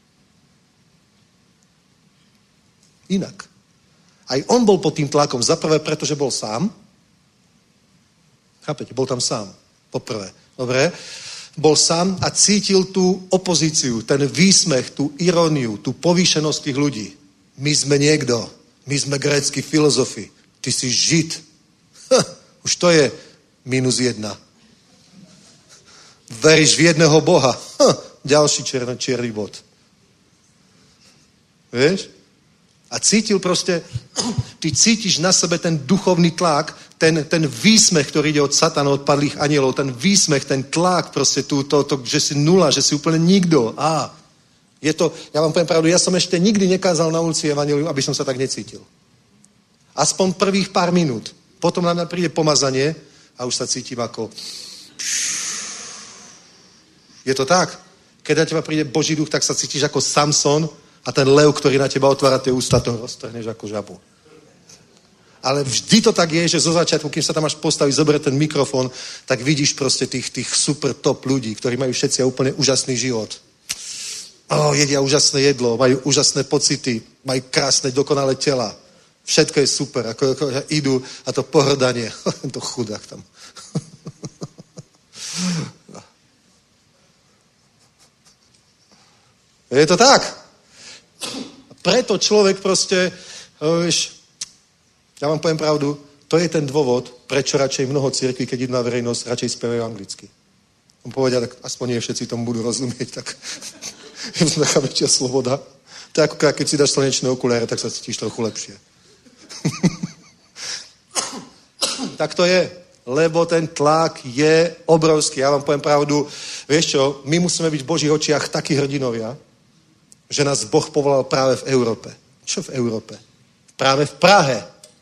Inak. Aj on bol pod tým tlakom. Zaprvé, pretože bol sám. Chápete? Bol tam sám. Poprvé. Dobre? Bol sám a cítil tú opozíciu, ten výsmech, tú iróniu, tú povýšenosť tých ľudí. My sme niekto. My sme grécki filozofi. Ty si Žid. Ha, už to je minus jedna. Veríš v jedného Boha. Ha, ďalší černý, čierny bod. Vieš? A cítil proste, ty cítiš na sebe ten duchovný tlak, ten, ten výsmech, ktorý ide od satana, od padlých anielov, ten výsmech, ten tlak proste tu, to, to, že si nula, že si úplne nikto. Á, je to, ja vám poviem pravdu, ja som ešte nikdy nekázal na ulici evanjelium, aby som sa tak necítil. Aspoň prvých pár minút. Potom na mňa príde pomazanie a už sa cítim ako... Je to tak? Keď na teba príde Boží duch, tak sa cítiš ako Samson a ten lev, ktorý na teba otvára tie ústa, toho roztrhneš ako žabu. Ale vždy to tak je, že zo začiatku, kým sa tam až postaví, zoberie ten mikrofon, tak vidíš proste tých, tých super top ľudí, ktorí majú všetci úplne úžasný život. Oh, jedia úžasné jedlo, majú úžasné pocity, majú krásne, dokonalé tela. Všetko je super, ako, ako idú a to pohrdanie, to chudák tam. Je to tak. Preto človek proste, vieš, ja vám poviem pravdu, to je ten dôvod, prečo radšej mnoho cirkví, keď idú na verejnosť, radšej spievajú anglicky. On povedia, tak aspoň nie všetci tomu budú rozumieť, tak je to taká väčšia sloboda. To je ako keď si dáš slnečné okuliare, tak sa cítiš trochu lepšie. Tak to je, lebo ten tlak je obrovský. Ja vám poviem pravdu, vieš čo, my musíme byť v Božích očiach takí hrdinovia, že nás Boh povolal práve v Európe. Čo v Európe? Práve v Prahe.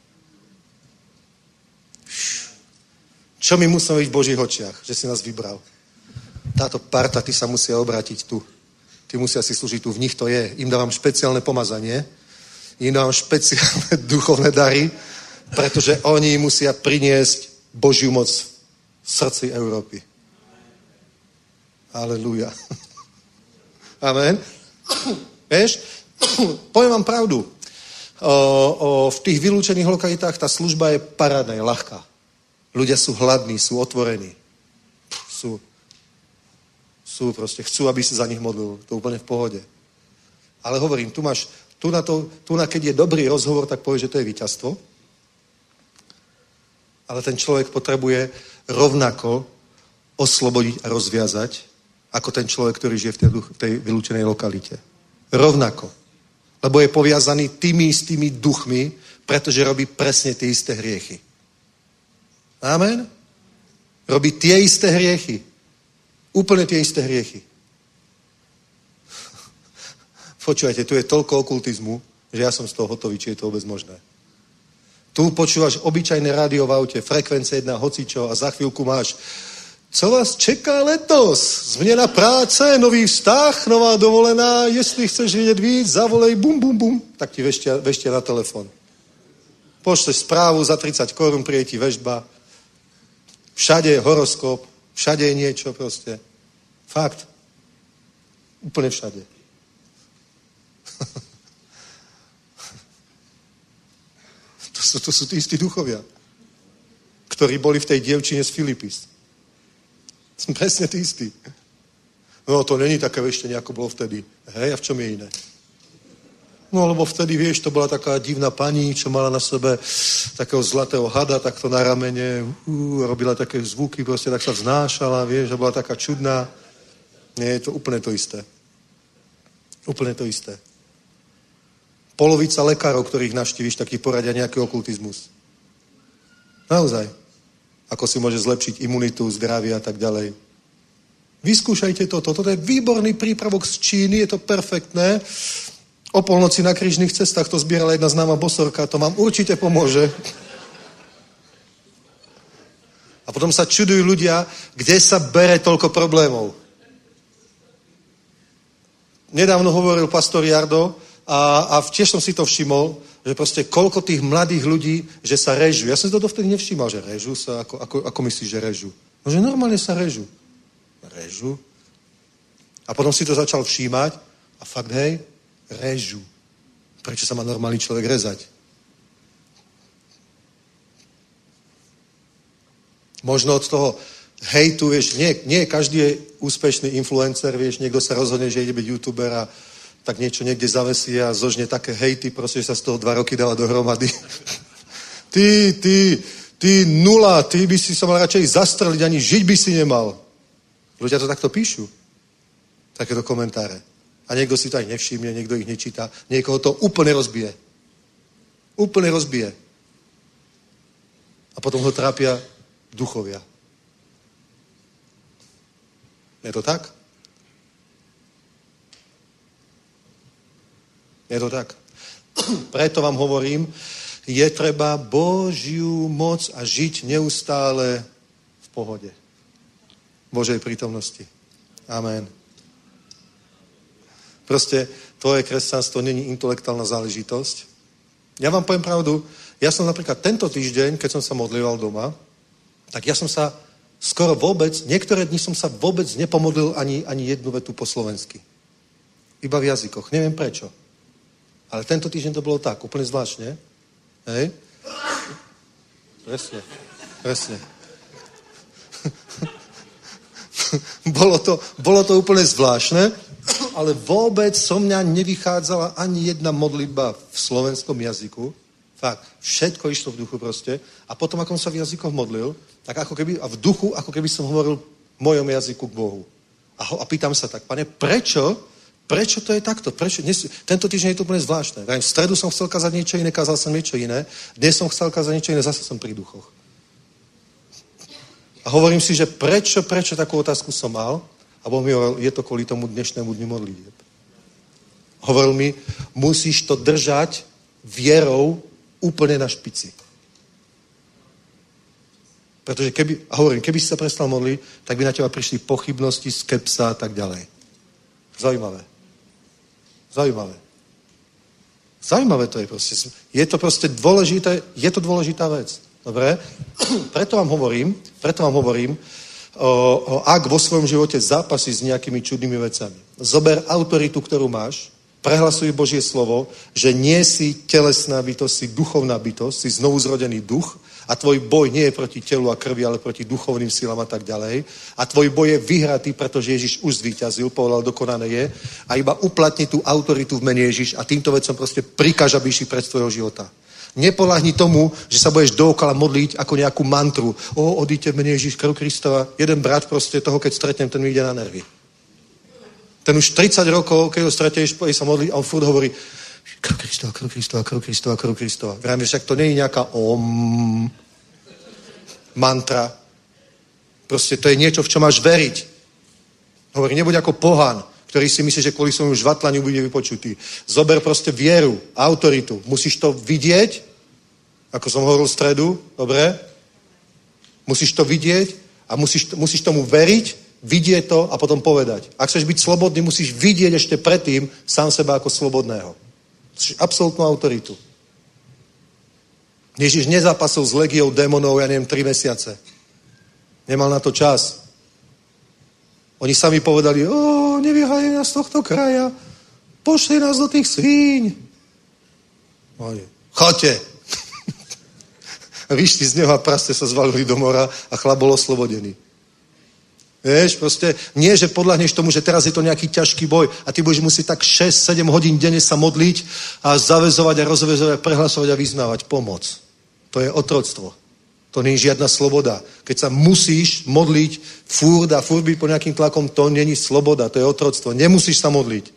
Čo my musíme byť v Božích očiach, že si nás vybral? Táto parta, ty sa musia obrátiť tu. Ty musia si slúžiť tu, v nich to je. Im dávam špeciálne pomazanie, im dávam špeciálne duchovné dary, pretože oni musia priniesť Božiu moc v srdci Európy. Halelúja. Amen. Vieš, poviem vám pravdu. O, o, v tých vylúčených lokalitách tá služba je parádna, je ľahká. Ľudia sú hladní, sú otvorení. Sú, sú proste, chcú, aby si za nich modlil. To úplne v pohode. Ale hovorím, tu máš, tu na to, tu na keď je dobrý rozhovor, tak povie, že to je víťazstvo. Ale ten človek potrebuje rovnako oslobodiť a rozviazať, ako ten človek, ktorý žije v tej, v tej vylúčenej lokalite. Rovnako. Lebo je poviazaný tými istými duchmi, pretože robí presne tie isté hriechy. Amen? Robí tie isté hriechy. Úplne tie isté hriechy. Počúvajte, tu je toľko okultizmu, že ja som z toho hotový, či je to vôbec možné. Tu počúvaš obyčajné rádio v aute, frekvence jedna, hocičo a za chvíľku máš co vás čeká letos? Změna práce, nový vztah, nová dovolená, jestli chceš vědět víc, zavolej, bum, bum, bum. Tak ti veštia, veštia na telefon. Pošleš správu za tridsať korún, príde ti vežba. Všade je horoskop, všade je niečo proste. Fakt. Úplne všade. to, sú, to sú tí istí duchovia, ktorí boli v tej dievčine z Filipis. Som presne tí istí. No to není také veštenie, ako bolo vtedy. Hej, a v čom je iné? No lebo vtedy, vieš, to bola taká divná pani, čo mala na sebe takého zlatého hada, takto na ramene, uh, robila také zvuky, proste tak sa vznášala, vieš, a bola taká čudná. Nie, je to úplne to isté. Úplne to isté. Polovica lekárov, ktorých navštíviš, takých poradia nejaký okultizmus. Naozaj. Ako si môže zlepšiť imunitu, zdravie a tak ďalej. Vyskúšajte toto. Toto je výborný prípravok z Číny, je to perfektné. O polnoci na krížnych cestách to zbierala jedna známa bosorka, to vám určite pomôže. A potom sa čudujú ľudia, kde sa bere toľko problémov. Nedávno hovoril pastor Jardo a, a tiež som si to všimol, že proste koľko tých mladých ľudí, že sa režú. Ja som si to dovtedy nevšímal, že režú sa, ako, ako, ako myslíš, že režú? No, že normálne sa režú. Režú. A potom si to začal všímať a fakt, hej, režú. Prečo sa má normálny človek rezať? Možno od toho hejtu, vieš, nie, nie každý je úspešný influencer, vieš, niekto sa rozhodne, že ide byť youtuber a tak niečo niekde zavesí a zožne také hejty, proste, že sa z toho dva roky dáva dohromady. ty, ty, ty nula, ty by si sa mal radšej zastreliť, ani žiť by si nemal. Ľudia to takto píšu. Takéto komentáre. A niekto si to aj nevšimne, niekto ich nečíta. Niekoho to úplne rozbije. Úplne rozbije. A potom ho trápia duchovia. Je to tak? Je to tak. Preto vám hovorím, je treba Božiu moc a žiť neustále v pohode. Božej prítomnosti. Amen. Proste tvoje kresťanstvo není intelektuálna záležitosť. Ja vám poviem pravdu, Ja som napríklad tento týždeň, keď som sa modlíval doma, tak ja som sa skoro vôbec, niektoré dni som sa vôbec nepomodlil ani, ani jednu vetu po slovensky. Iba v jazykoch. Neviem prečo. Ale tento týždeň to bolo tak, úplne zvláštne. Hej? Presne. Presne. bolo, to, bolo to úplne zvláštne, ale vôbec so mňa nevychádzala ani jedna modlitba v slovenskom jazyku. Fakt, všetko išlo v duchu proste. A potom, ako som sa v jazykoch modlil, tak ako keby, a v duchu, ako keby som hovoril v mojom jazyku k Bohu. A, ho, a pýtam sa tak, Pane, prečo, prečo to je takto? Prečo? Dnes, tento týždeň je to úplne zvláštne. V stredu som chcel kázať niečo iné, kázal som niečo iné. Dnes som chcel kázať niečo iné, zase som pri duchoch. A hovorím si, že prečo, prečo takú otázku som mal? A Boh mi hovoril, je to kvôli tomu dnešnému dňu modlitieb. Hovoril mi, musíš to držať vierou úplne na špici. Pretože keby, a hovorím, keby si sa prestal modliť, tak by na teba prišli pochybnosti, skepsa a tak ďalej. Zaujímavé. Zaujímavé. Zaujímavé to je proste. Je to proste dôležité, je to dôležitá vec. Dobre? Preto vám hovorím, preto vám hovorím, o, o, ak vo svojom živote zápasíš s nejakými čudnými vecami. Zober autoritu, ktorú máš, prehlasuj Božie slovo, že nie si telesná bytosť, si duchovná bytosť, si znovuzrodený duch a tvoj boj nie je proti telu a krvi, ale proti duchovným silám a tak ďalej. A tvoj boj je vyhratý, pretože Ježiš už zvíťazil, povedal, dokonané je. A iba uplatni tú autoritu v mene Ježiš a týmto vecom proste prikáž, aby išli pred tvojho života. Nepolahni tomu, že sa budeš dookola modliť ako nejakú mantru. O, odíďte v mene Ježiš, krv Kristova. Jeden brat proste toho, keď stretnem, ten mi ide na nervy. Ten už tridsať rokov, keď ho stretneš, pôjde sa modliť a on furt hovorí krv Kristova, krv Kristova, krv Kristova, krv Kristova. Vrajme, však to nie je nejaká om mantra. Proste to je niečo, v čo máš veriť. Hovorí, nebuď ako pohan, ktorý si myslí, že kvôli svojmu žvatlaniu bude vypočutý. Zober proste vieru, autoritu. Musíš to vidieť, ako som hovoril v stredu, dobre? Musíš to vidieť a musíš, musíš tomu veriť, vidieť to a potom povedať. Ak chceš byť slobodný, musíš vidieť ešte predtým sám seba ako slobodného. Musíš absolútnu autoritu. Ježiš nezápasil s legiou démonov, ja neviem, tri mesiace. Nemal na to čas. Oni sami povedali, o, nevyhájaj nás z tohto kraja, pošli nás do tých svíň. Oni, choďte. Vyšli z neho a praste sa zvalili do mora a chlap bol oslobodený. Vieš, proste nie, že podľahneš tomu, že teraz je to nejaký ťažký boj a ty budeš musieť tak šesť sedem hodín denne sa modliť a zavezovať a rozvezovať, prehlasovať a vyznávať pomoc. To je otroctvo. To nie je žiadna sloboda. Keď sa musíš modliť furt a furt byť pod nejakým tlakom, to není sloboda, to je otroctvo. Nemusíš sa modliť.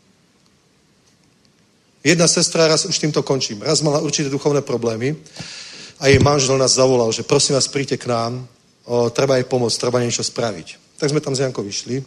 Jedna sestra, raz už týmto končím, raz mala určité duchovné problémy a jej manžel nás zavolal, že prosím vás, príďte k nám, o, treba jej pomôcť, treba niečo spraviť. Tak sme tam s Jankou vyšli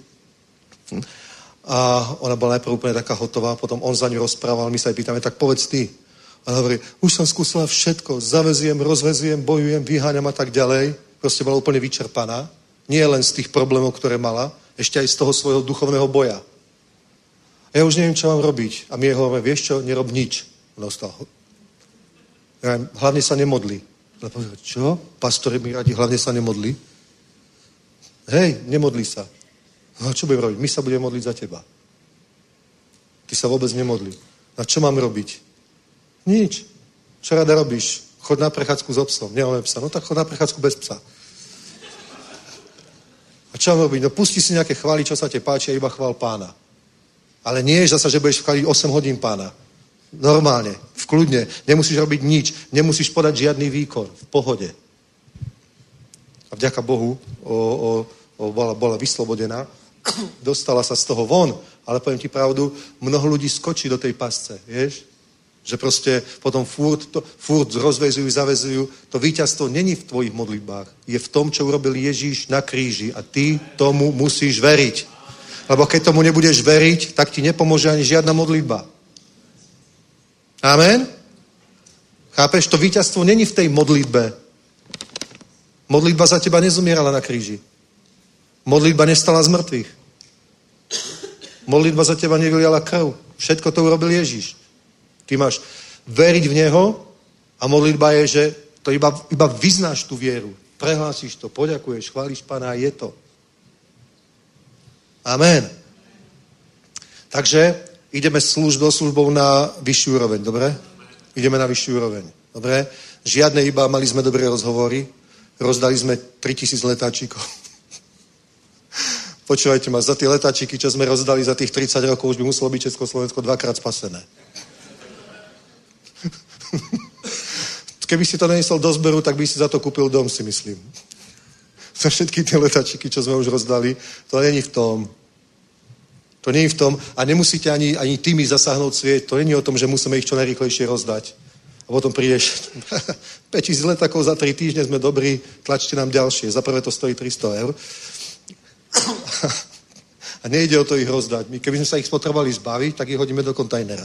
a ona bola najprv úplne taká hotová, potom on za ňu rozprával, my sa jej pýtame, tak povedz ty. A hovorí, už som skúsila všetko, zavezujem, rozvezujem, bojujem, vyháňam a tak ďalej. Proste bola úplne vyčerpaná. Nie len z tých problémov, ktoré mala, ešte aj z toho svojho duchovného boja. A ja už neviem, čo mám robiť. A my jej hovoríme, vieš čo, nerob nič. Ona ostala. Ja, hlavne sa nemodli. Ale povedal, čo? Pastori mi radí, hlavne sa nemodli. Hej, nemodli sa. No čo budem robiť? My sa budeme modliť za teba. Ty sa vôbec nemodli. A čo mám robiť? Nič. Čo rada robíš? Chod na prechádzku s obsom. Nemáme psa. No tak chod na prechádzku bez psa. A čo mám robiť? No pusti si nejaké chvály, čo sa te páči a iba chvál pána. Ale nie je zasa, že budeš chváliť osem hodín pána. Normálne, v kľudne. Nemusíš robiť nič. Nemusíš podať žiadny výkon. V pohode. A vďaka Bohu o, o, o, bola, bola vyslobodená. Dostala sa z toho von. Ale poviem ti pravdu, mnoho ľudí skočí do tej pasce. Vieš? Že proste potom furt, to, furt rozvezujú, zavezujú. To víťazstvo není v tvojich modlitbách. Je v tom, čo urobil Ježíš na kríži. A ty tomu musíš veriť. Lebo keď tomu nebudeš veriť, tak ti nepomôže ani žiadna modlitba. Amen? Chápeš? To víťazstvo není v tej modlitbe. Modlitba za teba nezomierala na kríži. Modlitba nestala z mŕtvych. Modlitba za teba nevyliala krv. Všetko to urobil Ježíš. Ty máš veriť v Neho A modlitba je, že to iba, iba vyznáš tú vieru. Prehlásíš to, poďakuješ, chválíš Pána a je to. Amen. Takže ideme službou, službou na vyššiu úroveň, dobre? Ideme na vyššiu úroveň, dobre? Žiadne iba, mali sme dobré rozhovory, rozdali sme tritisíc letáčikov. Počúvajte ma, za tie letáčiky, čo sme rozdali za tých tridsať rokov, už by muselo byť Československo dvakrát spasené. Keby si to nenesol do zberu, tak by si za to kúpil dom, si myslím. Za všetky tie letáčiky, čo sme už rozdali, to není v tom. To není v tom a nemusíte ani, ani tými zasáhnout svět. To není o tom, že musíme ich čo najrýchlejšie rozdať. A potom prídeš, päť tisíc letákov za tri týždne, sme dobrí, tlačte nám ďalšie. Za prvé to stojí tristo eur. A nejde o to ich rozdať. My keby sme sa ich potrebovali zbaviť, tak ich hodíme do kontajnera.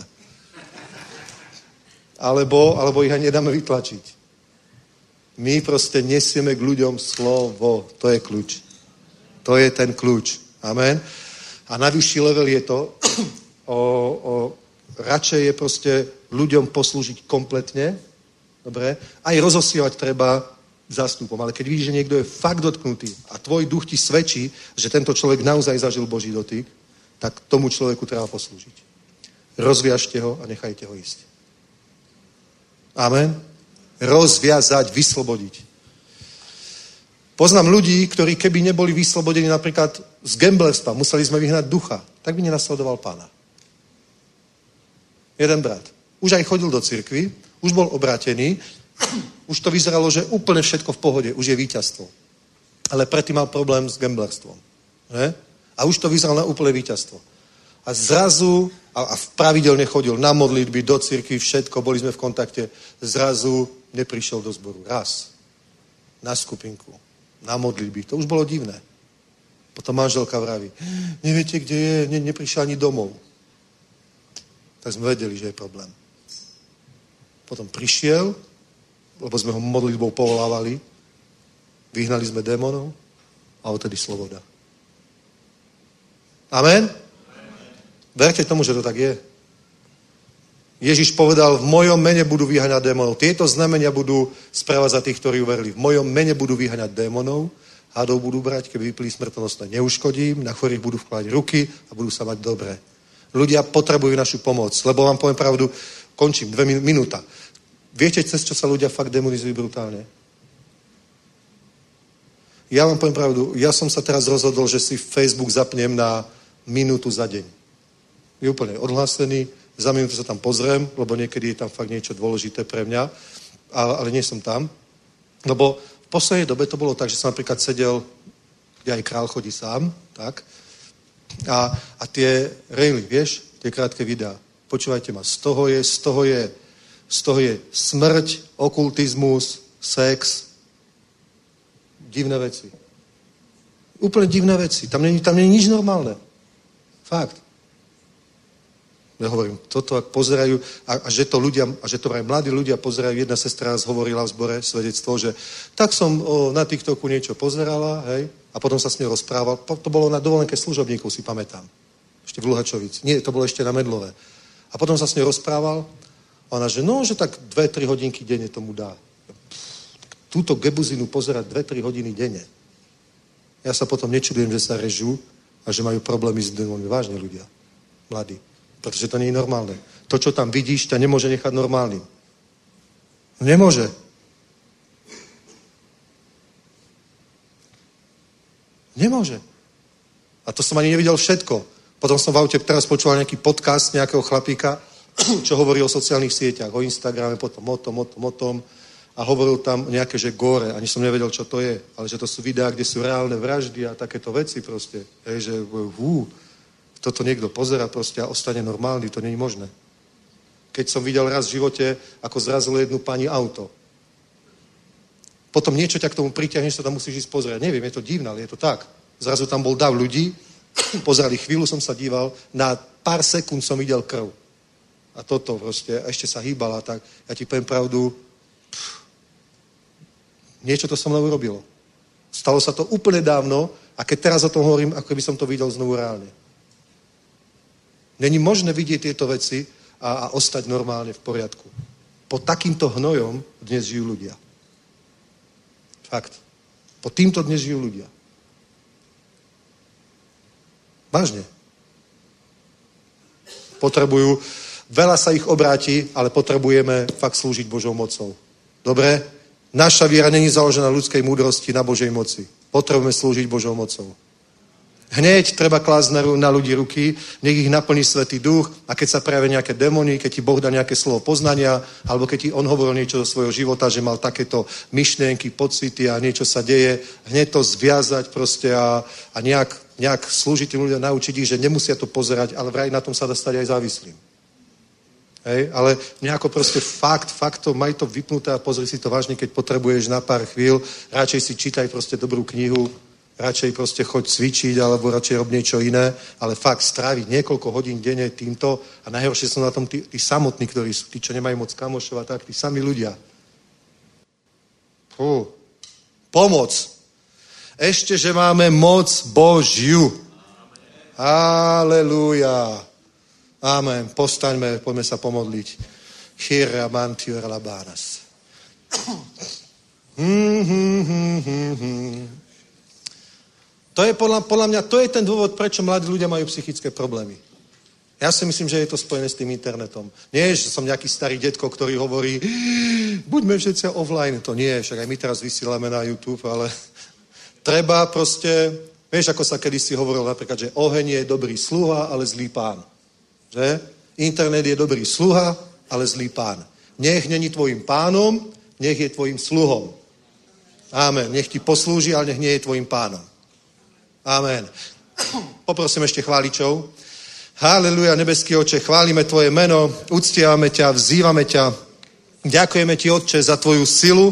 Alebo, alebo ich ani nedáme vytlačiť. My proste nesieme k ľuďom slovo. To je kľúč. To je ten kľúč. Amen. A na vyšší level je to, o, o, radšej je proste ľuďom poslúžiť kompletne, dobre, aj rozosielať treba zástupom, ale keď vidíš, že niekto je fakt dotknutý a tvoj duch ti svedčí, že tento človek naozaj zažil Boží dotyk, tak tomu človeku treba poslúžiť. Rozviažte ho a nechajte ho ísť. Amen. Rozviazať, vyslobodiť. Poznám ľudí, ktorí keby neboli vyslobodení napríklad z gamblerstva, museli sme vyhnať ducha, tak by nenasledoval Pána. Jeden brat. Už aj chodil do cirkvi, už bol obrátený, už to vyzeralo, že úplne všetko v pohode, už je víťazstvo. Ale predtým mal problém s gamblerstvom. Že? A už to vyzeralo na úplné víťazstvo. A zrazu, a, a pravidelne chodil na modlitby, do cirkvi, všetko, boli sme v kontakte, zrazu neprišiel do zboru. Raz. Na skupinku. Na modlitby. To už bolo divné. Potom manželka vraví, neviete, kde je, ne, neprišiel ani domov. Tak sme vedeli, že je problém. Potom prišiel, lebo sme ho modlitbou povolávali, vyhnali sme démonov a odtedy sloboda. Amen? Verte tomu, že to tak je. Ježiš povedal, v mojom mene budú vyháňať démonov. Tieto znamenia budú správať za tých, ktorí uverili. V mojom mene budú vyháňať démonov, hadov budú brať, keby vypili smrtonosné, neuškodím, na chorých budú vkladať ruky a budú sa mať dobre. Ľudia potrebujú našu pomoc, lebo vám poviem pravdu, končím, dve min- minúta. Viete, cez čo sa ľudia fakt demonizujú brutálne? Ja vám poviem pravdu, ja som sa teraz rozhodol, že si Facebook zapnem na minútu za deň. Je úplne odhlásený, za minútu sa tam pozriem, lebo niekedy je tam fakt niečo dôležité pre mňa, ale, ale nie som tam. Lebo v poslednej dobe to bolo tak, že som napríklad sedel, kde aj král chodí sám, tak, a, a tie rejly, vieš, tie krátke videá, počúvajte ma, z toho je, z toho je, z toho je smrť, okultizmus, sex, divné veci. Úplne divné veci. Tam není, tam není nič normálne. Fakt. Ja hovorím, toto ak pozerajú, a, a že to ľudia, a že to aj mladí ľudia pozerajú, jedna sestra raz hovorila v zbore svedectvo, že tak som o, na TikToku niečo pozerala, hej, a potom sa s ňou rozprával. To bolo na dovolenke služobníkov, si pamätám. Ešte v Luhačovici. Nie, to bolo ešte na Medlové. A potom sa s ňou rozprával, a ona, že no, že tak dve tri hodinky denne tomu dá. Túto gebuzinu pozerať dve tri hodiny denne. Ja sa potom nečudujem, že sa režú a že majú problémy s démonmi. Vážne ľudia. Mladí. Pretože to nie je normálne. To, čo tam vidíš, ťa nemôže nechať normálnym. Nemôže. Nemôže. A to som ani nevidel všetko. Potom som v aute teraz počúval nejaký podcast nejakého chlapíka, čo hovorí o sociálnych sieťach, o Instagrame, potom o tom, o tom, o tom. A hovoril tam nejaké, že gore. Ani som nevedel, čo to je. Ale že to sú videá, kde sú reálne vraždy a takéto veci proste. Hej, že hú, toto niekto pozera proste a ostane normálny. To nie je možné. Keď som videl raz v živote, ako zrazilo jednu pani auto. Potom niečo ťa k tomu pritiahne, že sa tam musíš ísť pozrieť. Neviem, je to divné, ale je to tak. Zrazu tam bol dav ľudí, pozerali, chvíľu som sa díval, na pár sekúnd som videl krv. A toto proste, a ešte sa hýbala, tak ja ti poviem pravdu, pff, niečo to so mnou urobilo. Stalo sa to úplne dávno a keď teraz o tom hovorím, ako by som to videl znovu reálne. Není možné vidieť tieto veci a, a ostať normálne v poriadku. pod takýmto hnojom dnes žijú ľudia. Fakt. Pod týmto dnes žijú ľudia. Vážne. Potrebujú, veľa sa ich obráti, ale potrebujeme fakt slúžiť Božou mocou. Dobre? Naša viera není založená na ľudskej múdrosti, na Božej moci. Potrebujeme slúžiť Božou mocou. Hneď treba klásť na, na ľudí ruky, nech ich naplní Svätý Duch a keď sa prejavia nejaké démony, keď ti Boh dá nejaké slovo poznania, alebo keď ti on hovoril niečo zo svojho života, že mal takéto myšlienky, pocity a niečo sa deje, hneď to zviazať proste a, a nejak, nejak slúžiť tým ľuďom, naučiť ich, že nemusia to pozerať, ale vraj na tom sa dá stať aj závislým. Hej, ale nejako proste fakt, fakt to, maj to vypnuté a pozri si to vážne, keď potrebuješ na pár chvíľ, radšej si čítaj proste dobrú knihu, radšej proste choď cvičiť, alebo radšej rob niečo iné, ale fakt stráviť niekoľko hodín denne týmto a najhoršie sú na tom tí, tí samotní, ktorí sú, tí, čo nemajú moc kamošov a tak, tí sami ľudia. Fú. Pomoc. Ešte, že máme moc Božiu. Halelúja. Amen. Postaňme, poďme sa pomodliť. Chira mantior labanas. Hmm, hmm, hmm, hmm, hmm. To je podľa, podľa mňa, to je ten dôvod, prečo mladí ľudia majú psychické problémy. Ja si myslím, že je to spojené s tým internetom. Nie, že som nejaký starý detko, ktorý hovorí, buďme všetci offline. To nie, však aj my teraz vysielame na YouTube, ale treba proste, vieš, ako sa kedysi hovorilo napríklad, že oheň je dobrý sluha, ale zlý pán. Že? Internet je dobrý sluha, ale zlý pán. Nech není tvojim pánom, nech je tvojim sluhom. Amen. Nech ti poslúži, ale nech nie je tvojim pánom. Amen. Poprosím ešte chváličov. Haleluja, nebeský Oče, chválime tvoje meno, uctievame ťa, vzývame ťa. Ďakujeme ti, Otče, za tvoju silu,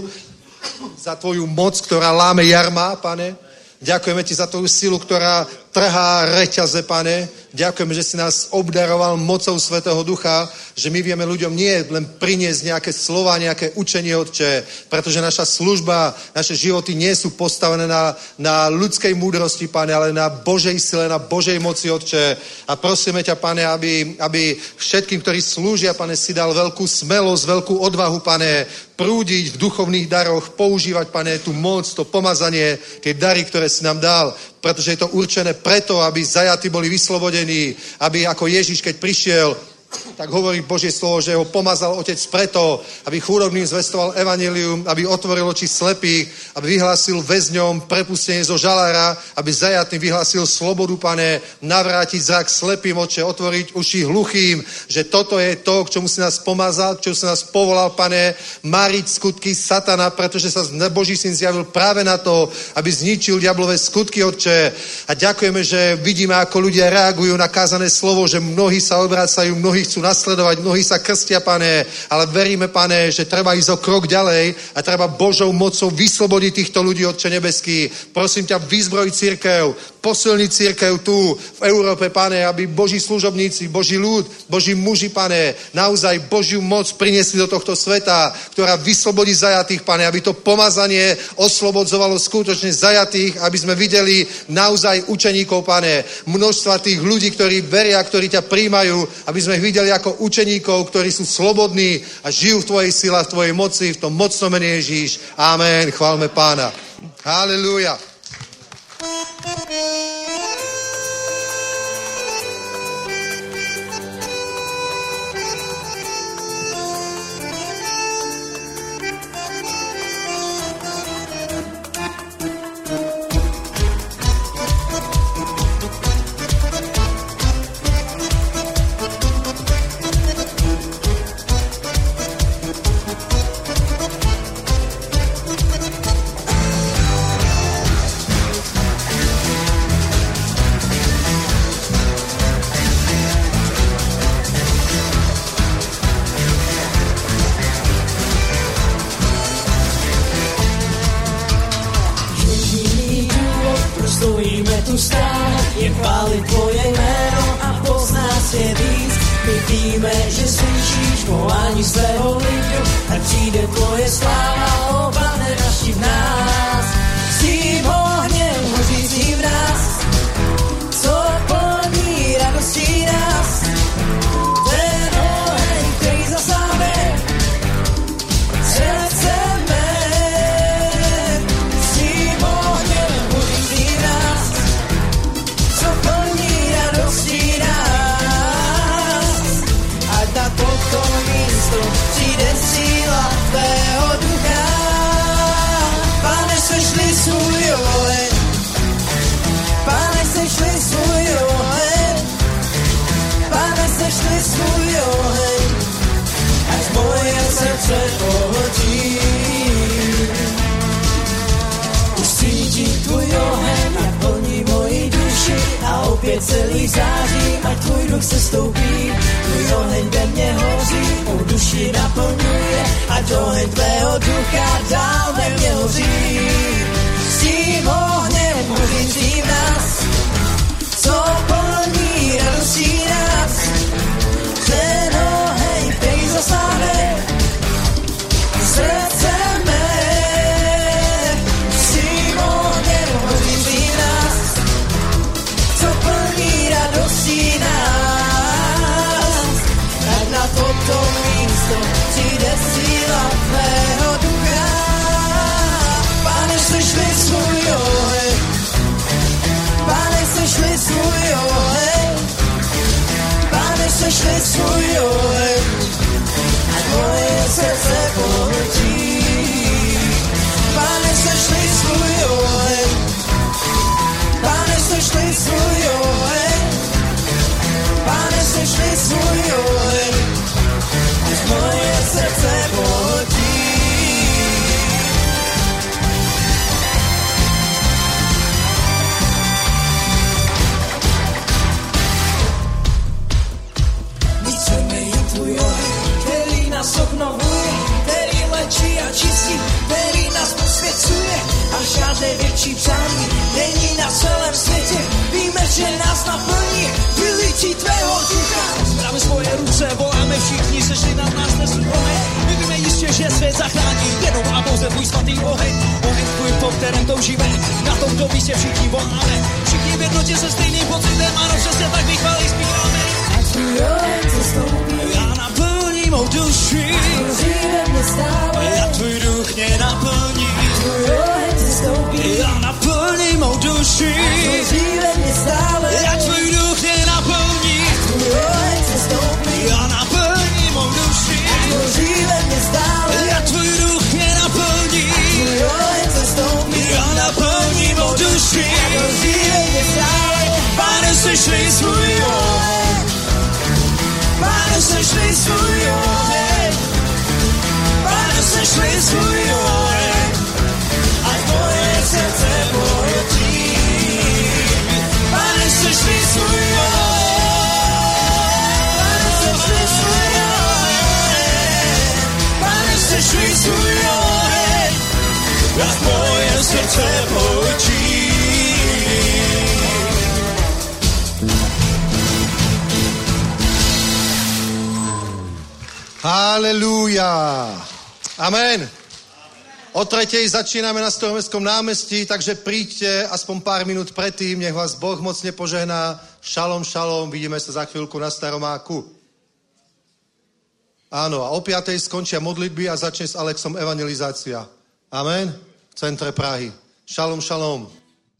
za tvoju moc, ktorá láme jarma, Pane. Ďakujeme ti za tvoju silu, ktorá trhá reťaze, Pane. Ďakujeme, že si nás obdaroval mocou Svätého Ducha, že my vieme ľuďom nie len priniesť nejaké slova, nejaké učenie, Otče, pretože naša služba, naše životy nie sú postavené na, na ľudskej múdrosti, Pane, ale na Božej sile, na Božej moci, Otče. A prosíme ťa, Pane, aby, aby všetkým, ktorí slúžia, Pane, si dal veľkú smelosť, veľkú odvahu, Pane, prúdiť v duchovných daroch, používať, Pane, tú moc, to pomazanie, tie dary, ktoré si nám dal, pretože je to určené preto, aby zajatí boli vyslobodení, aby ako Ježiš, keď prišiel, tak hovorí Božie slovo, že ho pomazal Otec preto, aby chudobným zvestoval evanjelium, aby otvoril oči slepých, aby vyhlásil väzňom prepustenie zo žalára, aby zajatým vyhlásil slobodu, Pane, navrátiť zrak slepým, Otče, otvoriť uši hluchým, že toto je to, k čomu si nás pomazal, k čomu si nás povolal, Pane, máriť skutky satana, pretože sa Boží syn zjavil práve na to, aby zničil diablové skutky, Otče. A ďakujeme, že vidíme, ako ľudia reagujú na kázané slovo, že mnohí sa obracajú, mnohí chcú nasledovať, mnohí sa krstia, Pane, ale veríme, Pane, že treba ísť o krok ďalej a treba Božou mocou vyslobodiť týchto ľudí, Otče nebeský. Prosím ťa, vyzbroj cirkev, posilni cirkev tu v Európe, Pane, aby Boží služobníci, Boží ľud, Boží muži, Pane, naozaj Božiu moc priniesli do tohto sveta, ktorá vyslobodí zajatých, Pane, aby to pomazanie oslobodzovalo skutočne zajatých, aby sme videli naozaj učeníkov, Pane, množstva tých ľudí, ktorí veria, ktorí ťa príjmajú, aby sme ich videli ako učeníkov, ktorí sú slobodní a žijú v tvojej sile, v tvojej moci, v tom mocnom mene Ježíš. Amen. Chválme Pána. Halelúja. svůj oheň. Pane, sešli svůj oheň. Pane, sešli svůj oheň. Ať moje srdce pohodí. Už cítím tvůj oheň, ať plní moji duši a opět celý září, ať tvůj duch se stoupí. Tvůj oheň ve mně hoří, mou duši naplňuje, ať oheň tvého ducha dál ve mně hoří. S tím ohněm hořícím nás, co plní radostí nás. Ten oheň, který zasáhne srdce mé. S tím ohněm hořícím nás, co plní radostí nás. Ať na toto místo přijde síla tvého ducha. Pane, sešli svůj oheň. Pane, sešli svůj oheň. Pane, sešli svůj oheň. Ať moje srdce pohltí. Pane, sešli svůj oheň. Pane, sešli svůj oheň. Pane, sešli svůj oheň. Ať moje srdce pohltí. Chceme jen tvůj oheň, který nás obnovuje, který léčí a čistí, který nás posvěcuje a žádné větší přání není na celém světě. Víme, že nás naplní vylití tvého ducha. Zdáme svoje ruce, voláme všichni, sešli nad nás dnes oheň. My víme jistě, že svět zachrání jenom a pouze tvůj svatý oheň. Oheň tvůj, po kterém toužíme, na tomto místě všichni voláme. Všichni v jednotě se stejným pocitem, ano, přesně tak vychválí zpíváme. Tvůj oheň se stoupí, Já naplní mou duši, hoří ve mně stále. a tvůj duch mě naplní. Tvůj oheň se stoupí, Já naplní mou duši, hoří ve mně stále. a tvůj duch mě naplní. Tvůj oheň se stoupí, Já naplní mou duši, hoří ve mně stále. a tvůj duch mě naplní. Tvůj oheň se stoupí, Já naplní mou duši, hoří ve mně stále. Pane, sešli svůj oheň. Pane, sešli svůj oheň. Pane, sešli svůj oheň. Ať moje srdce pohltí. Pane, sešli svůj oheň. Pane, sešli svůj oheň. Pane, sešli svůj oheň. Ať moje srdce pohltí. Halelúja. Amen. O tretej začíname na Staromestskom námestí, takže príďte aspoň pár minút predtým, nech vás Boh mocne požehná. Šalom, šalom, vidíme sa za chvíľku na Staromáku. Áno, a o piatej skončia modlitby a začne s Alexom evangelizácia. Amen. V centre Prahy. Šalom, šalom.